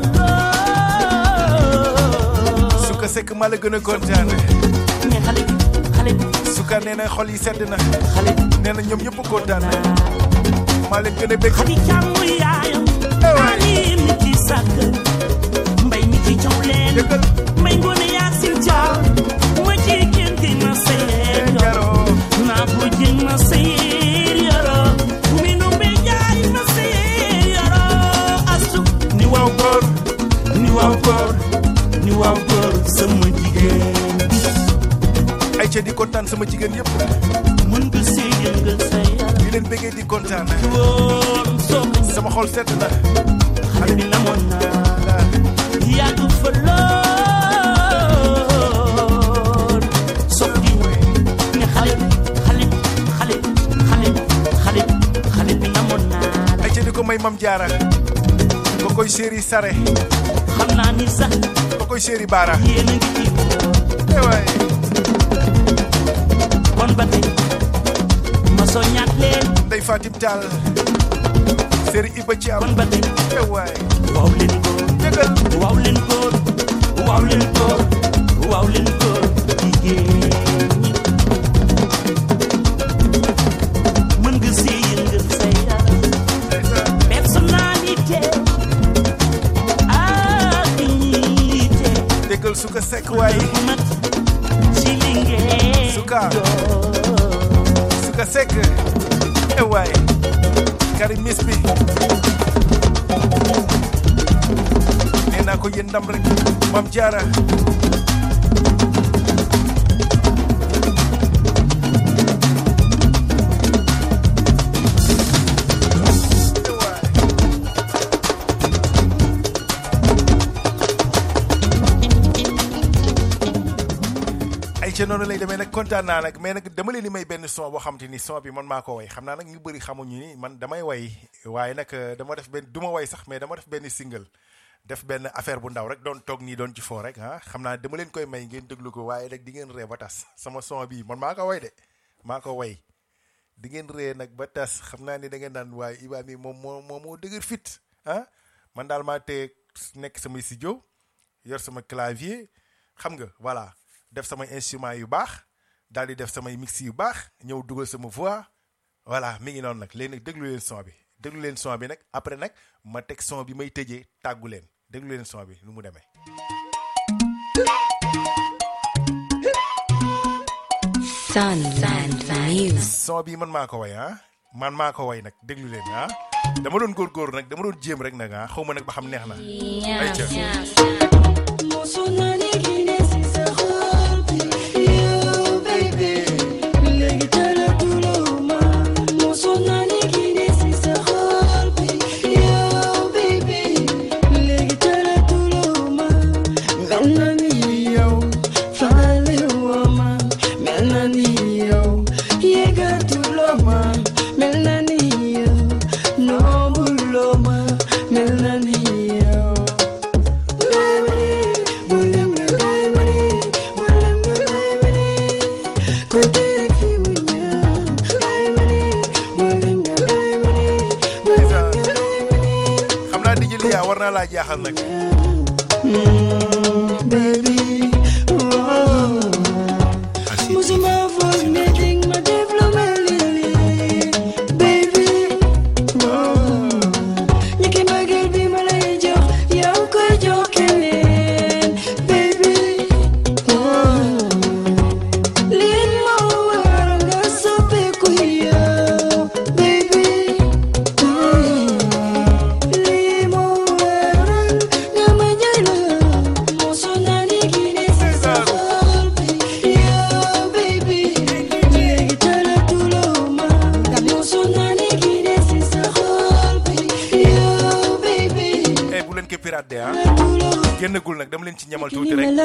Speaker 15: lool
Speaker 12: su ko sekk ma la gën a kontaan
Speaker 15: ne xale bi xale bi
Speaker 12: suka nee na xol yi sedd na
Speaker 15: xale bi
Speaker 12: nee na ñoom ñëpp kontaan maa leen gën a bëgg
Speaker 15: xadi jàmm yaayam ali mi ci sàkk mbay mi ci caw leen mbay ngoone yaasin caw ma ci génte ma seyeer yoro naa ko jën ma seyeer yoro mi nu mbe jaay ma seyeer yoro asu ni waaw góor ni waaw góor ni waaw góor sama jigéen
Speaker 12: ay ca di kontaan sama jigéen yëpp
Speaker 15: mën nga see yëngal sa yaram
Speaker 12: di leen bëggee di kontaan sama xol sedd na
Speaker 15: xale bi namoon naa yàgg fa lool soppi ne xale xale xale xale xale xale bi namoon naa
Speaker 12: ay ca di ko may mam jaara ko koy séeri sare
Speaker 15: xam naa ni sax
Speaker 12: ko koy séeri baara
Speaker 15: yéen a ngi ci
Speaker 12: waay
Speaker 15: kon ba tey ma soññaat leen
Speaker 12: Ndey Fatim Tall séeri Iba ci am
Speaker 15: kon ba tey
Speaker 12: waay
Speaker 15: waaw leen góor
Speaker 12: dëggal
Speaker 15: waaw leen góor waaw leen góor waaw leen góor jigéen ñi mën nga see yëngal sa yaram personnalité ak dignité
Speaker 12: dëggal su ko sekk waay
Speaker 15: ci li ngeen
Speaker 12: suka suka sekk e waay Karim Miss bi nee naa ko yéen ndam rek Mam Jaara ca noonu lay demee nag kontaan naa nag mais nag dama leen di may benn son boo xam te ni son bi man maa ko way xam naa nag ñu bëri xamuñu ni man damay way waaye nag dama def benn du ma way sax mais dama def benn single def benn affaire bu ndaw rek doon toog nii doon ci foo rek ah xam naa dama leen koy may ngeen déglu ko waaye nag di ngeen ree ba tas sama son bii man maa ko way de maa ko way di ngeen ree nag ba tas xam naa ni da ngeen naan waaye Iba mi moom moo moo moo dëgër fit ah man daal maa tee nekk samay studio yor sama clavier xam nga voilà def samay instrument yu baax daal di def samay mix yu baax ñëw dugal sama voix voilà mi ngi noonu nag léegi nag déglu leen son bi déglu leen son bi nag après nag ma teg son bi may tëjee tàggu leen déglu leen son bi nu mu demee.
Speaker 21: Sunland Music.
Speaker 12: son bi man maa ko way ah man maa ko way nag déglu leen ah dama doon góorgóorlu nag dama doon jéem rek nag ah xaw ma nag ba xam neex na. ayca. jaaxal nag
Speaker 15: baby oh musuma foog ne ding ma def lu mel nii baby oh ñi ki mbëggeel bi ma lay jox yow koy jox keneen baby oh lii moo war nga soppeeku yow baby oh lii moo war nga ma jaay la
Speaker 12: génnagul nag dama leen ci ñamal tuuti rek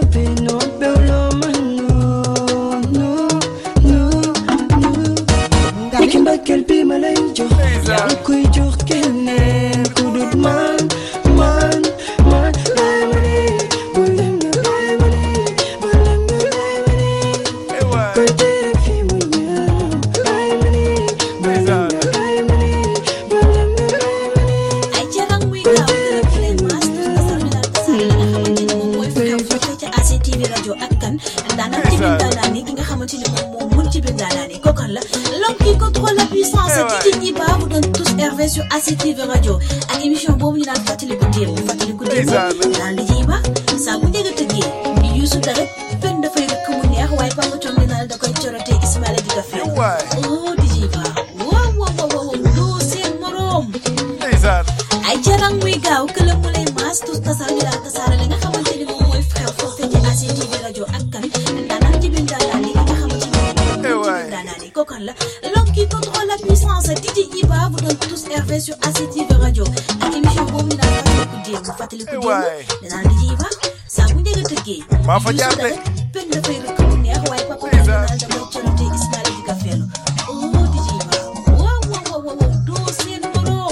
Speaker 14: Niki mbëggeel bi ma lay jox yaa ngi koy jox keneen ku dut man man man lay ma nii bu leen nga lay ma nii bu leen nga lay ma nii koy tere fi mu ñëw lay ma nii bu leen nga lay ma nii bu leen nga lay ma nii
Speaker 9: ay jarang muy gaaw gërëm leen maas tasar ñu daal tasar la nga xamante ni moom mooy xew fekk ca A C T V rajo ak kan daanaka ci biir daanaa ni ki nga xamante ni moom moom mun ci biir daanaa ni kookan la l'homme qui contrôle la puissance D J Iba vous donne tous Hervé sur A C T V radio ak émission boobu ñu daan fàttaliku démb fàttaliku démb naan D J Iba saa bu njëkk a tëggee Youssou dara fen dafay rëkk mu neex waaye Papa Thion ne naa da koy corote Ismaïla di ko fay oh D J Iba waaw waaw waaw doo seen morom ay jarang muy gaaw këla mu lay maas tous tasaar ñu daan tasaare la nga xamante ni moom mooy frère foofee ci A C T V radio ak kan daanaan ci biir daanaan li nga xamante ni moom mooy daanaan yi kookan la l'homme qui contrôle la puissance D J Iba vous donne tous Hervé sur A C T V radio ak émission boobu ñu daan fàttaliku démb fàttaliku démb danaan D J Iba saa bu njëkk a tëggee
Speaker 12: maa fa jaar de
Speaker 9: pen dafay rëkk mu neex waaye papa daal damay corote Ismaïla di ko feelu oh D J Iba waaw waaw waaw doo seen morom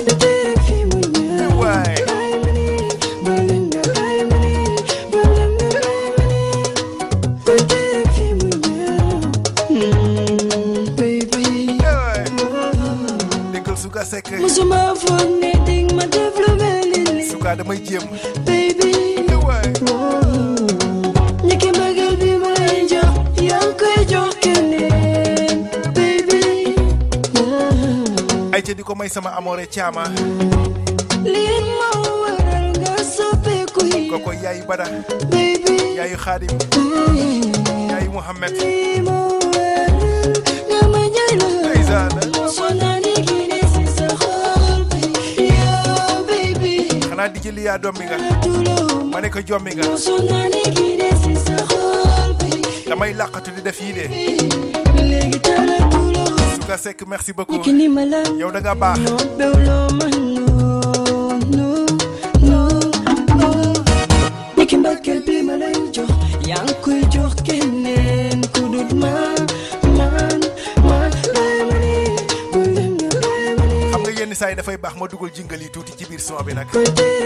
Speaker 12: Suka Seck
Speaker 14: musuma foog ne ding ma def lu mel ni
Speaker 12: Suka damay jéem
Speaker 14: baby ñiki mbëggeel bi ma lay jox yaa ngi koy jox keneen baby
Speaker 12: ay ca di ko may sama amoore caama
Speaker 14: lii ma waral nga soppeeku yi
Speaker 12: koko yaayu Bada
Speaker 14: baby
Speaker 12: yaayu Xaadim yaayu Muhammad
Speaker 14: nga ma ñay la
Speaker 12: xanaa di jëli yaa dommi nga ma ne ko jommi nga damay làqatu di def yii de Suka Seck merci beaucoup yow da nga baax
Speaker 14: niki mbëggeel bi ma lay jox yaa ngi koy jox keneen ku dut man man man lay ma nii bu leen nga lay ma nii
Speaker 12: xam nga yenn saa yi dafay baax ma dugal jingle yi tuuti ci biir son bi nag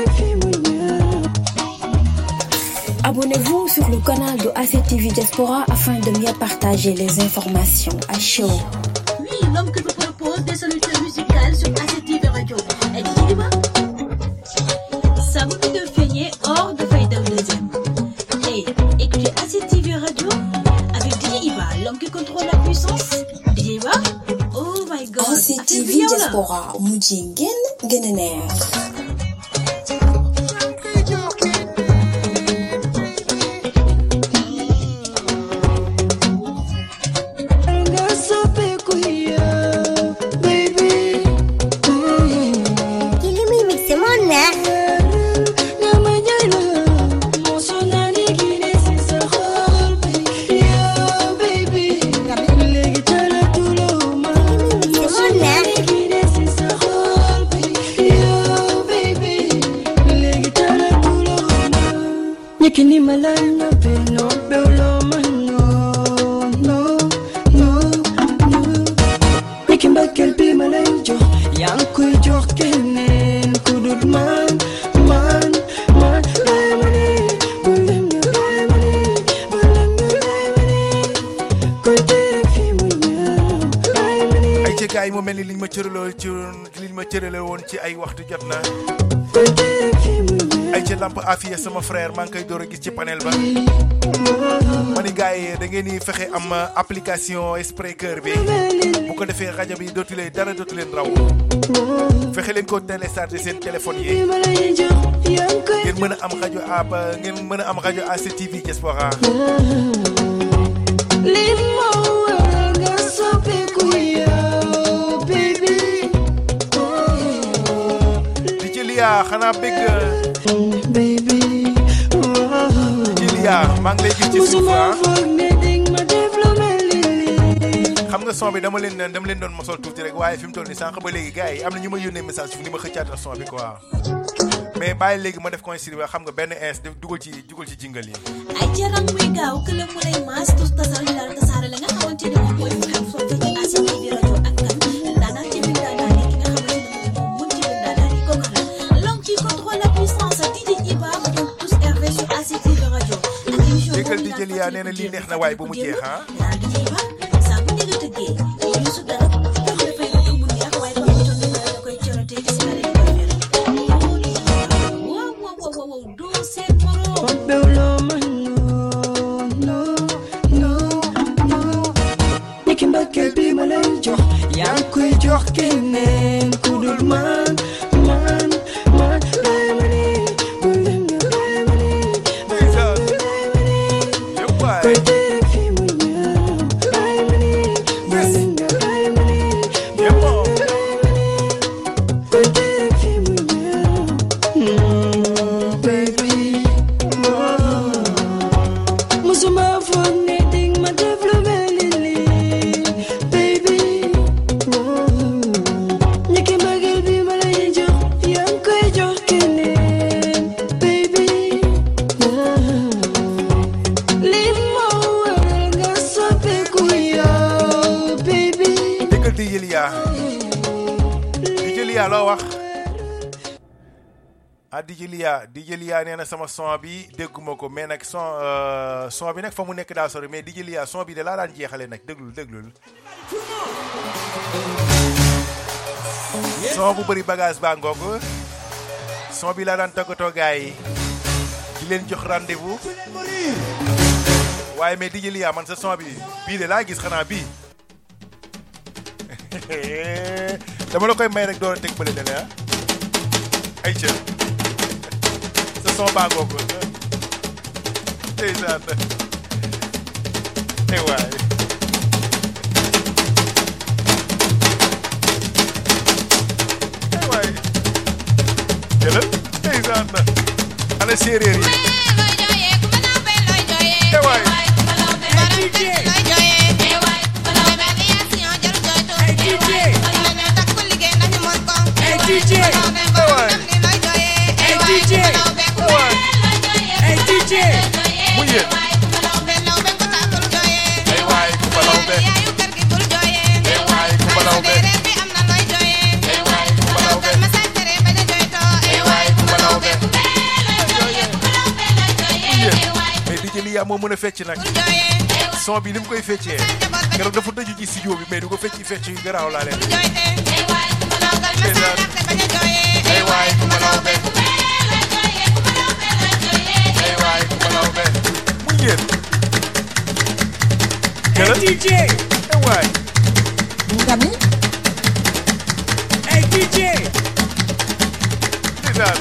Speaker 8: Abonnez-vous sur le canal de A C T V Diaspora afin de mieux partager les informations à chaud.
Speaker 9: Oui, l'homme qui vous propose des solutions musicales sur A C T V radio et D J Iba ça vous dit de feigner hors de faille d'un deuxième et écoutez A C T V radio avec D J Iba l'homme qui contrôle la puissance D J Iba oh my god
Speaker 8: A C T V Diaspora mujj ngeen gën a neex.
Speaker 14: Kini malanya peno beolo mano no no no niki mbëggeel bi ma lay jox yaa ngi koy jox keneen ku dut man man man lay ma nii bu leen nga lay ma nii bu leen nga lay ma nii koy tere fi mu ñëw lay ma nii
Speaker 12: ay ci gaay yi mu mel ni liñ ma cëraloo ci liñ ma cërale woon ci ay waxtu jot na ay ci lamp afiya sama frère maa ngi koy door a gis ci panel ba ma ni gars yi da ngeen di fexe am application Spreaker bi bu ko defee rajo bi dootu leen dara dootu leen raw fexe leen ko télécharger seen téléphone yi ngeen mën a am rajo ab ngeen mën a am rajo A C T V Diaspora di ci liyaa xanaa bëgg
Speaker 14: baby
Speaker 12: Jilia maa ngi lay gis ci suuf xam nga son bi dama leen dama leen doon mosol tuuti rek waaye fi mu toll nii sànq ba léegi gars yi am na ñu ma yónnee message fi ni ma xëccaatal son bi quoi mais bàyyi léegi ma def consigne xam nga benn ins dugal ci dugal ci jingle yi
Speaker 9: ay jaram muy gaaw kële mu lay maas tus tasal ñu daal tasaare la nga xamante ni moom mooy xew soo fekk A C T V rajo ak kan daanaan ci biir daanaan yi ki nga xamante ni moom mun ci biir daanaan yi kooku la l'homme qui contrôle la puissance D J Iba donc tous R V sur A C T V rajo ak émission
Speaker 12: déggal di jël yaa nee na lii neex na waaye ba mu jeex ah
Speaker 9: daal D J Iba saa bu njëkk a tëggee ñu su dara dox dafay nekk mu neex waaye ba mu toll da koy corote ci si la
Speaker 14: yaa ngi koy jox keneen ku dul man man man bàyyi ma nii bul dem nga bàyyi ma nii bàyyi ma nii koy tere fi mu ñëw bàyyi ma nii bul dem nga bàyyi ma nii koy tere fi mu ñëw baby musuma foog ne ding ma def lu mel ni lii baby ñeke mbëggeel bi ma lay jox yaa ngi koy jox keneen baby lii moo waral nga soppeeku yow baby
Speaker 12: déggal di jël yaa di jël yaa loo wax ah di jël yaa di jël yaa nee na sama son bi dégguma ko mais nag son son bi nag fa mu nekk daa sori mais di jël yaa son bi de laa daan jeexale nag déglul déglul son bu bëri bagage baa ngoog son bi laa daan tàggatoo gars yi di leen jox rendez-vous waaye mais di jël yaa man sa son bi bii de laa gis xanaa bii dama la koy may rek door a teg bële ne ah ay ca sa son baa ngoog ndeysaan ay waay ay waay jëlal ndeysaan ana séeréer yi ay waay D J hey D J hey D J mu yéen ay waay ku balaw be ay waay ku balaw be ay waay ku balaw be ay waay ku balaw be mais D J Lia moo mën a fecc nag son bi ni mu koy feccee keroog dafa tëju ci studio bi mais du ko fecc fecc yu garaaw laa leen ay waay ku balaw be ay waay ku balaw be mu yéen ay D J ay waay ngami ay D J ndeysaan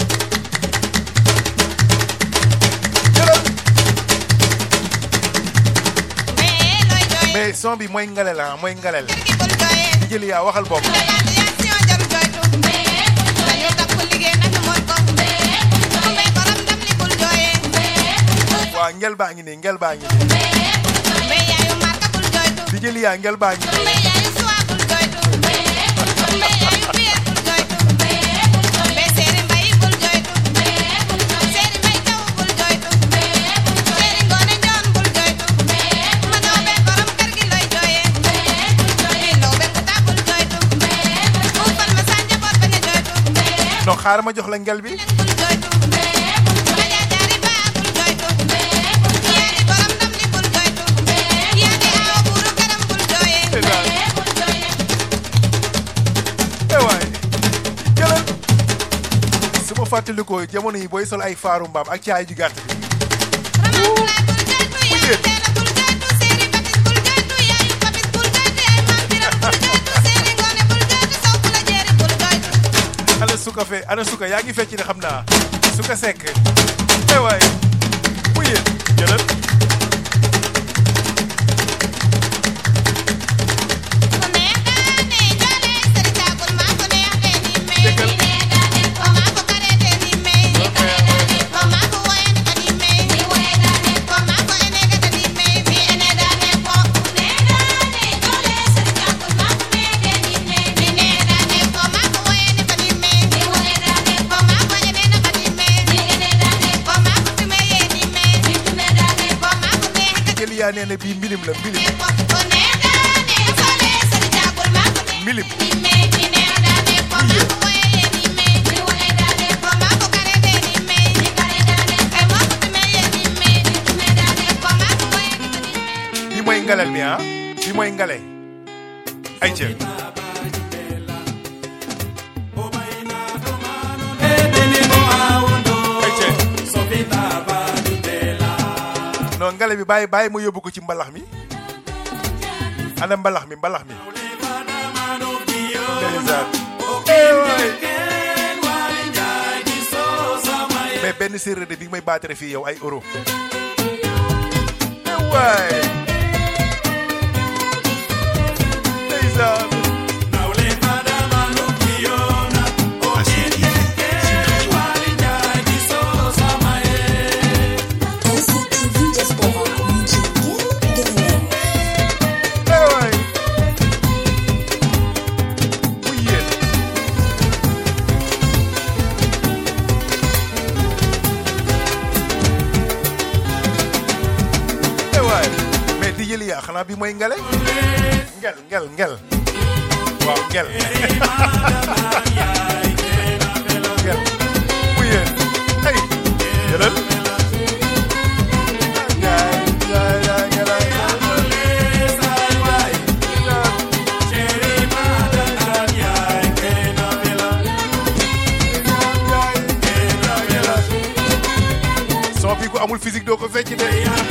Speaker 12: mais son bi mooy ngalel ah mooy ngalel jëli yaa waxal bopp waa ngel baa ngi nii ngel baa ngi nii di jëli yaa ngel baa ngi nii non xaaral ma jox la ngel bi su ma fàttalikoo jamono yi booy sol ay faaru mbaam ak caay ju gàtt bi ana suka fe ana suka yaa ngi fecc ne xam naa suka sekk ay waay mu yéen jëlal Lia nee na bii mbilim la mbilim mbilim bi mooy ngalal bi ah bi mooy ngale ay ca non ngale bi bàyyi bàyyi mu yóbbu ko ci mbalax mi ana mbalax mi mbalax mi mais benn séeréer de bi may baatare fii yow ay euro waay ndeysaan yaa xanaa bi mooy ngale ngel ngel ngel waaw ngel ngel mu yéen ay jëlal soo fi ko amul physique doo ko fecc de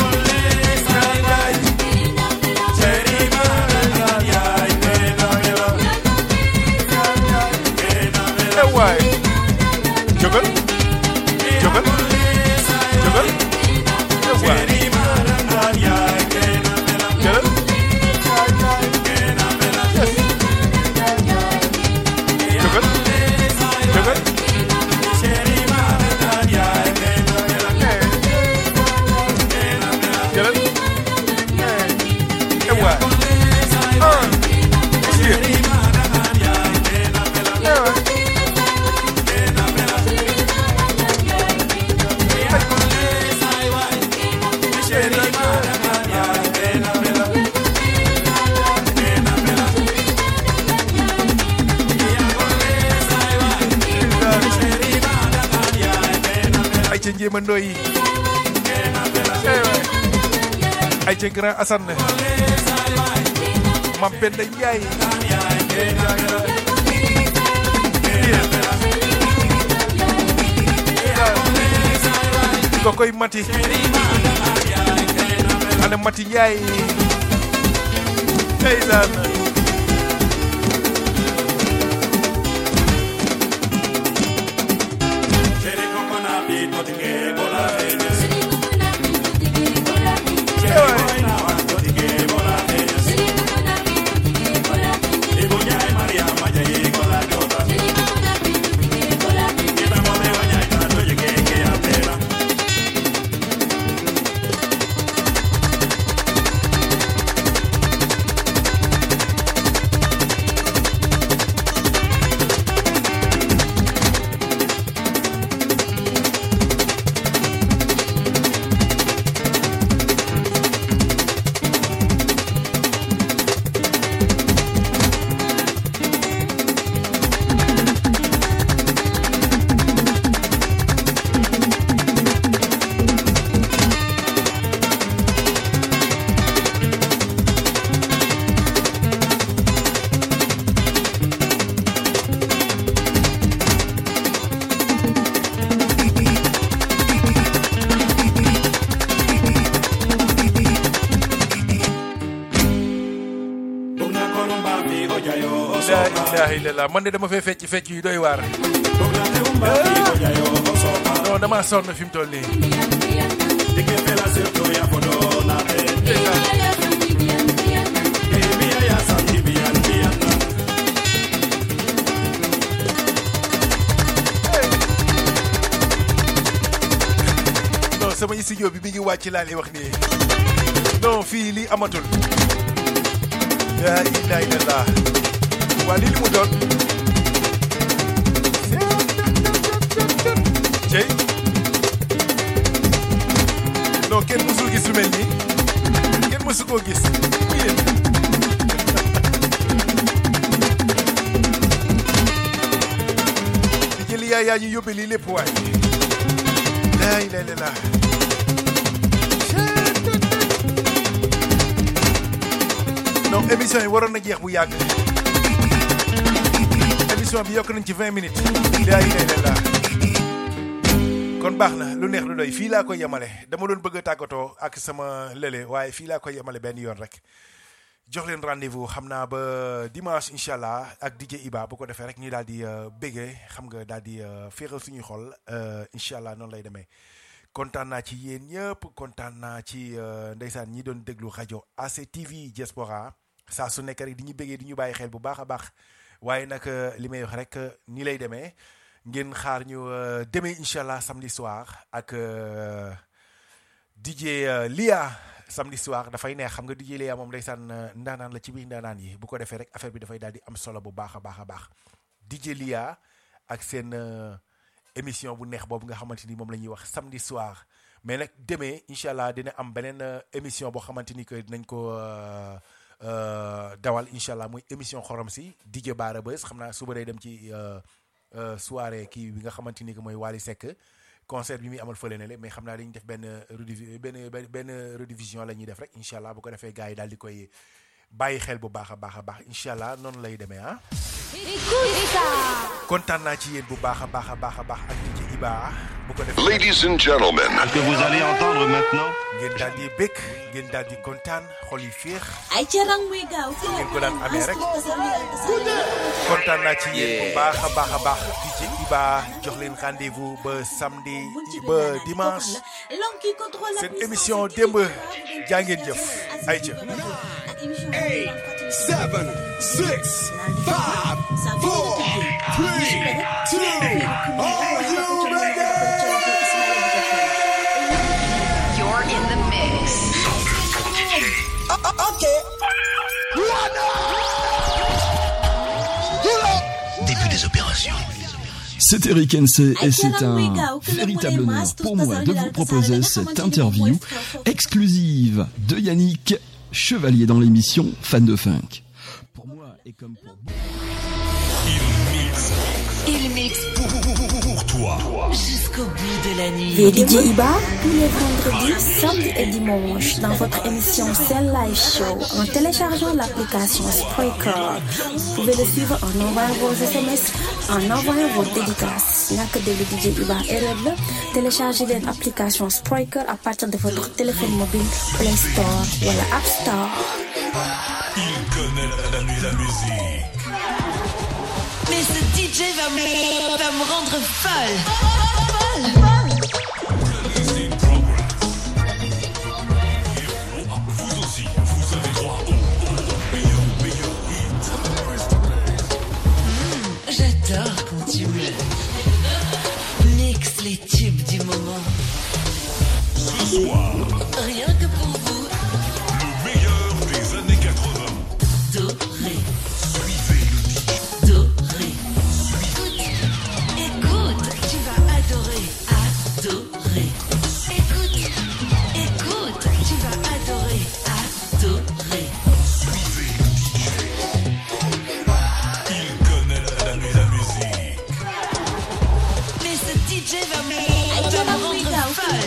Speaker 12: waay jógal jógal jógal waay jëlal jógal jógal jëlal waay ay ca njéema ndoy ay ca grand Assane Mam Penda Njaay ko koy mati ana mati Njaay ndeysaan la man de dama fay fecc fecc yu doy waar non dama sonn fi mu toll nii non sama studio bi mi ngi wàcc laa lay wax nii non fii lii amatul la ilaha illallah waa lii li mu doon cey non kenn musul gis lu mel nii mësu koo gis di jëli yaay yaa ñu yóbbe lii lépp waay laay lay la laa non émission yi waroon na jeex bu yàgg émission bi yokk nañ ci vingt minutes laay lay la laa kon baax na lu neex lu doy fii laa koy yemale dama doon bëgg a tàggatoo ak sama lële waaye fii laa koy yemale benn yoon rek jox leen rendez-vous xam naa ba dimanche incha allah ak D J Iba bu ko defee rek ñu daal di béggee xam nga daal di féexal suñuy xol incha allah noonu lay demee kontaan naa ci yéen ñëpp kontaan naa ci ndeysaan ñi doon déglu rajo A C T V Diaspora saa su nekk rek di ñu béggee di ñu bàyyi xel bu baax a baax waaye nag li may wax rek nii lay demee ngeen xaar ñu demee incha allah samedi soir ak D J Lia samedi soir dafay neex xam nga D J Lia moom ndeysaan ndaanaan la ci biir ndaanaan yi bu ko defee rek affaire bi dafay daal di am solo bu baax a baax a baax D J Lia ak seen émission bu neex boobu nga xamante ni moom la ñuy wax samedi soir mais nag demee incha allah dina am beneen émission boo xamante ni que dinañ ko dawal incha allah muy émission xorom si D J Bara Buzz xam naa suba day dem ci. soirée kii bi nga xamante ni que mooy Wally Seck concert bi muy amal fële ne le mais xam naa dañuy def benn redivi benn benn redivision la ñuy def rek incha allah bu ko defee gars yi daal di koy bàyyi xel bu baax a baax a baax incha allah noonu lay demee ah. kontaan naa ci yéen bu baax a baax a baax a baax ak D J Iba bu ko defee.
Speaker 21: Ladies and gentlemen, ce que vous allez entendre maintenant.
Speaker 12: ngeen daal di bëgg ngeen daal di kontaan xol yi féex.
Speaker 9: ay carang muy gaaw.
Speaker 12: ngeen ko daan amee rek. kontaan naa ci yéen bu baax a baax a baax D J Iba jox leen rendez-vous ba samedi ba dimanche seen émission démb jaa ngeen jëf ay ca.
Speaker 15: eight, seven, six, five, four, three, two, are you ready?
Speaker 22: You're in the mix.
Speaker 15: Okay.
Speaker 21: Début des opérations.
Speaker 1: C'est Eric Hensey et c'est un véritable honneur pour moi de vous proposer cette interview exclusive de Yannick Chevalier dans l'émission Fan de Funk. Pour moi et comme pour vous.
Speaker 22: Il mixe pour, pour toi jusqu'au bout de la nuit.
Speaker 8: Et D J Iba, tous les vendredis, samedis et dimanches, dans votre émission Cell Live Show, en téléchargeant l'application Spreaker. Vous pouvez le suivre en envoyant vos S M S, en envoyant vos dédicaces. Il n'y a que de D J Iba erreur. Téléchargez l'application Spreaker à partir de votre téléphone mobile, Play Store ou la App Store.
Speaker 21: Il connaît la, la, la musique.
Speaker 22: Mais ce D J va me, va me rendre folle. Folle, folle.
Speaker 21: Vous aussi, vous avez droit au, au meilleur, meilleur hit.
Speaker 22: Mmh, j'adore quand tu me mixes les tubes du moment.
Speaker 21: Ce soir,
Speaker 22: rien que pour vous,
Speaker 21: le meilleur des années quatre-vingts.
Speaker 22: Doré.
Speaker 21: Suivez le D J.
Speaker 22: Doré. Écoute, tu vas adorer, adorer. Écoute, écoute, tu vas adorer, adorer.
Speaker 21: Suivez le D J. Il connaît la, la, la musique.
Speaker 22: Mais ce D J va me, va me rendre folle.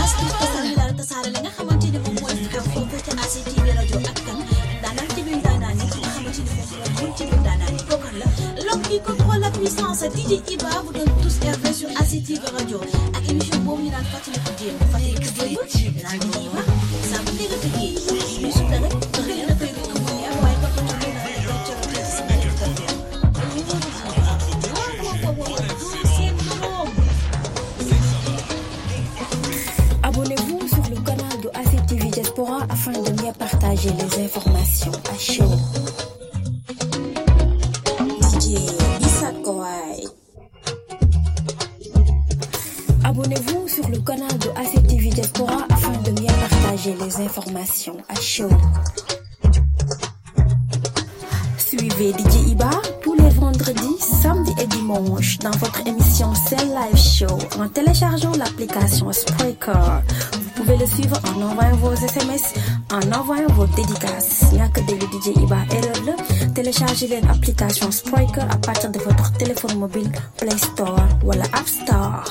Speaker 9: Qui contrôle la puissance D J Iba vous donne tous R V sur A C T V Radio ak émission boobu ñu naan fàttaliku démb fàttaliku démb naan D J Iba saa bu dégg tëggee ñu su rek xëy na dafay dugg mu neex waaye toppatoo lu naan dafa cërate si ay
Speaker 8: Abonnez-vous sur le canal de A C T V Diaspora afin de mieux partager les informations à chaud. Abonnez-vous sur le canal de A C T V Diaspora afin de mieux partager les informations à chaud. Suivez D J Iba tous les vendredis, samedis et dimanches dans votre émission Cell Live Show en téléchargeant l'application Spreaker. Vous pouvez pouvez le suivre en envoyant vos S M S, en envoyant vos dédicaces. Ñàkk dégg D J Iba erreur la. Téléchargez l'application Spreaker à partir de votre téléphone mobile, Play Store ou la App Store.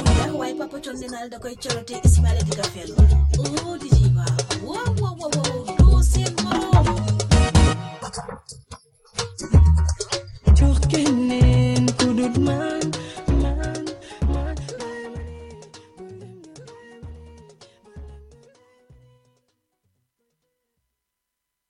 Speaker 9: da koy corote Ismaïla di ka fel oh di jiba wow wow wow wow